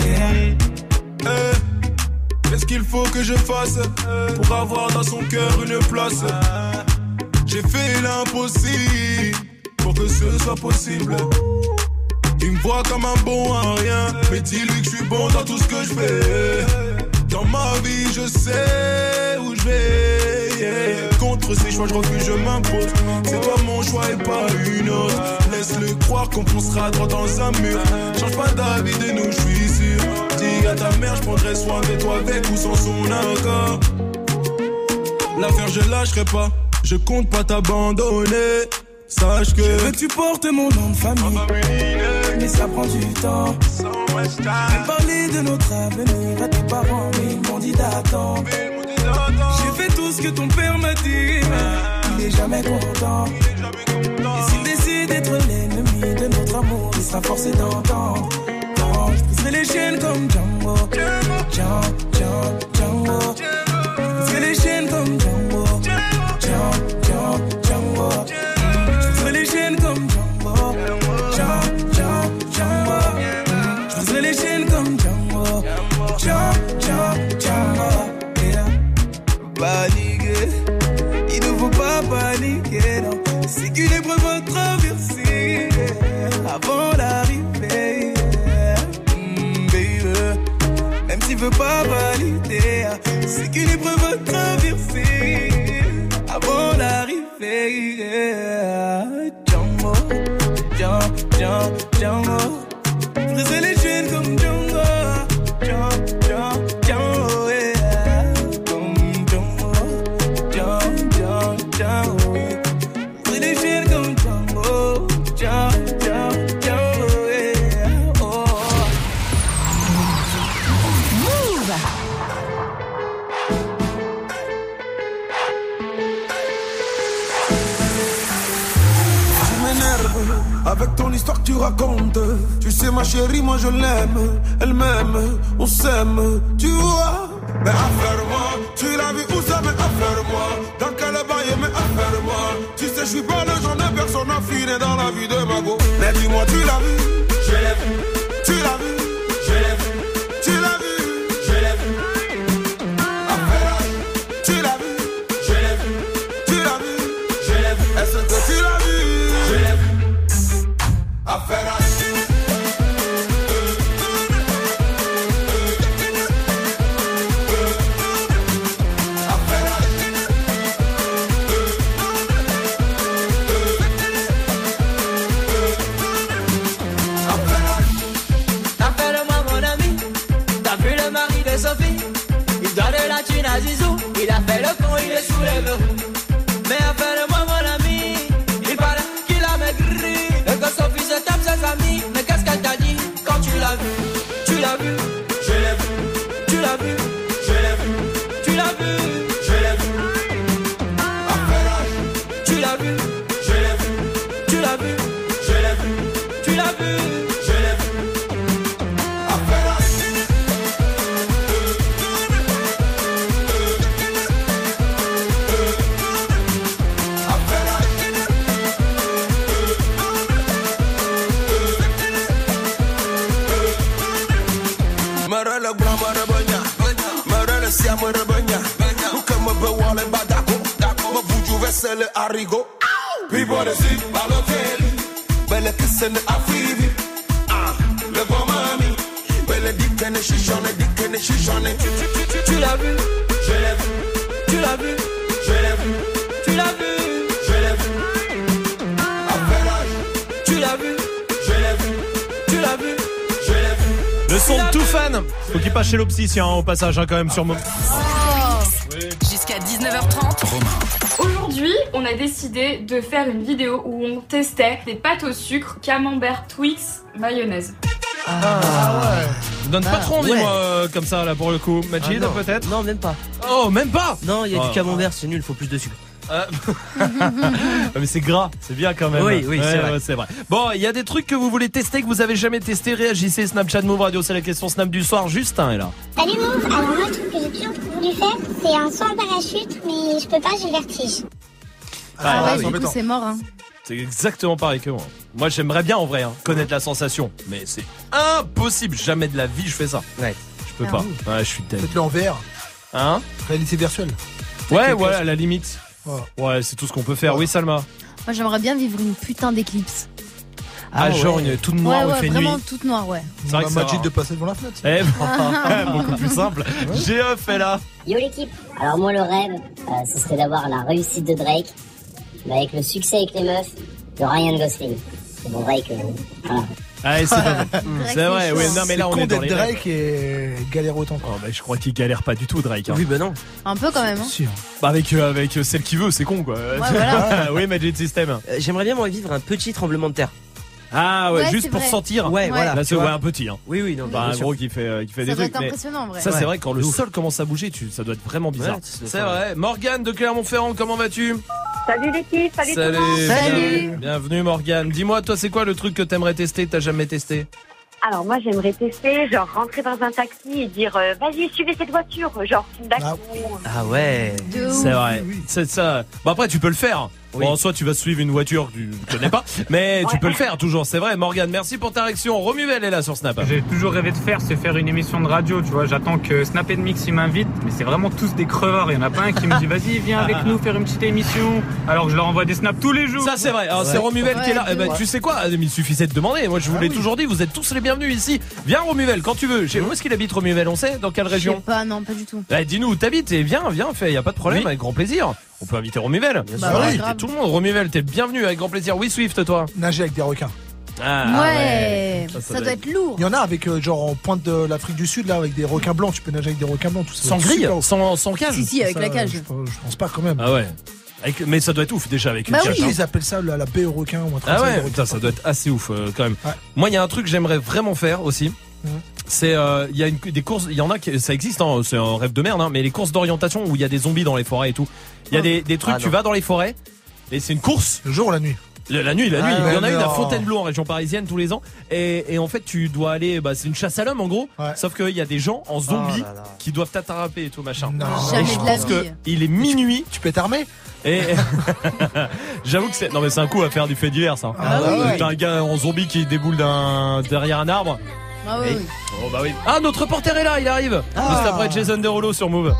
Qu'est-ce qu'il faut que je fasse pour avoir dans son cœur une place? J'ai fait l'impossible pour que ce soit possible. Il me voit comme un bon à rien, mais dis-lui que je suis bon dans tout ce que je fais. Dans ma vie je sais où je vais, yeah. Contre ces choix je refuse, je m'impose. C'est toi mon choix et pas une autre. Laisse-le croire qu'on foncera droit dans un mur. Change pas d'avis de nous, je suis sûr. Dis à ta mère, je prendrai soin de toi avec ou sans son accord. L'affaire je lâcherai pas, je compte pas t'abandonner. Sache que je veux que tu portes mon nom de famille, mais ça prend du temps. J'ai parlé de notre avenir à tes parents, mais ils m'ont dit d'attendre. J'ai fait tout ce que ton père m'a dit, mais il est jamais content. Et s'il décide d'être l'ennemi de notre amour, il sera forcé d'entendre. Quand je briserai les chaînes comme Django, Django, Django, Django. Je briserai les chaînes comme Django, Django, Django, Django. Les chaînes comme Django, Django, Django, Django. Je briserai les chaînes comme Django, Django, Django, Django. Yeah. Paniquer, il ne faut pas paniquer, non. C'est qu'une épreuve à traverser, yeah. Avant d'arriver, yeah. mm, baby. Même s'il veut pas valider, c'est qu'une épreuve à traverser. Avant d'arriver, yeah. Django, Django, Django, Django. Je briserai les chaînes comme Django, Django, Django, Django, yeah. Comme Django, Django, Django, Django. Je briserai les chaînes comme Django, Django, Django, Django, yeah. Oh. Move. Tu m'énerves, avec ton histoire que tu racontes. Tu sais ma chérie, moi je l'aime, elle m'aime, on s'aime, tu vois. Mais affaire-moi, tu l'as vu où ça, mais affaire-moi. Dans quel bail, mais affaire-moi. Tu sais, je suis pas le genre de personne affinée dans la vie de ma go. Mais dis-moi, tu l'as vu, je l'ai vu. Tu l'as vu, je l'ai vu. Tu l'as vu, je l'ai vu. Affaire, tu l'as vu, je l'ai vu. Tu l'as vu, je l'ai vu. Est-ce que tu l'as vu, je l'ai vu. Affaire. Zizou, il a fait le con, il est sous les verrous. Mais appelle-moi mon ami, il paraît qu'il a maigri. Et que son fils tape ses amis. Mais qu'est-ce qu'elle t'a dit quand tu l'as vu? Tu l'as vu, je l'ai vu. Tu l'as vu, je l'ai vu. Tu l'as vu, je l'ai vu. Tu l'as vu, je l'ai vu. Tu l'as vu, je l'ai vu. Tu l'as vu, je l'ai vu. Marala grama rabanya, marala siamo rabanya. Ukama bewale badako, ma buju vesele arigo. People they see Balotelli, belle kissene afivi. Ah, le bon mami, belle dikene shishone, dikene shishone. Tu l'as vu, je l'ai vu. Tu l'as vu, je l'ai vu. Tu l'as vu, je l'ai vu. Tu l'as vu, je l'ai vu. Tu l'as vu, je l'ai vu. Le son de tout fan. Faut qu'il passe chez l'opticien au passage hein, quand même sur mon. Jusqu'à dix-neuf heures trente. Aujourd'hui, on a décidé de faire une vidéo où on testait des pâtes au sucre, camembert, Twix, mayonnaise. Ah ouais. Donne pas Ah, trop envie ouais. moi euh, comme ça là pour le coup. Majid Ah, non. peut-être. Non, même pas. Oh même pas. Non, il y a Oh. du camembert, c'est nul, faut plus de sucre. Ah, mais c'est gras, c'est bien quand même. Oui, oui, Ouais, c'est vrai. ouais, c'est vrai. Bon, il y a des trucs que vous voulez tester que vous avez jamais testé. Réagissez, Snapchat Move Radio, c'est la question Snap du soir. Justin est là. Salut Move, alors moi le truc que j'ai toujours voulu faire, c'est un saut en parachute, mais je peux pas, j'ai le vertige. Ah ouais, oui. du coup, c'est mort, hein. C'est exactement pareil que moi. Moi, j'aimerais bien en vrai hein, connaître la sensation, mais c'est impossible. Jamais de la vie je fais ça. Ouais. Je peux Ah pas. oui. Ouais, je suis dead. Faites-le en V R. Hein? Réalité virtuelle. Ouais, Avec ouais, les à la limite. Ouais. Ouais, c'est tout ce qu'on peut faire. Oui, Salma. Moi, j'aimerais bien vivre une putain d'éclipse. Ah, Ah, genre ouais. une toute noire ouais, où il ouais, fait vraiment nuit. toute noire, ouais. C'est vrai On que a c'est Majid rare. de passer devant la fenêtre. Eh ben, beaucoup plus simple. Géoff est là. Yo l'équipe, alors moi le rêve, euh, ce serait d'avoir la réussite de Drake, mais avec le succès avec les meufs de Ryan Gosling. C'est bon Drake, euh, voilà. Ah, c'est pas mal. C'est vrai, oui, non, mais là, on con est dans d'être les rêves. Drake et galère autant. Oh, bah, je crois qu'il galère pas du tout, Drake. Hein. Oui, bah non. Un peu quand même, hein. Si, hein. Bah, avec, euh, avec euh, celle qui veut, c'est con, quoi. voilà. Oui, Magic System. Euh, J'aimerais bien moi vivre un petit tremblement de terre. Ah, ouais, Ouais, juste c'est pour vrai. sentir. Ouais, Ouais. voilà. Là, tu c'est vois. ouais, un petit, hein. Oui, oui, non. Bah, bien un sûr. gros qui fait, euh, qui fait Ça des doit trucs. être Mais impressionnant, en vrai. ça, Ouais. c'est vrai, quand le De ouf. sol commence à bouger, tu, ça doit être vraiment bizarre. Ouais, c'est c'est ça. vrai. Morgane de Clermont-Ferrand, comment vas-tu? Salut l'équipe, salut, tout le monde. Salut. Bien- Bienvenue, Morgane. Dis-moi, toi, c'est quoi le truc que t'aimerais tester, que t'as jamais testé? Alors moi j'aimerais tester, genre rentrer dans un taxi et dire euh, vas-y suivez cette voiture, genre film d'action. Ah ouais. De ouf. C'est vrai. C'est ça. Bon, après, tu peux le faire. Oui. Bon, soit tu vas suivre une voiture que tu ne connais pas, mais tu Ouais. peux le faire toujours. C'est vrai, Morgane. Merci pour ta réaction. Romuvel est là sur Snap. J'ai toujours rêvé de faire, c'est faire une émission de radio, tu vois. J'attends que Snap et Mix ils m'invitent, mais c'est vraiment tous des crevards. Il y en a pas un qui me dit vas-y, viens avec nous faire une petite émission. Alors que je leur envoie des snaps tous les jours. Ça c'est vrai, alors c'est Ouais. Romuvel qui est là. Ouais, Eh ben, ouais. tu sais quoi, il suffisait de demander. Moi je vous Ah l'ai oui. toujours dit, vous êtes tous les bienvenus ici. Viens Romuvel quand tu veux. Chez- Où est-ce qu'il habite Romuvel? On sait dans quelle Je sais région? pas, non, pas du tout. Eh, dis-nous où t'habites et viens, viens, fais, y a pas de problème, Oui. avec grand plaisir. On peut inviter Romuvel. Bah ouais, Inviter grave. tout le monde. Romuvel, t'es le bienvenu avec grand plaisir. Oui Swift, toi. Nager avec des requins. Ah, ouais, Ça, ça, ça doit être lourd. Il y en a avec euh, genre en pointe de l'Afrique du Sud là avec des requins blancs. Tu peux nager avec des requins blancs tout ça. Sans C'est grille, super ouf. sans, sans cage. Si, si, avec Ça, la cage. Je, je pense pas quand même. Ah ouais. Avec- mais ça doit être ouf déjà avec une Bah cage. oui. hein. Ils appellent ça la, la baie aux requins ou un truc Ah comme ça, ouais, des putain, requins. ça doit être assez ouf euh, quand même. Ouais. Moi, il y a un truc que j'aimerais vraiment faire aussi. Mhm. C'est euh, il y a une, des courses, il y en a qui ça existe, hein, c'est un rêve de merde, hein, mais les courses d'orientation où il y a des zombies dans les forêts et tout. Il y a des, des trucs, Ah, tu non. vas dans les forêts et c'est une course. Le jour ou la nuit? La nuit, la nuit. Ah, il y en a non. une à Fontainebleau en région parisienne tous les ans. Et, et en fait, tu dois aller. Bah, c'est une chasse à l'homme en gros. Ouais. Sauf qu'il y a des gens en zombies oh là là. qui doivent t'attraper et tout machin. Non. Et je pense que il est minuit. Tu peux t'armer. Et j'avoue que c'est. Non, mais c'est un coup à faire du fait divers, ça. Ah, bah oui. T'as un gars en zombie qui déboule d'un derrière un arbre. Ah oui. Et... Oh bah oui. Ah, notre reporter est là, il arrive. Ah. Juste après Jason Derulo sur Move.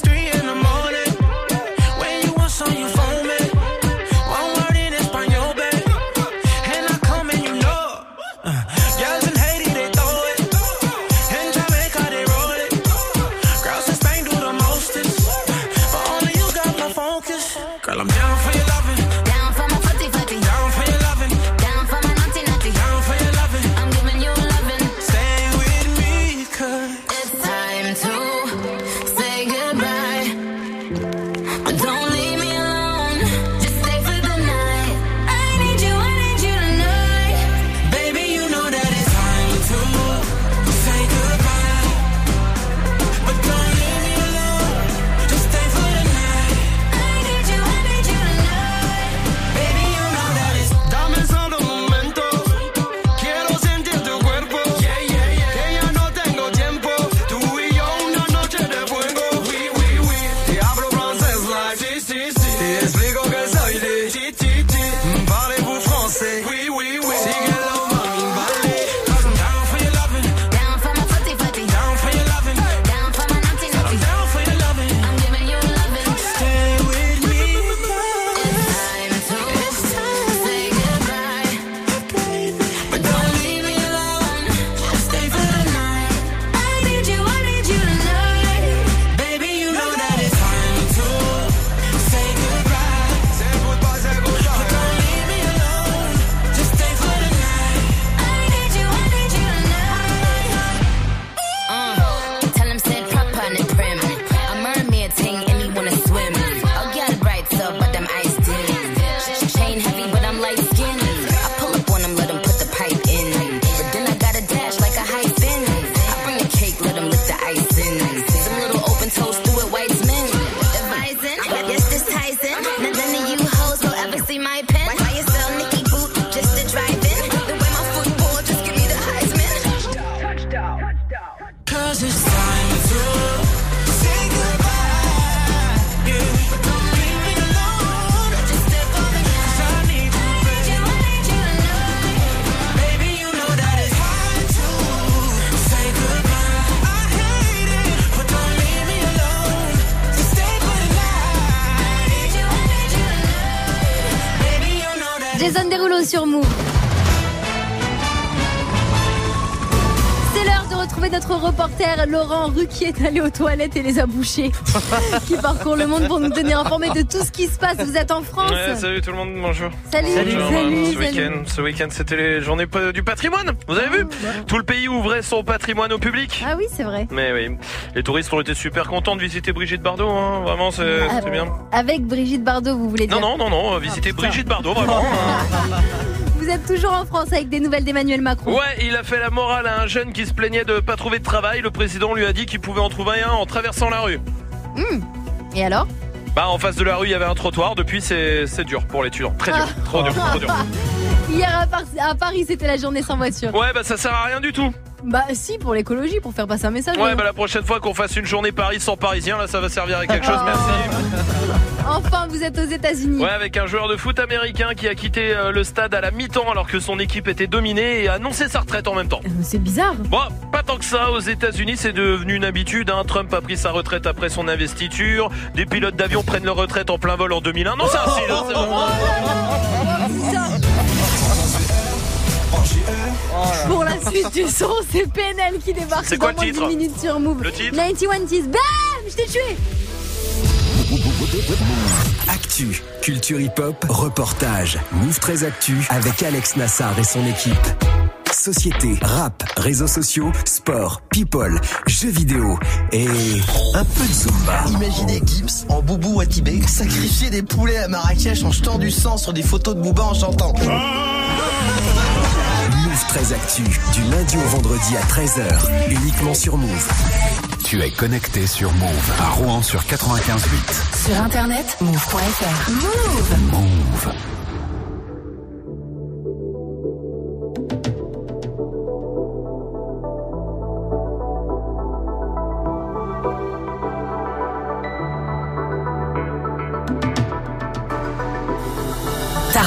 Girl, I'm down for your loving. Down for my footy footy. Down for your loving. Down for my naughty naughty. Down for your loving. I'm giving you loving. Stay with me, cause it's time to say goodbye. But don't leave me alone. Just stay for the night. I need you, I need you tonight. Baby, you know that it's time to say goodbye. But don't leave me alone. Just stay for the night. I need you, I need you tonight. Baby, you know that it's Dame solo un momento, quiero sentir tu cuerpo. yeah, yeah, yeah. Que ya no tengo tiempo, tú y yo una noche de fuego. Oui, oui, oui. Te hablo francés like si, si, si. Te explico que soy de ti, ti, ti. Parlez-vous français? Oui, oui, oui. Síguelo, mami, vale. Cause I'm down for your loving. Down for my footy footy. Down for your loving. Down for my naughty naughty. I'm down for your loving. I'm giving you loving. Stay with me. It's time to say goodbye. But don't leave me alone. Just stay for the night. I need you, I need you tonight. Baby, you know that it's time to say goodbye. Say goodbye, say goodbye. But don't leave me alone. Just stay for the night. I need you, I need you tonight. Uh, tell him sit proper and prim. A mermaid thing and he wanna swim. I'll get it right up, but I'm iced in. Chain heavy, but I'm light skinned. I pull up on him, let him put the pipe in. But then I gotta dash like a high spin. I bring the cake, let him lick the ice in. Some little open toast, do it Weitzman. The Bison, yes, this Tyson. None of you hoes will ever see my pen. Why you sell Nicky Boot just to drive in? The way my football, just give me the Heisman. Cause it's time to say goodbye. Yeah. But don't leave me alone. Just stay for the night. 'Cause I need you, I need you, I need you tonight. Baby, you know that it's time to say goodbye. I hate it, but don't leave me alone. Just stay for the night. I need you, I need you tonight. Baby, you know that it's Jason Derulo sur Move. C'est l'heure de retrouver notre reporter Laurent Ruquier est allé aux toilettes et les a bouchés. Qui parcourt le monde pour nous tenir informés de tout ce qui se passe. Vous êtes en France. Ouais, salut tout le monde, bonjour. Salut, Bonjour, salut, Ce salut. week-end, ce week-end, c'était les journées pa- du patrimoine. Vous avez vu? Tout le pays ouvrait son patrimoine au public. Ah oui, c'est vrai. Mais oui, les touristes ont été super contents de visiter Brigitte Bardot. Hein. Vraiment, c'est- Ah, c'était bien. Avec Brigitte Bardot, vous voulez dire? Non, non, non, non, visiter putain. Brigitte Bardot, vraiment. Vous êtes toujours en France avec des nouvelles d'Emmanuel Macron. Ouais, il a fait la morale à un jeune qui se plaignait de pas trouver de travail. Le président lui a dit qu'il pouvait en trouver un en traversant la rue. Hum. Et alors? Bah, en face de la rue, il y avait un trottoir. Depuis, c'est c'est dur pour l'étudiant. Très dur, Ah. trop dur, trop dur. Hier à, Par- à Paris, c'était la journée sans voiture. Ouais, bah ça sert à rien du tout. Bah si, pour l'écologie, pour faire passer un message. Ouais, hein. bah la prochaine fois qu'on fasse une journée Paris sans Parisien, là, ça va servir à quelque chose. Oh. Merci. Enfin, vous êtes aux États-Unis. Ouais, avec un joueur de foot américain qui a quitté euh, le stade à la mi-temps alors que son équipe était dominée et a annoncé sa retraite en même temps. C'est bizarre. Bon, pas tant que ça. Aux États-Unis, c'est devenu une habitude. Hein. Trump a pris sa retraite après son investiture. Des pilotes d'avion prennent leur retraite en plein vol en deux mille un. Non, c'est un style, hein, c'est bon. Pour la suite du son, c'est P N L qui débarque C'est dans quoi le moins titre? dix minutes sur Move. Le titre quatre-vingt-un Tees. Bam, je t'ai tué. Actu, culture hip-hop, reportage, Move très Actu avec Alex Nassar et son équipe. Société, rap, réseaux sociaux, sport, people, jeux vidéo et un peu de Zumba. Imaginez Gibbs en boubou à Tibet sacrifier des poulets à Marrakech en jetant du sang sur des photos de Booba en chantant. Move très Actu, du lundi au vendredi à treize heures, uniquement sur Move. Tu es connecté sur Move à Rouen sur quatre-vingt-quinze virgule huit. Sur internet, move point f r. Move. Move.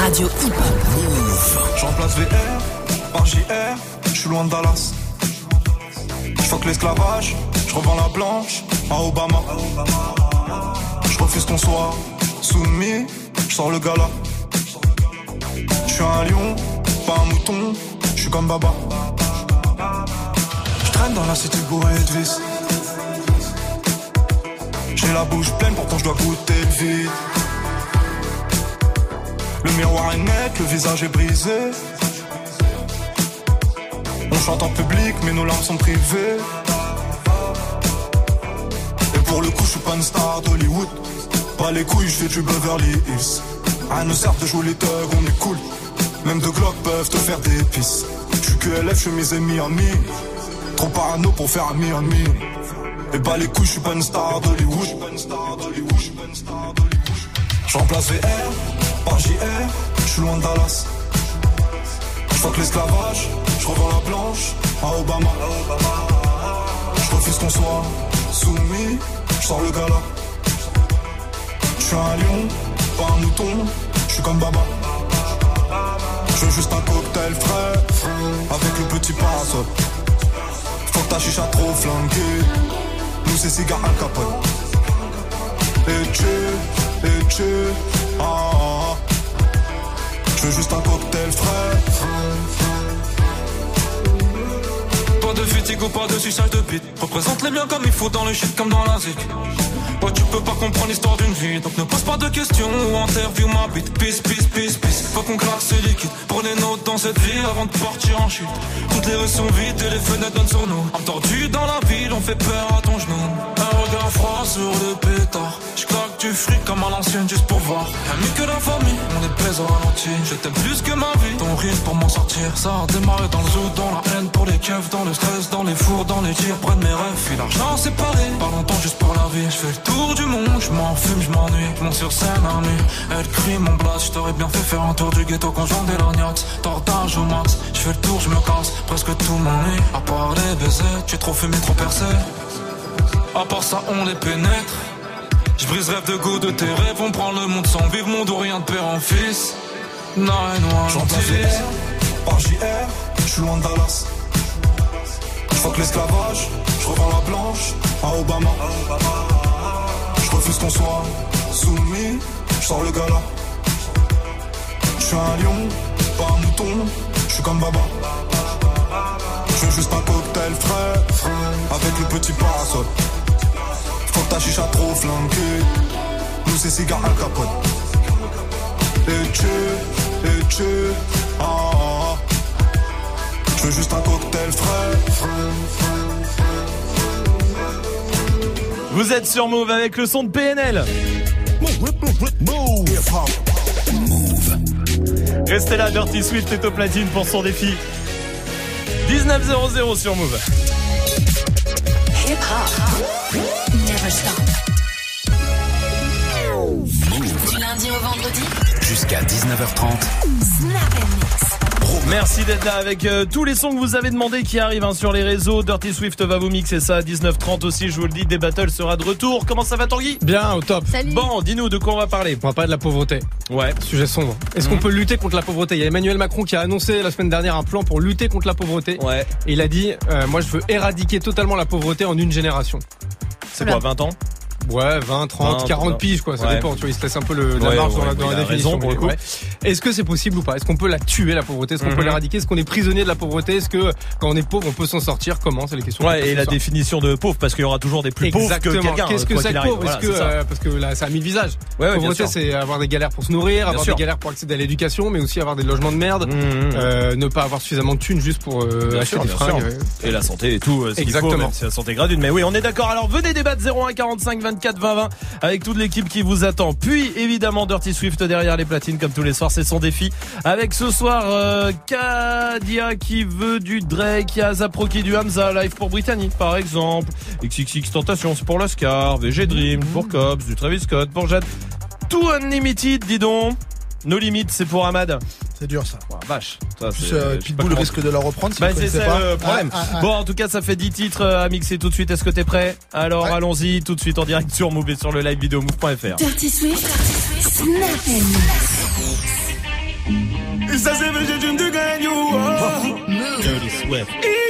radio hip-hop. Je remplace V R par J R, je suis loin de Dallas. Je fuck l'esclavage, je revends la blanche à Obama. Je refuse qu'on soit soumis, je sors le gala. Je suis un lion, pas un mouton, je suis comme Baba. Je traîne dans la cité bourrée de vis. J'ai la bouche pleine, pourtant je dois goûter le vide. Le miroir est net, le visage est brisé. On chante en public, mais nos larmes sont privées. Et pour le coup, je suis pas une star d'Hollywood. Pas les couilles, je fais du Beverly Hills. Rien ne sert de jouer les thugs, on est cool. Même deux Glock peuvent te faire des pisses. Je suis Q L F, chemise et Miami. Trop parano pour faire un mi-ami. Et bah les couilles, je suis pas une star d'Hollywood. Je remplace V R par J R, je suis loin de Dallas. Je fuck l'esclavage, je revends la blanche à Obama. Je refuse qu'on soit soumis, je sors le gala. Je suis un lion, pas un mouton, je suis comme Baba. Je veux juste un cocktail frais, avec le petit parasol. Faut que ta chicha trop flanquée, nous c'est cigare Al Capone. Et tu, et tu, ah, ah. Je veux juste un cocktail frais. Pas de fatigue ou pas de suçage de bite. Représente les biens comme il faut dans le shit comme dans la zik. Ouais, tu peux pas comprendre l'histoire d'une vie, donc ne pose pas de questions ou interview ma bite. Peace, peace, peace, peace. Faut qu'on claque ce liquide. Prenez note dans cette vie avant de partir en chute. Toutes les rues sont vides et les fenêtres donnent sur nous. Entendu dans la ville, on fait peur à ton genou. Un regard froid sur le pétard. J'claque du fric comme à l'ancienne juste pour voir. Rien mieux que la famille, on est pèse au ralenti. Je t'aime plus que ma vie, ton rire pour m'en sortir. Ça a démarré dans le zoo, dans la haine pour les keufs, dans le stress, dans les fours, dans les tirs. Près de mes rêves, puis l'argent séparé. Pas longtemps juste pour la vie, j'fais le tour du monde, je m'en fume, je m'ennuie, je monte sur scène à nuit. Elle crie mon blast, je t'aurais bien fait faire un tour du ghetto conjoint des lorgnates. Tordage au max, je fais le tour, je me casse, presque tout m'ennuie. À part les baisers, tu es trop fumé, trop percé. À part ça, on les pénètre. Je brise rêve de goût de tes rêves, on prend le monde sans vivre, monde ou rien de père en fils. Non, non, j'en place V R par J R, je suis loin de Dallas. Je fuck l'esclavage, je revends la blanche à Obama. Je refuse qu'on soit soumis, je sors le gala. Je suis un lion, pas un mouton, je suis comme Baba. Je veux juste un cocktail frais, avec le petit parasol. Faut que ta chicha trop flanquée, nous c'est cigare Al Capone. Et tu, et tu, ah, ah. Je veux juste un cocktail frais. Vous êtes sur Move avec le son de P N L. Move. Restez là, Dirty Swift est au platine pour son défi. dix-neuf zéro zéro sur Move. Hip hop. Never stop. Move. Du lundi au vendredi. Jusqu'à dix-neuf heures trente. Snap and mix. Merci d'être là avec euh, tous les sons que vous avez demandé qui arrivent hein, sur les réseaux. Dirty Swift va vous mixer ça à dix-neuf trente aussi, je vous le dis, des battles sera de retour. Comment ça va Tanguy ? Bien, au top. Salut. Bon, dis-nous de quoi on va parler. On va parler de la pauvreté. Ouais. Sujet sombre. Est-ce mmh. qu'on peut lutter contre la pauvreté ? Il y a Emmanuel Macron qui a annoncé la semaine dernière un plan pour lutter contre la pauvreté. Ouais. Et il a dit, euh, moi je veux éradiquer totalement la pauvreté en une génération. C'est quoi, vingt ans ? Ouais, vingt, trente, quarante piges, quoi, ça ouais. dépend, tu vois, il se laisse un peu le, la ouais, marge ouais, dans la, dans ouais, la définition. Raison, pour le coup. Ouais. Est-ce que c'est possible ou pas ? Est-ce qu'on peut la tuer, la pauvreté ? Est-ce qu'on mm-hmm. peut l'éradiquer ? Est-ce qu'on est prisonnier de la pauvreté ? Est-ce que quand on est pauvre, on peut s'en sortir ? Comment ? C'est les questions. Ouais, et la soir. définition de pauvre, parce qu'il y aura toujours des plus Exactement. pauvres que quelqu'un. Qu'est-ce que c'est que pauvre ? Voilà, Est-ce que, euh, parce que là, ça a mille visages. Ouais, ouais, pauvreté, c'est avoir des galères pour se nourrir, bien avoir sûr. des galères pour accéder à l'éducation, mais aussi avoir des logements de merde, mm-hmm. euh, ne pas avoir suffisamment de thunes juste pour euh, acheter des fringues. Et la santé et tout, ce qu'il faut, même si la santé gratuite. Mais oui, on est d'accord. Alors venez débattre zéro un quarante-cinq vingt-quatre vingt vingt avec toute l'équipe qui vous attend. Puis évidemment Dirty Swift derrière les platines comme tous les soirs, c'est son défi. Avec ce soir euh, Kadia qui veut du Drake, il y a Zapro qui du Hamza, Live pour Brittany par exemple, X X X Tentation c'est pour l'Oscar, V G Dream mmh. pour Cops, du Travis Scott pour Jade, tout Unlimited dis donc. No Limit, c'est pour Ahmad. C'est dur ça. Oh, vache. Ça, plus euh, Pitbull risque de la reprendre. Si bah c'est ça pas. le problème. Ah, ah, ah. Bon, en tout cas, ça fait dix titres à mixer tout de suite. Est-ce que t'es prêt ? Alors, ouais. allons-y tout de suite en direct sur Move et sur le live vidéo move point f r. Dirty Swift, Snap and Mix. Et ça c'est vrai, j'ai une de gagne. Dirty Swift.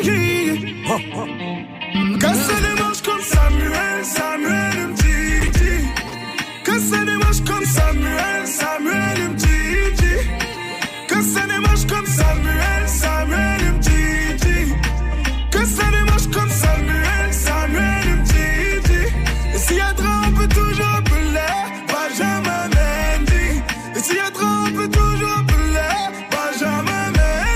Casser les manches comme Samuel, Samuel me dit. Casser les manches comme Samuel, Samuel me dit. Casser les manches comme Samuel, Samuel me dit. Casser les manches comme Samuel, Samuel me dit. Et s'il y a trop, on peut toujours appeler Benjamin Mendy. Et s'il y a trop, on peut toujours appeler Benjamin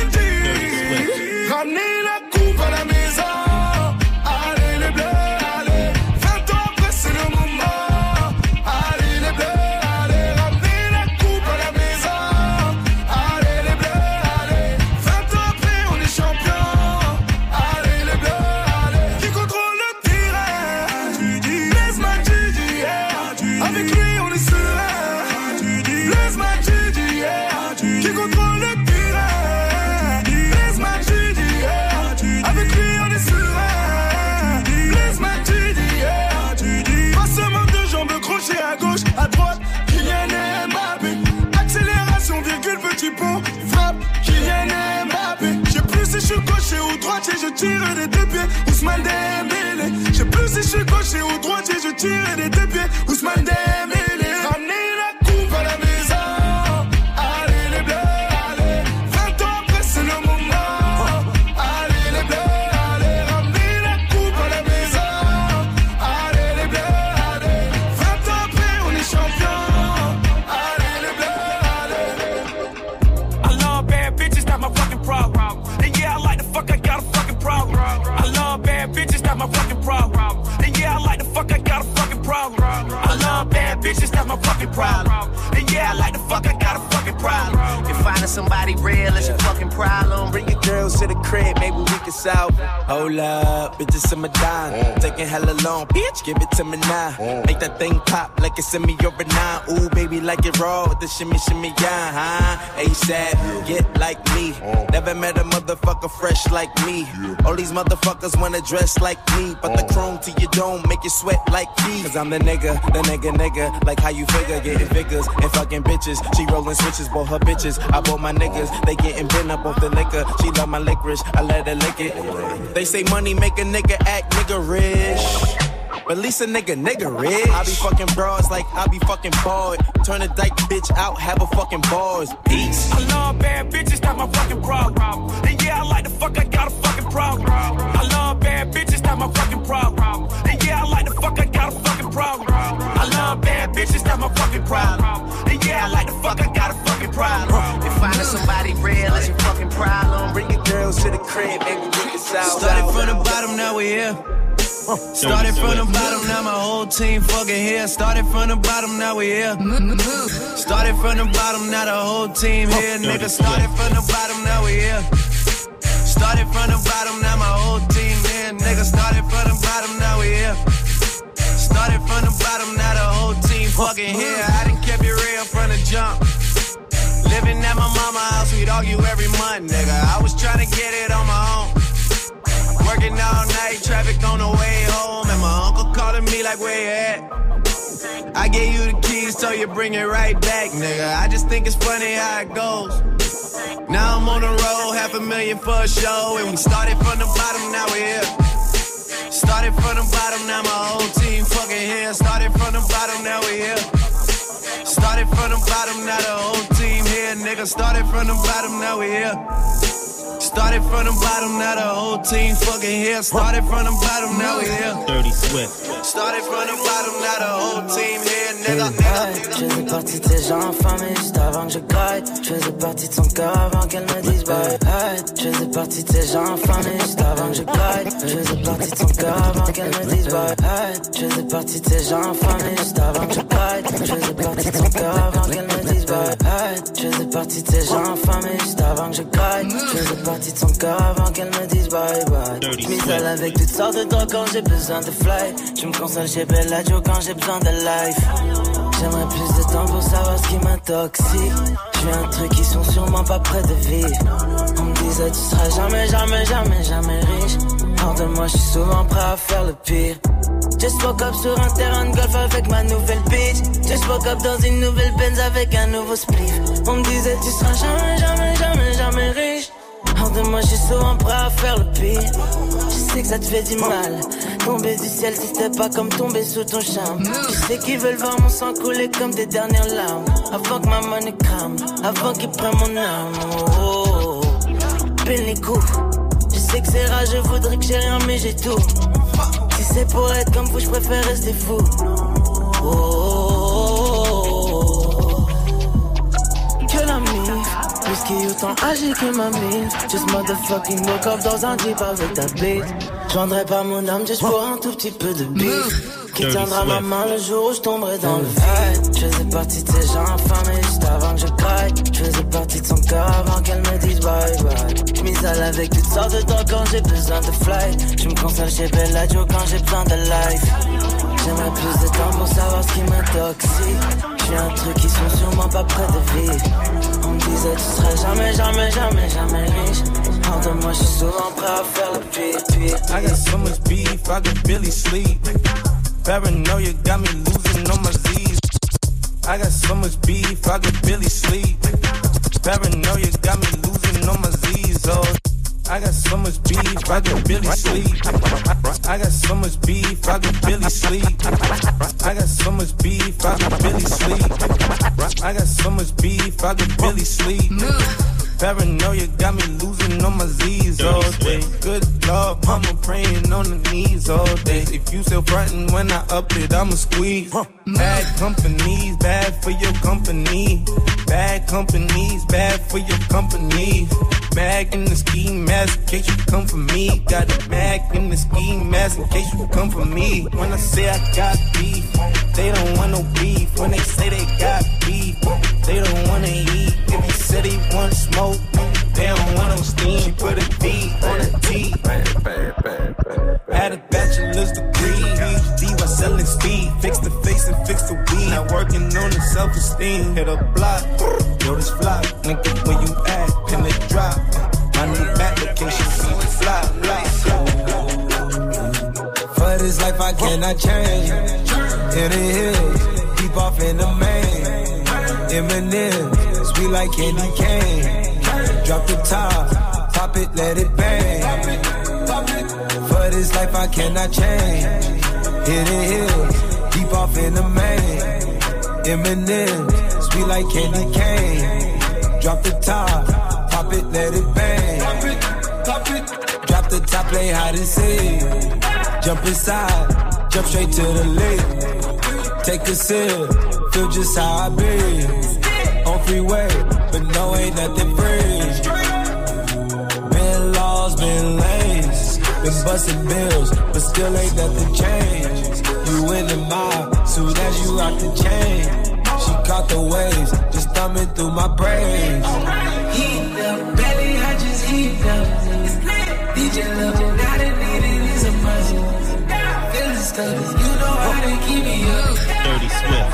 Mendy. Ramenez la coupe à la maison. Allez les bleus, allez. vingt ans après c'est le moment. Allez les bleus, allez. Ramenez la coupe à la maison. Allez les bleus, allez. vingt ans après on est champion. Allez les bleus, allez. Qui contrôle le terrain? Blaise Matuidi, yeah. Avec lui on est serein. Blaise Matuidi, yeah. Qui contrôle le terrain? Blaise Matuidi, yeah. Avec lui on est serein. Blaise Matuidi, yeah. Passement de jambes, crochet à gauche, à droite. Kylian Mbappé. Accélération, virgule, petit pont. Frappe, Kylian Mbappé. Je sais plus si je suis gaucher ou droitier, je tire des deux pieds. Ousmane Dembélé. Je sais plus si je suis gaucher ou droitier, je tire des deux pieds. Ousmane Dembélé. Ramenez la coupe à la maison. Allez les bleus, allez. vingt ans après c'est le moment. Allez les bleus, allez. Ramenez la coupe à la maison. Allez les bleus, allez. vingt ans après on est champion. Allez les bleus, allez. I love bad bitches, not my fucking problem. And yeah, I like the fuck, I got a fucking problem. I love bad bitches, not my fucking problem. And yeah, I like the fuck, I got a fucking problem. I love bad bitches, not my fucking problem. And yeah, I like the fuck, I got a fucking problem. If finding somebody real is your fucking problem, bring your girls to the crib, maybe we can solve. Hold up, bitches in my dime. Taking hella long, bitch, give it to me now. Make that thing pop like it's in me over nine. Ooh, baby, like it raw with the shimmy, shimmy, yeah, huh? ASAP, get like me. Never met a motherfucker fresh like me. All these motherfuckers wanna dress like me, but the chrome to your dome make you sweat like me. Cause I'm the nigga, the nigga, nigga. Like how you figure, getting figures and fucking bitches. She rolling switches, bought her bitches. I bought my niggas, they getting bent up off the liquor. She love my licorice, I let her lick it. They say money make a nigga act nigga rich. But at least a nigga, nigga rich. I be fucking broads like I be fucking bored. Turn a dyke bitch out, have a fucking bars. Peace. I love bad bitches, not my fucking problem. And yeah, I like the fuck, I got a fucking problem. I love bad bitches, not my fucking problem. And yeah, I like the fuck, I got a fucking problem. I love bad bitches, not my fucking problem. And yeah, I like the fuck, I got a fucking problem. If finding somebody real is your fucking problem, bring your girls to the crib, maybe we can solve. Started from the bottom, now we here. Started from the bottom, now my whole team fucking here. Started from the bottom, now we here. Started from the bottom, now the whole team here. Nigga, started from the bottom, now we here. Started from the bottom, now my whole team here. Nigga, started from the bottom, now we here. Started from the bottom, now the whole team fucking here. I done kept it real from the jump. Living at my mama's house, we'd argue every month, nigga. I was trying to get it on my own. Working all night, traffic on the way home. And my uncle calling me like, where you at? I gave you the keys, so you bring it right back, nigga. I just think it's funny how it goes. Now I'm on the road, half a million for a show. And we started from the bottom, now we here. Started from the bottom, now my whole team fucking here. Started from the bottom, now we here. Started from the bottom, now the whole team here, nigga. Started from the bottom, now we here. Started from the bottom, now the whole team fucking here. Started from the bottom, now we here. Dirty Swift. Started from the bottom, now the whole team here, nigga. Je faisais partie de ces gens infamés juste avant que je graille. Je faisais partie de son cœur avant qu'elle me dise bye. Hey, je faisais partie de ces gens infamés juste avant que je graille. Je faisais partie de son cœur avant qu'elle me dise bye. Hey, je faisais partie de ces gens infamés juste avant que je graille. Je faisais partie de son cœur avant qu'elle me dise bye. Hey, je faisais partie de ces gens infamés juste avant que je graille. Je faisais partie de son cœur avant qu'elle me dise bye bye. Je m'isole avec toutes sortes de drogues quand j'ai besoin de fly. Je me console chez Bellagio quand j'ai besoin de life. J'aimerais plus de temps pour savoir ce qui m'intoxique. J'ai un truc qui sont sûrement pas près de vivre. On me disait tu seras jamais, jamais, jamais, jamais riche. Hors de moi, je suis souvent prêt à faire le pire. Just woke up sur un terrain de golf avec ma nouvelle bitch. Just woke up dans une nouvelle Benz avec un nouveau spliff. On me disait tu seras jamais, jamais, jamais, jamais riche. Hors de moi, je suis souvent prêt à faire le pire. Je sais que ça te fait du mal. Tomber du ciel, c'était pas comme tomber sous ton charme. Je sais qu'ils veulent voir mon sang couler comme des dernières larmes. Avant que ma monnaie crame, avant qu'ils prennent mon âme. Oh, oh, oh. Pile les coups. Je sais que c'est rare, je voudrais que j'ai rien, mais j'ai tout. Si c'est pour être comme vous, je préfère rester fou. Oh, oh, oh, oh. Que la mif. Whisky autant âgé que ma mine. Just motherfucking woke up dans un jeep avec ta bite. Je vendrais pas mon âme juste pour un tout petit peu de bif. Qui tiendra ma main le jour où je tomberai dans le vide. Je faisais partie de ces gens affamés juste avant que je craque. Je faisais partie de son cœur avant qu'elle me dise bye bye. Je m'isole avec toutes sortes de drogues quand j'ai besoin de fly. Je me console chez Bella Joe quand j'ai besoin de life. J'aimerais plus de temps pour savoir ce qui m'intoxique. J'ai un truc qui sont sûrement pas près de vivre. On me disait tu serais jamais, jamais, jamais, jamais riche. Hors de moi, je suis souvent prêt à faire le pire, pire. I got so much beef, I could barely sleep. Paranoia got me losing on my Z's. I got so much beef, I could barely sleep. Paranoia got me losing on my Z's. Oh, I got so much beef, I could barely sleep. I got so much beef, I could barely sleep. I got so much beef, I could barely sleep. I got so much beef, I could barely sleep. Paranoia got me losing on my Z's all day. Good Lord, mama praying on the knees all day. If you still frontin' when I up it, I'ma squeeze. Bad companies, bad for your company. Bad companies, bad for your company. Mag in the ski mask in case you come for me. Got a mag in the ski mask in case you come for me. When I say I got beef, they don't want no beef. When they say they got beef, they don't wanna eat. If he said he want smoke, they don't want no steam. She put a B on a T. Had a bachelor's degree, P H D while selling speed. Fix the face and fix the weed. Now working on the self-esteem. Hit a block, yo this flop. Nigga, where you at? Can it drop? My new application, see the fly, fly, For this life I cannot change. In the hills, deep off in the main. Eminem, sweet like candy cane. Drop the top, pop it, let it bang. For this life I cannot change. In the hills, deep off in the main. Eminem, sweet like candy cane. Drop the top, pop it, let it bang. Pop it, pop it. Drop the top, play hide and seek. Jump inside, jump straight to the lake. Take a sip, feel just how I be. On freeway, but no, ain't nothing free. Been lost, been lanes. Been busting bills, but still ain't nothing changed. You in the mob, soon as you rock the chain. She caught the waves, just thumbing through my brains. Heat up, belly, I just heat up. D J level, not a need it is a must. Feeling stuck, you know how to keep me up. Dirty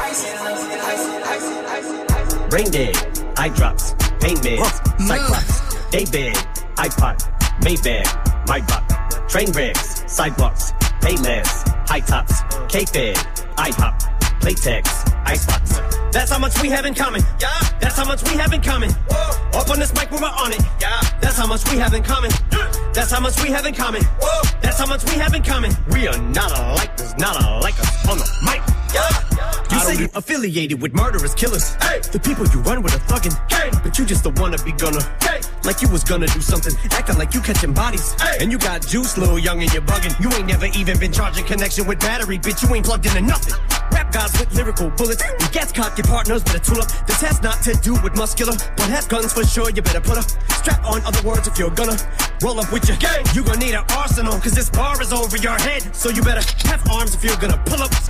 Swift. Brain dead, eye drops, pain meds, cyclops, day bed, iPod, Maybach, my bot, train wrecks, sidewalks, payless, high tops, K-Fed, IHOP, Playtex, icebox. That's how much we have in common. Yeah. That's how much we have in common. Whoa. Up on this mic, we're on it. Yeah. That's how much we have in common. That's how much we have in common. Whoa. That's how much we have in common. We are not alike. There's not alike us on the mic. Yeah. You say you affiliated with murderous killers. Hey. The people you run with are thuggin'. Hey. But you just don't wanna be gonna. Hey. Like you was gonna do something. Acting like you catching bodies. Hey. And you got juice, little young, and you're bugging. You ain't never even been charging connection with battery. Bitch, you ain't plugged into nothing. Rap gods with lyrical bullets. We gas cock your partners, better tool up. This has not to do with muscular, but has guns for sure. You better put a strap on. Other words, if you're gonna roll up with your gang, you gonna need an arsenal. Cause this bar is over your head. So you better have arms if you're gonna pull up.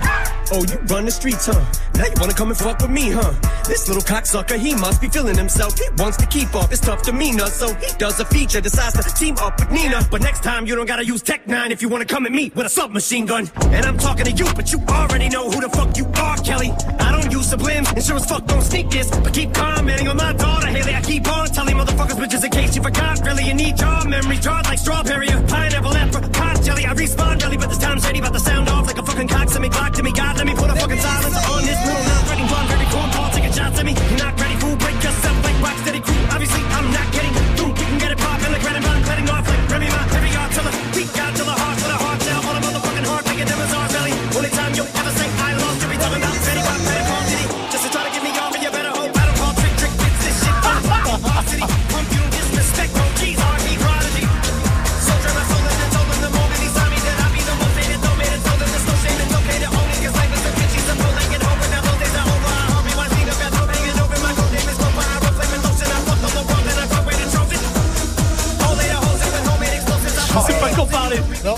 Oh, you run the streets, huh? Now you wanna come and fuck with me, huh? This little cocksucker, he must be feeling himself. He wants to keep up his tough demeanor, so he does a feature, decides to team up with Nina. But next time you don't gotta use Tech nine if you wanna come at me with a submachine gun. And I'm talking to you, but you already know who the fuck you are, Kelly. I don't use sublims, and sure as fuck don't sneak this, but keep commenting on my daughter, Haley. I keep on telling motherfuckers, but just in case you forgot, really, you need your memory jarred like strawberry or pineapple, apricot jelly. I respawn jelly, but this time shady, about to sound off like a fucking cock. Send me Glock to me, God, let me put a fucking silence on this little not ready, blonde, very cool, Paul, taking shots at me. You're not ready, fool, break yourself like Rocksteady crew. Obviously, I'm not getting through. You can get it poppin' like Red and Bond, cutting off like Remy Ma, heavy artillery. Weak Godzilla, heart with a hard shell, on a motherfucking heart, making them as our belly. Only time you'll ever say I lost, you'll be talking about Betty Pop, Betty Paul Diddy. Just to try to get me off, and you better hope I don't call trick, trick, fix this shit. City, pump you, disrespect, no keys, R E prodigy. Soldier, my soul, and told them the moment he saw me that I'd be the most hated, no man, and told them there's no shame, it's okay to own it, cause life is a bitch, he's a bull, ain't get over, now those days are over, I hope you want to see the best, hanging over my gold name is Copa, I roll flame and lotion, I fucked on the world, and I got weight and trophy. All later hoes and with homemade explosives, I Je sais pas qu'en parler. Non.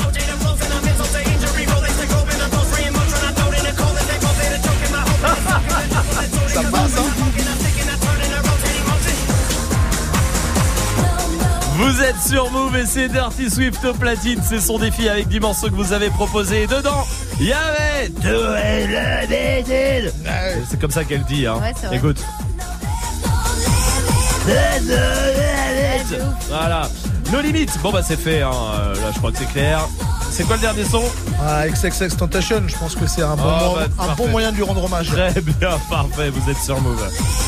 Ça passe, hein. Vous êtes sur Move et c'est Dirty Swift au platine. C'est son défi avec dix morceaux que vous avez proposés. Et dedans, il y avait c'est comme ça qu'elle dit, hein. Ouais, c'est vrai. Écoute. Voilà. No Limit. Bon bah c'est fait, hein. Là je crois que c'est clair. C'est quoi le dernier son? Ah, X X X Tentation, je pense que c'est un, bon, Oh, mo- bah, un bon moyen de lui rendre hommage. Très bien, parfait, vous êtes sur Move.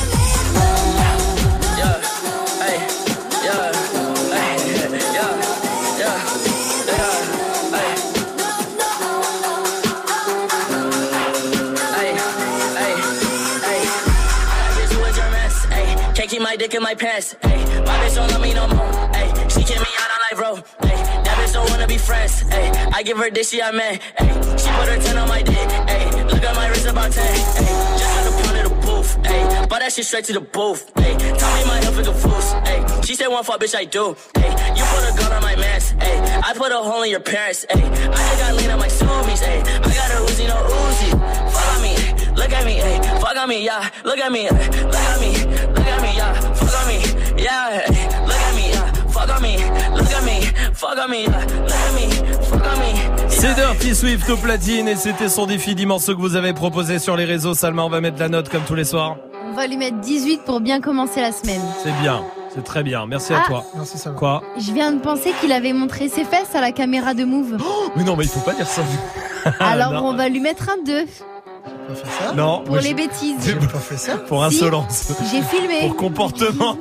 Can't keep my dick in my pants. Ay, my bitch don't love me no more. Ay, she kick me out on live road. Ay, that bitch don't wanna be friends. Ay, I give her this, she I man. Ay, she put her ten on my dick. Ay, look at my wrist about ten. Ay, just got a pound of the booth. Ay, bought that shit straight to the booth. Ay, tell me my health is a fool's. Ay, she said one fuck, bitch I do. Ay, you put a gun on my mask. Ay, I put a hole in your parents. Ay, I just got lean on my zoomies. Ay, I got a Uzi, no Uzi. Follow me. Look at me, ay, fuck on me, yeah. Look at me, ay, look at me, look at me, yeah. Fuck on me, yeah. Ay, look at me, yeah. Fuck on me, look at me, fuck on me, yeah. Look at me, fuck on me. C'est Dirty Swift au platine et c'était son défi dix morceaux que vous avez proposé sur les réseaux. Salma, on va mettre la note comme tous les soirs. On va lui mettre dix-huit pour bien commencer la semaine. C'est bien, c'est très bien. Merci Ah. à toi. Merci Salma. Quoi? Je viens de penser qu'il avait montré ses fesses à la caméra de Move. Mais non, mais il faut pas dire ça. Alors Non. on va lui mettre un deux. Non. Pour moi, les je- bêtises. J'ai pas fait ça. Pour insolence. J'ai filmé. Pour comportement.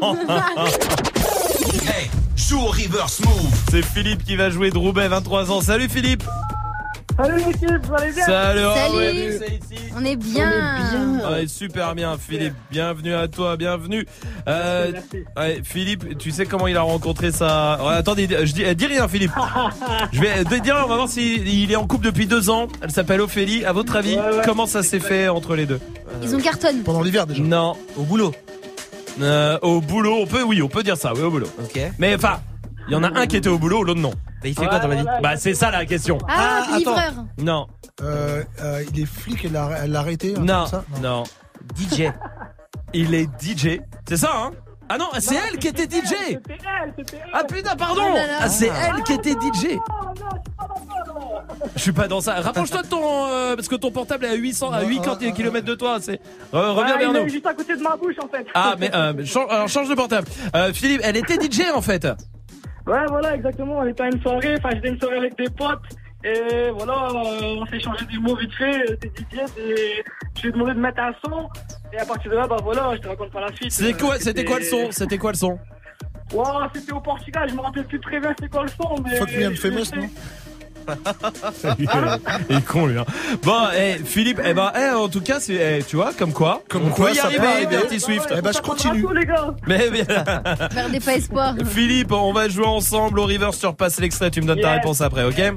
Hey, joue au reverse move. C'est Philippe qui va jouer de Roubaix, vingt-trois ans. Salut Philippe. Salut l'équipe, vous allez bien? Salut. ah Salut. ouais, c'est ici. On est bien. Ouais, super bien Philippe, bienvenue à toi, bienvenue. Euh, ouais, Philippe, tu sais comment il a rencontré sa... Ouais, attendez, je dis, dis rien Philippe. Je vais te dire, on va voir s'il est en couple depuis deux ans. Elle s'appelle Ophélie. À votre avis, Ouais, ouais. comment ça s'est fait entre les deux? Ils ont cartonné. Pendant l'hiver déjà. Non, au boulot. Euh, au boulot, on peut, oui, on peut dire ça, oui, au boulot. Ok. Mais enfin, il y en a un qui était au boulot, l'autre non. Bah, il fait quoi dans la vie? Bah c'est ça la question. Ah, Ah, livreur. Non, Euh, euh, il est flic, elle l'a elle l'a arrêté. un truc non, comme ça non. D J. Il est D J. C'est ça, hein? Ah non, c'est elle qui était D J. C'était elle, c'était elle. Ah putain, pardon. Oh là là. Ah c'est elle qui était D J. Je suis pas dans ça. Rapproche-toi de ton euh, parce que ton portable est à huit cents, à huit kilomètres de toi. C'est Re- reviens Ouais, vers il est nous. juste à côté de ma bouche en fait. Ah mais euh, change, alors change de portable. Euh, Philippe, elle était D J en fait. Ouais, voilà, exactement. On était à une soirée, enfin, j'étais à une soirée avec des potes. Et voilà, euh, on s'est échangé des mots vite fait. T'es D J, et je lui ai demandé de mettre un son. Et à partir de là, bah voilà, je te raconte pas la suite. C'était quoi, Euh, c'était quoi le son C'était quoi le son Ouais, c'était au Portugal, je me rappelle plus très bien c'était quoi le son, mais. Fuck me, I'm famous, non? Il est con lui. Hein. Bon, eh, Philippe, eh ben, eh, en tout cas, c'est, eh, tu vois, comme quoi, Comme on quoi, peut y ça arriver, peut arriver. Dirty Swift. Eh ben, je continue. Bravo, les gars. Mais, mais Perdez pas espoir. Philippe, on va jouer ensemble au River. Tu repasses l'extrait, tu me donnes ta Yes. réponse après, ok?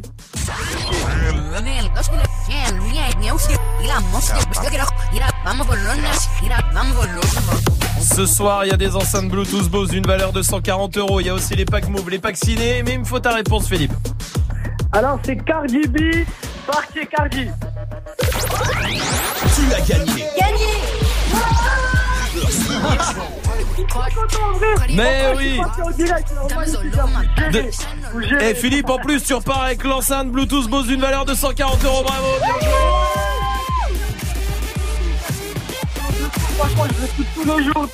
Ce soir, il y a des enceintes Bluetooth Bose d'une valeur de cent quarante euros. Il y a aussi les packs Move, les packs ciné. Mais il me faut ta réponse, Philippe. Alors, c'est Cardi B, Party Cardi. Tu as gagné. Gagné. Mais oui. De... Et Philippe, en plus, tu repars avec l'enceinte Bluetooth Bose d'une valeur de cent quarante euros. Bravo, bien joué. Franchement, je l'écoute tous les jours.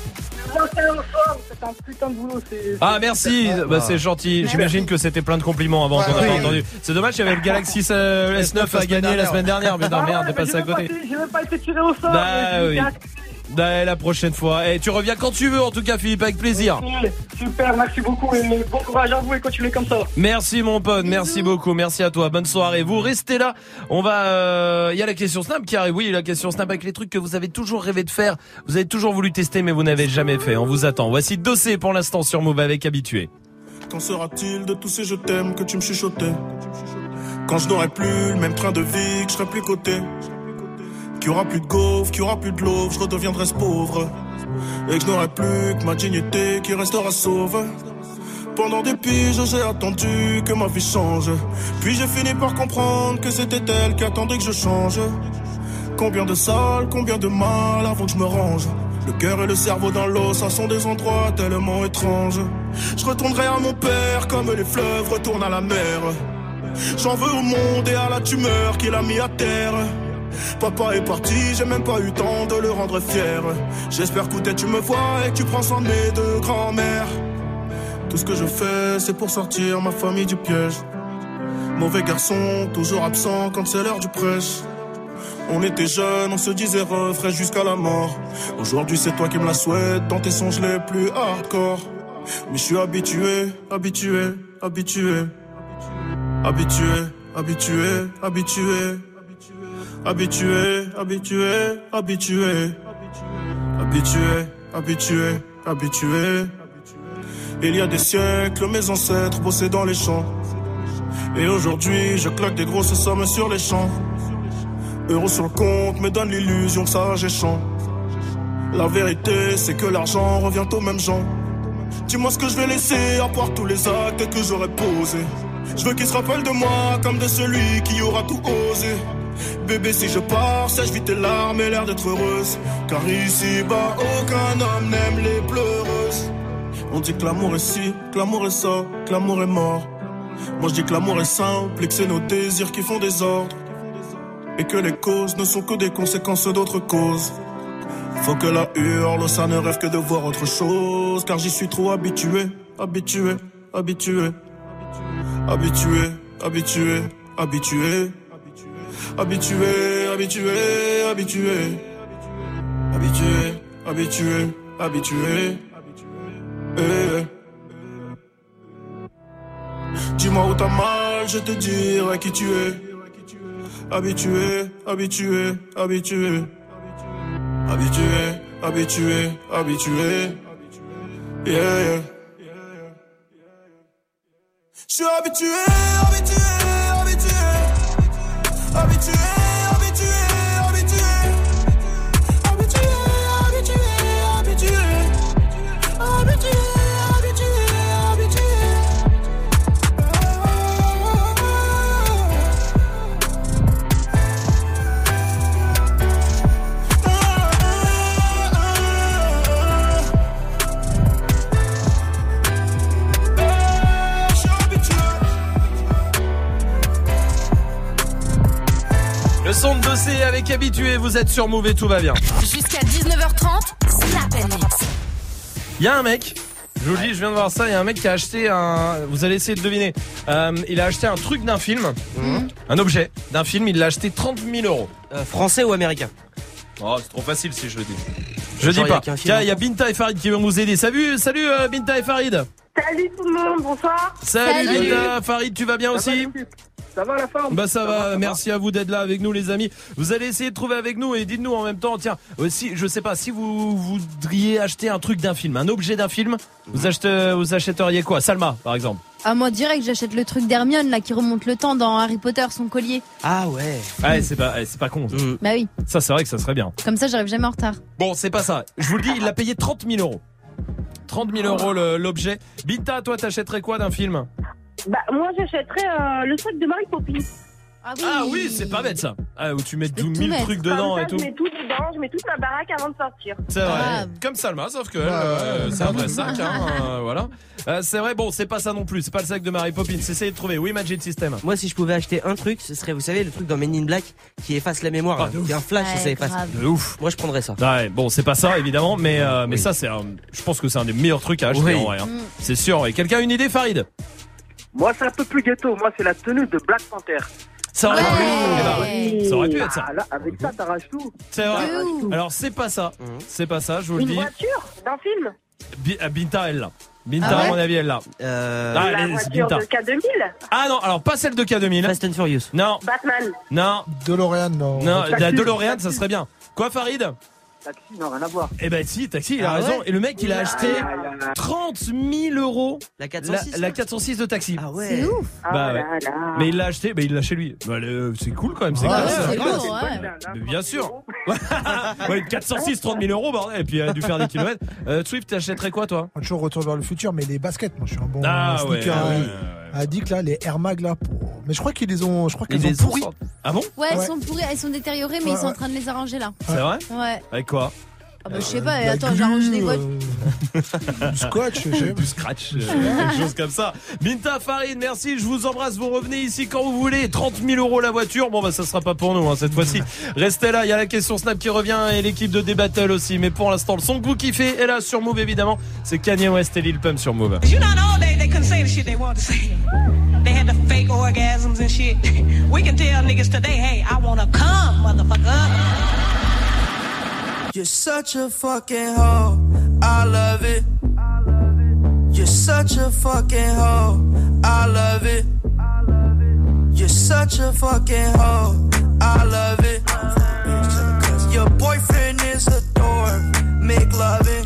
C'est un putain de boulot. C'est... Ah merci, bah, c'est gentil. J'imagine que c'était plein de compliments avant qu'on n'a pas entendu. C'est dommage, il y avait le Galaxy S neuf à gagner la semaine dernière. Mais non, merde, t'es passé à côté. J'ai même pas été tiré au sort. Bah oui. Bah, la prochaine fois. Et tu reviens quand tu veux, en tout cas, Philippe, avec plaisir. Super, merci beaucoup et bon courage à vous et continuez comme ça. Merci mon pote, merci beaucoup, merci à toi. Bonne soirée. Vous restez là. On va. Il euh, y a la question Snap qui arrive. Oui, la question Snap avec les trucs que vous avez toujours rêvé de faire. Vous avez toujours voulu tester, mais vous n'avez jamais fait. On vous attend. Voici Dossé pour l'instant sur Move avec Habitué. Quand sera-t-il de tous ces je t'aime que tu me chuchotais? Quand je n'aurai plus le même train de vie, que je serai plus coté. Qu'il y aura plus de gaufres, qu'il y aura plus de l'eau, je redeviendrai pauvre. Et que je n'aurai plus que ma dignité qui restera sauve. Pendant des piges, j'ai attendu que ma vie change. Puis j'ai fini par comprendre que c'était elle qui attendait que je change. Combien de salles, combien de mal avant que je me range. Le cœur et le cerveau dans l'eau, ça sont des endroits tellement étranges. Je retournerai à mon père comme les fleuves retournent à la mer. J'en veux au monde et à la tumeur qu'il a mis à terre. Papa est parti, j'ai même pas eu temps de le rendre fier. J'espère que tu me vois et que tu prends soin de mes deux grands-mères. Tout ce que je fais, c'est pour sortir ma famille du piège. Mauvais garçon, toujours absent quand c'est l'heure du prêche. On était jeunes, on se disait refrain jusqu'à la mort. Aujourd'hui c'est toi qui me la souhaites dans tes songes les plus hardcore. Mais je suis habitué, habitué, habitué. Habitué, habitué, habitué. Habitué, habitué, habitué. Habitué, habitué, habitué. Il y a des siècles, mes ancêtres bossaient dans les champs. Et aujourd'hui, je claque des grosses sommes sur les champs. Euros sur le compte me donne l'illusion que ça j'ai champ. La vérité, c'est que l'argent revient aux mêmes gens. Dis-moi ce que je vais laisser à part tous les actes que j'aurais posés. Je veux qu'ils se rappellent de moi comme de celui qui aura tout osé. Bébé, si je pars, sèche vite tes larmes et l'air d'être heureuse. Car ici-bas, aucun homme n'aime les pleureuses. On dit que l'amour est ci, que l'amour est ça, que l'amour est mort. Moi je dis que l'amour est simple et que c'est nos désirs qui font des ordres. Et que les causes ne sont que des conséquences d'autres causes. Faut que la hurle, ça ne rêve que de voir autre chose. Car j'y suis trop habitué, habitué, habitué. Habitué, habitué, habitué. Habitué, habitué, habitué. Habitué, habitué, habitué. Eh. Dis-moi où t'as mal, je te dirai qui tu es. Habitué, habitué, habitué. Habitué, habitué, habitué. Yeah, yeah. Je suis habitué, habitué, habitué. Habitué, habitué, habitué. Habitué, habitué, habitué. Habitué, habitué, habitué. Le son de Dossé avec Habitué, vous êtes sur Move et tout va bien. Jusqu'à dix-neuf heures trente, Snap and Mix. Il y a un mec, je vous le dis, je viens de voir ça, il y a un mec qui a acheté un... Vous allez essayer de deviner. Euh, il a acheté un truc d'un film, mmh. un objet d'un film, il l'a acheté trente mille euros. Euh, français ou américain? Oh, c'est trop facile si je le dis. Je dis pas. Tiens, il y a Binta et Farid qui vont nous aider. Salut, salut euh, Binta et Farid. Salut tout le monde, bonsoir. Salut, Salut. Binta, Farid, tu vas bien Ça aussi? va, Ça va la forme? Bah ça, ça va, va ça merci va. À vous d'être là avec nous les amis. Vous allez essayer de trouver avec nous et dites-nous en même temps, tiens, si je sais pas, si vous voudriez acheter un truc d'un film, un objet d'un film, vous achetez, vous achèteriez quoi? Salma par exemple. Ah moi direct j'achète le truc d'Hermione là qui remonte le temps dans Harry Potter, son collier. Ah ouais. Ouais, c'est pas, c'est pas con. Ça. Mmh. Bah oui. Ça c'est vrai que ça serait bien. Comme ça j'arrive jamais en retard. Bon c'est pas ça. Je vous le dis, il l'a payé trente mille euros. trente mille euros le, l'objet. Binta, toi t'achèterais quoi d'un film? Bah moi j'achèterais euh, le sac de Mary Poppins. Ah oui, Ah oui, c'est pas bête ça. Ah, où tu mets peux mille tout trucs mettre. dedans Comme ça, et tout. je mets tout dedans, je mets toute ma baraque avant de sortir. C'est vrai. Ah. Comme Salma, sauf que Ouais, euh, ouais, c'est un vrai ouais. sac, hein, euh, voilà. Euh, c'est vrai, bon, c'est pas ça non plus. C'est pas le sac de Mary Poppins. Essayez de trouver. Oui, Magic System. Moi, si je pouvais acheter un truc, ce serait, vous savez, le truc dans Men in Black qui efface la mémoire. Ah, là. de Il y a un flash et Ouais, ça efface. grave. De ouf. Moi, je prendrais ça. Ouais, bon, c'est pas ça évidemment, mais euh, mais Oui. ça, c'est, un, je pense que c'est un des meilleurs trucs à acheter Oui. en vrai. Hein. Mm. C'est sûr. Et quelqu'un a une idée, Farid? Moi, c'est un peu plus ghetto. Moi, c'est la tenue de Black Panther. Ça aurait pu. Ouais. Eh ben, ouais. Ça aurait pu être ça. Ah, là, avec ça, t'arraches tout. C'est vrai. De ouf. Alors c'est pas ça. Mhm. C'est pas ça. Je vous le Une dis. voiture d'un film. Bi- ah, Binta, elle là. Binta, Ah ouais à mon avis, elle là. Euh, Ah, La allez, c'est voiture Binta. de K deux mille. Ah non, alors pas celle de K deux mille. Fast and Furious. Non, Batman. non, DeLorean, non. non. Taxi. La DeLorean, ça serait bien. Quoi, Farid? Taxi, non, rien à voir. Eh ben si, Taxi, il a Ah raison. ouais Et le mec, il a acheté Ah, là, là. trente mille euros La quatre cent la, six. la quatre cent six de Taxi. Ah ouais. C'est ouf. Bah Ah ouais. là là. Mais il l'a acheté, mais il l'a chez lui. Bah, le- c'est cool quand même, c'est Ah, classe. ouais, c'est ouais, lourd, C'est une ouais. bonne blague, hein, Mais bien sûr. trente euros. Ouais, quatre cent six, trente mille euros, bordel. Et puis, il a dû faire des kilomètres. Euh, Swift, t'achèterais quoi, toi? On toujours retour vers le futur, mais les baskets, moi je suis un bon Ah ouais, sneaker ouais, euh, ouais, ouais. addict là, les Air Mag là. Pour... Mais je crois qu'ils les ont, je crois qu'ils Ils ont les ont pourri. sortis. Ah bon? Ouais, elles Ouais. sont pourries, elles sont détériorées, mais Ouais, ils sont en ouais. train de les arranger là. C'est vrai? Ouais. Avec quoi? Ah bah, je sais pas, De la attends, glu, j'arrange les boîtes. euh, du scotch, je sais. Du scratch, euh, quelque chose comme ça. Binta, Farid, merci, je vous embrasse, vous revenez ici quand vous voulez. trente mille euros la voiture, bon bah ça sera pas pour nous hein, cette fois-ci. Restez là, il y a la question Snap qui revient et l'équipe de D-Battle aussi. Mais pour l'instant, le son que vous kiffez est là sur Move évidemment. C'est Kanye West et Lil Pump sur Move. You know, in the old days, they couldn't say the shit they wanted to say. They had the fake orgasms and shit. We can tell niggas today, hey, I wanna come, motherfucker. You're such a fucking hoe, I love it. You're such a fucking hoe, I love it. You're such a fucking hoe, I love it. Your boyfriend is a dork, make loving.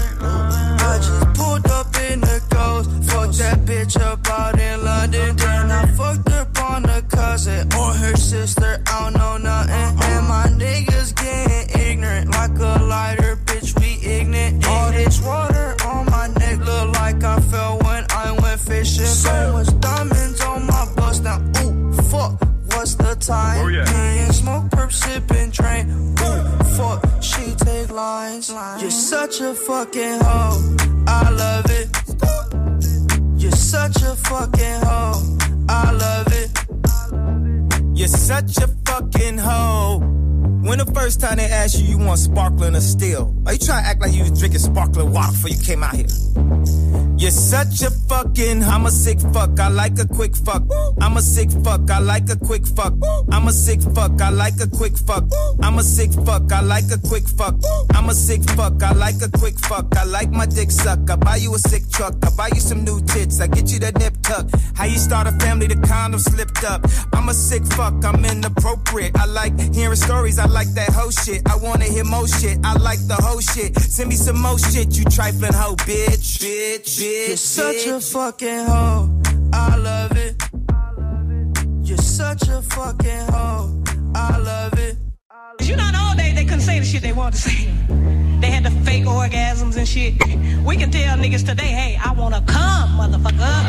I just pulled up in the ghost, fucked that bitch up out in London. Then I fucked up on her cousin or her sister, I don't know nothing. And my niggas getting ignorant like a lighter, bitch, we ignorant. All this water on my neck look like I fell when I went fishing. So much diamonds on my bust now, ooh, fuck, what's the time? Oh, yeah. Me and smoke, perp, sipping, drain, ooh, fuck, she take lines. You're such a fucking hoe, I love it. You're such a fucking hoe, I love it. You're such a fucking hoe. When the first time they asked you, you want sparkling or still? Are you trying to act like you was drinking sparkling water before you came out here? You're such a fucking, I'm a sick fuck, I like a quick fuck. I'm a sick fuck, I like a quick fuck. I'm a sick fuck, I like a quick fuck. I'm a sick fuck, I like a quick fuck. I'm a sick fuck, I like a quick fuck. I like my dick suck, I buy you a sick truck. I buy you some new tits, I get you that nip tuck. How you start a family, the condom slipped up. I'm a sick fuck, I'm inappropriate. I like hearing stories, I like that whole shit. I wanna hear more shit, I like the whole shit. Send me some more shit, you trifling hoe, bitch, bitch, bitch. You're such a fucking hoe, I love it. You're such a fucking hoe, I love it. You know, in the old days, they couldn't say the shit they wanted to say. They had the fake orgasms and shit. We can tell niggas today, hey, I wanna come, motherfucker.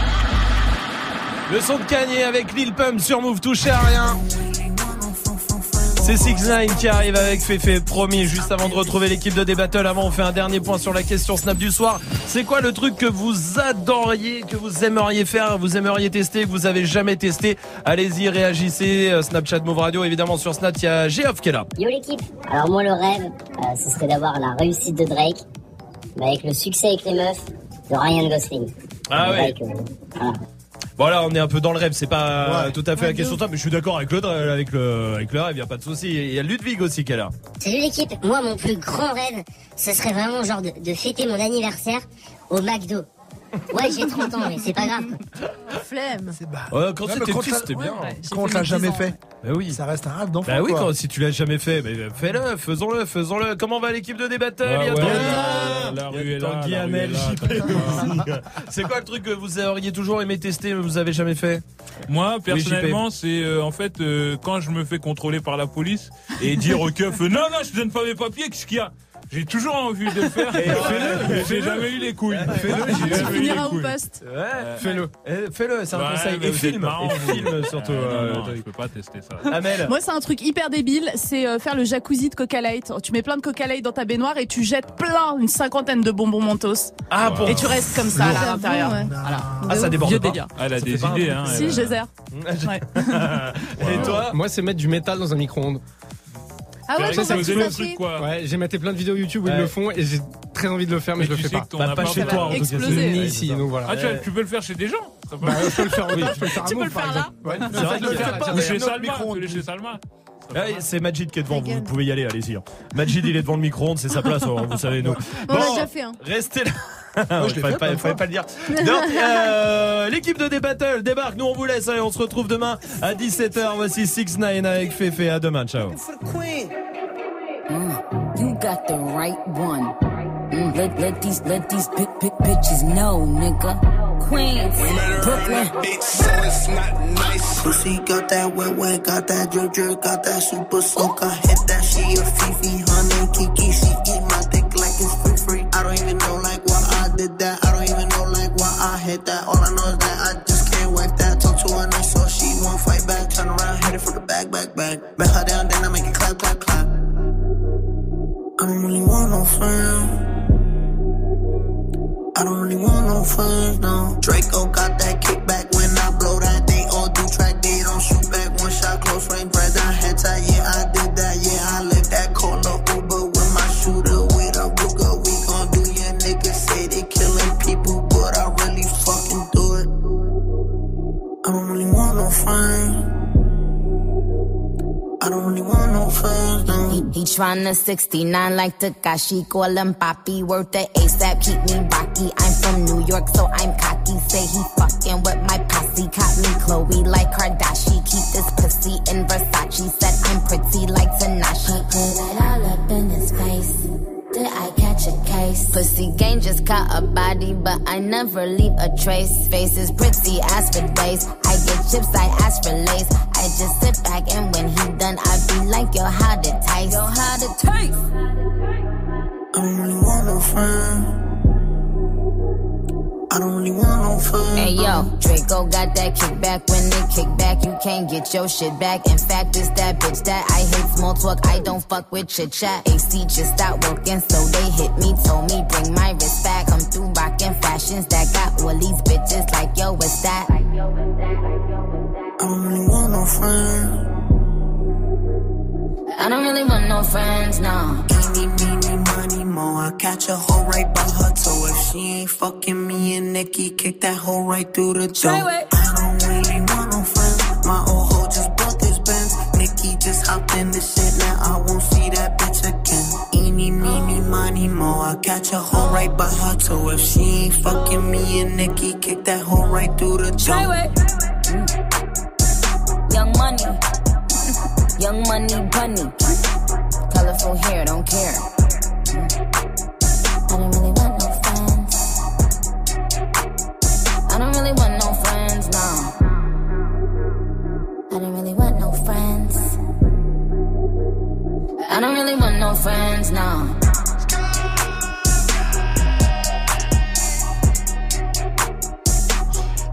Le son de Kanye avec Lil Pump sur Move, touchez à rien. C'est six neuf qui arrive avec Féfé, promis, juste avant de retrouver l'équipe de D-Battle. Avant, on fait un dernier point sur la question Snap du soir. C'est quoi le truc que vous adoriez, que vous aimeriez faire, vous aimeriez tester, que vous avez jamais testé? Allez-y, réagissez. Snapchat Move Radio, évidemment, sur Snap, il y a Geoff qui est là. Yo l'équipe, alors moi le rêve, euh, ce serait d'avoir la réussite de Drake, mais avec le succès avec les meufs de Ryan Gosling. Ah ouais. Drake, euh, voilà. Voilà, on est un peu dans le rêve, c'est pas Ouais. tout à fait la question de toi, mais je suis d'accord avec le, avec le, avec le rêve, il y a pas de souci. Il y a Ludwig aussi qui est là. Salut l'équipe, moi mon plus grand rêve, ce serait vraiment genre de, de fêter mon anniversaire au McDo. Ouais, j'ai trente ans, mais c'est pas grave. Flemme. Ouais, quand Ouais, c'était mais quand petit, t'as- c'était bien. ouais, quand on l'a jamais fait. Bah oui. Ça reste un rêve d'enfant. Bah oui, quoi. quand, si tu l'as jamais fait, bah, fais-le, faisons-le, faisons-le. Comment va l'équipe de D-Battle? Ouais, Il y a ouais, Tanguy. la- la Il y a rue est là, Tanguy, la rue Amel, est là, J P aussi. C'est quoi le truc que vous auriez toujours aimé tester, mais vous avez jamais fait? Moi, Oui, personnellement, J P. c'est euh, en fait euh, quand je me fais contrôler par la police et dire au keuf euh, non, non, je te donne pas mes papiers, qu'est-ce qu'il y a? J'ai toujours envie de le faire. Et fais-le. J'ai jamais eu les couilles. Fais-le, j'ai Tu jamais eu les finiras au couilles. poste. Ouais, fais-le. Eh, Fais-le, c'est un Ouais, conseil. mais Et vous film. êtes marrant, Et vous. film surtout. Euh, non, euh, non, je peux pas tester ça. Amel. Moi, c'est un truc hyper débile, c'est euh, faire le jacuzzi de Coca Light. Tu mets plein de Coca Light dans ta baignoire et tu jettes plein, une cinquantaine de bonbons Mentos. Ah bon. Et tu restes comme ça là, à l'intérieur. ouais. Voilà. Ah, ça déborde Vieux pas. délire. Elle a Ça des fait pas idées, un- hein. Si, elle- je zère. Ouais. Et toi? Moi, c'est mettre du métal dans un micro-ondes. Ah ouais, Ça, comment c'est tu le l'as truc, fait? quoi. Ouais, j'ai maté plein de vidéos YouTube où Ouais. ils le font et j'ai très envie de le faire, mais, Mais je le tu fais sais pas. que ton Bah, pas appart, chez ça toi, va en tout cas. exploser. Ni Ouais, ici, c'est ça. donc voilà. Ah, tu, tu peux le faire chez des gens. Ça peut- Bah, je peux le faire autant, je peux le faire à Tu peux Move, le par faire là. exemple. Ouais. C'est vrai Je le qu'il fais fait pas, pas. Ou j'ai chez un autre Salma. micro-ondes. Fais-le chez Salma. Ouais, c'est Majid qui est devant, Ta vous, gueule. vous pouvez y aller, allez-y. hein. Majid, il est devant le micro-ondes, c'est sa place, hein, vous savez, nous. On l'a déjà fait, hein. Restez là. Moi, je l'ai fallait fait pas, plein de fallait fois. pas le dire. Donc, euh, l'équipe de D-Battle débarque, nous on vous laisse, allez, on se retrouve demain à dix-sept heures. Voici six neuf avec Fefe, à demain, ciao. Mm, you got the right one. Mm, let, let these let these big big bitches know, nigga. Queens, Brooklyn. Bitch, so it's not nice. Pussy got that wet wet, got that drip drip, got that super soak. I hit that, she a Fifi, honey, Kiki. She eat my dick like it's free free. I don't even know like why I did that. I don't even know like why I hit that. All I know is that I just can't wipe that. Talk to her nice, so she won't fight back. Turn around, hit it for the back, back, back. Bet her down, then I make it clap, clap, clap. I don't really want no friends. I don't really want no friends, no. Draco got that kickback when I blow that. They all do track, they don't shoot back. One shot, close range, bread down, head tie. Yeah, I did that, yeah, I lived that. Call up Uber with my shooter, with a Ruger. We gon' do your niggas say they killing people, but I really fucking do it. I don't really want no friends. I don't really want no friends, no. He, he tryna sixty-nine like Takashi, call him Papi, worth the ASAP, keep me rocky. I'm from New York, so I'm cocky. Say he fucking with my posse, caught me Chloe like Kardashian. Keep this pussy in Versace, said I'm pretty like Tanashi. Put it all up in his face. Did I catch a case? Pussy gang just caught a body, but I never leave a trace. Face is pretty, ask for days. I get chips, I ask for lace. I just sit back and when he done, I be like, yo, how to taste? Yo, how to taste? I don't really want no friends. I don't really want no friends. Hey yo, Draco got that kickback. When they kick back, you can't get your shit back. In fact, it's that bitch that I hate small talk. I don't fuck with chit chat. A C just stopped working, so they hit me, told me bring my wrist back. I'm through rocking fashions that got all these bitches like yo, what's that? I don't really want no friends. I don't really want no friends, no. Eeny, meeny, money, mo. I catch a hoe right by her toe. If she ain't fucking me and Nikki, kick that hoe right through the door. I don't really want no friends. My old hoe just bought this Benz. Nikki just hopped in the shit, now I won't see that bitch again. Eeny, meeny, money, mo. I catch a hoe right by her toe. If she ain't fucking me and Nikki, kick that hoe right through the door. Young money, young money bunny, colorful hair, don't care.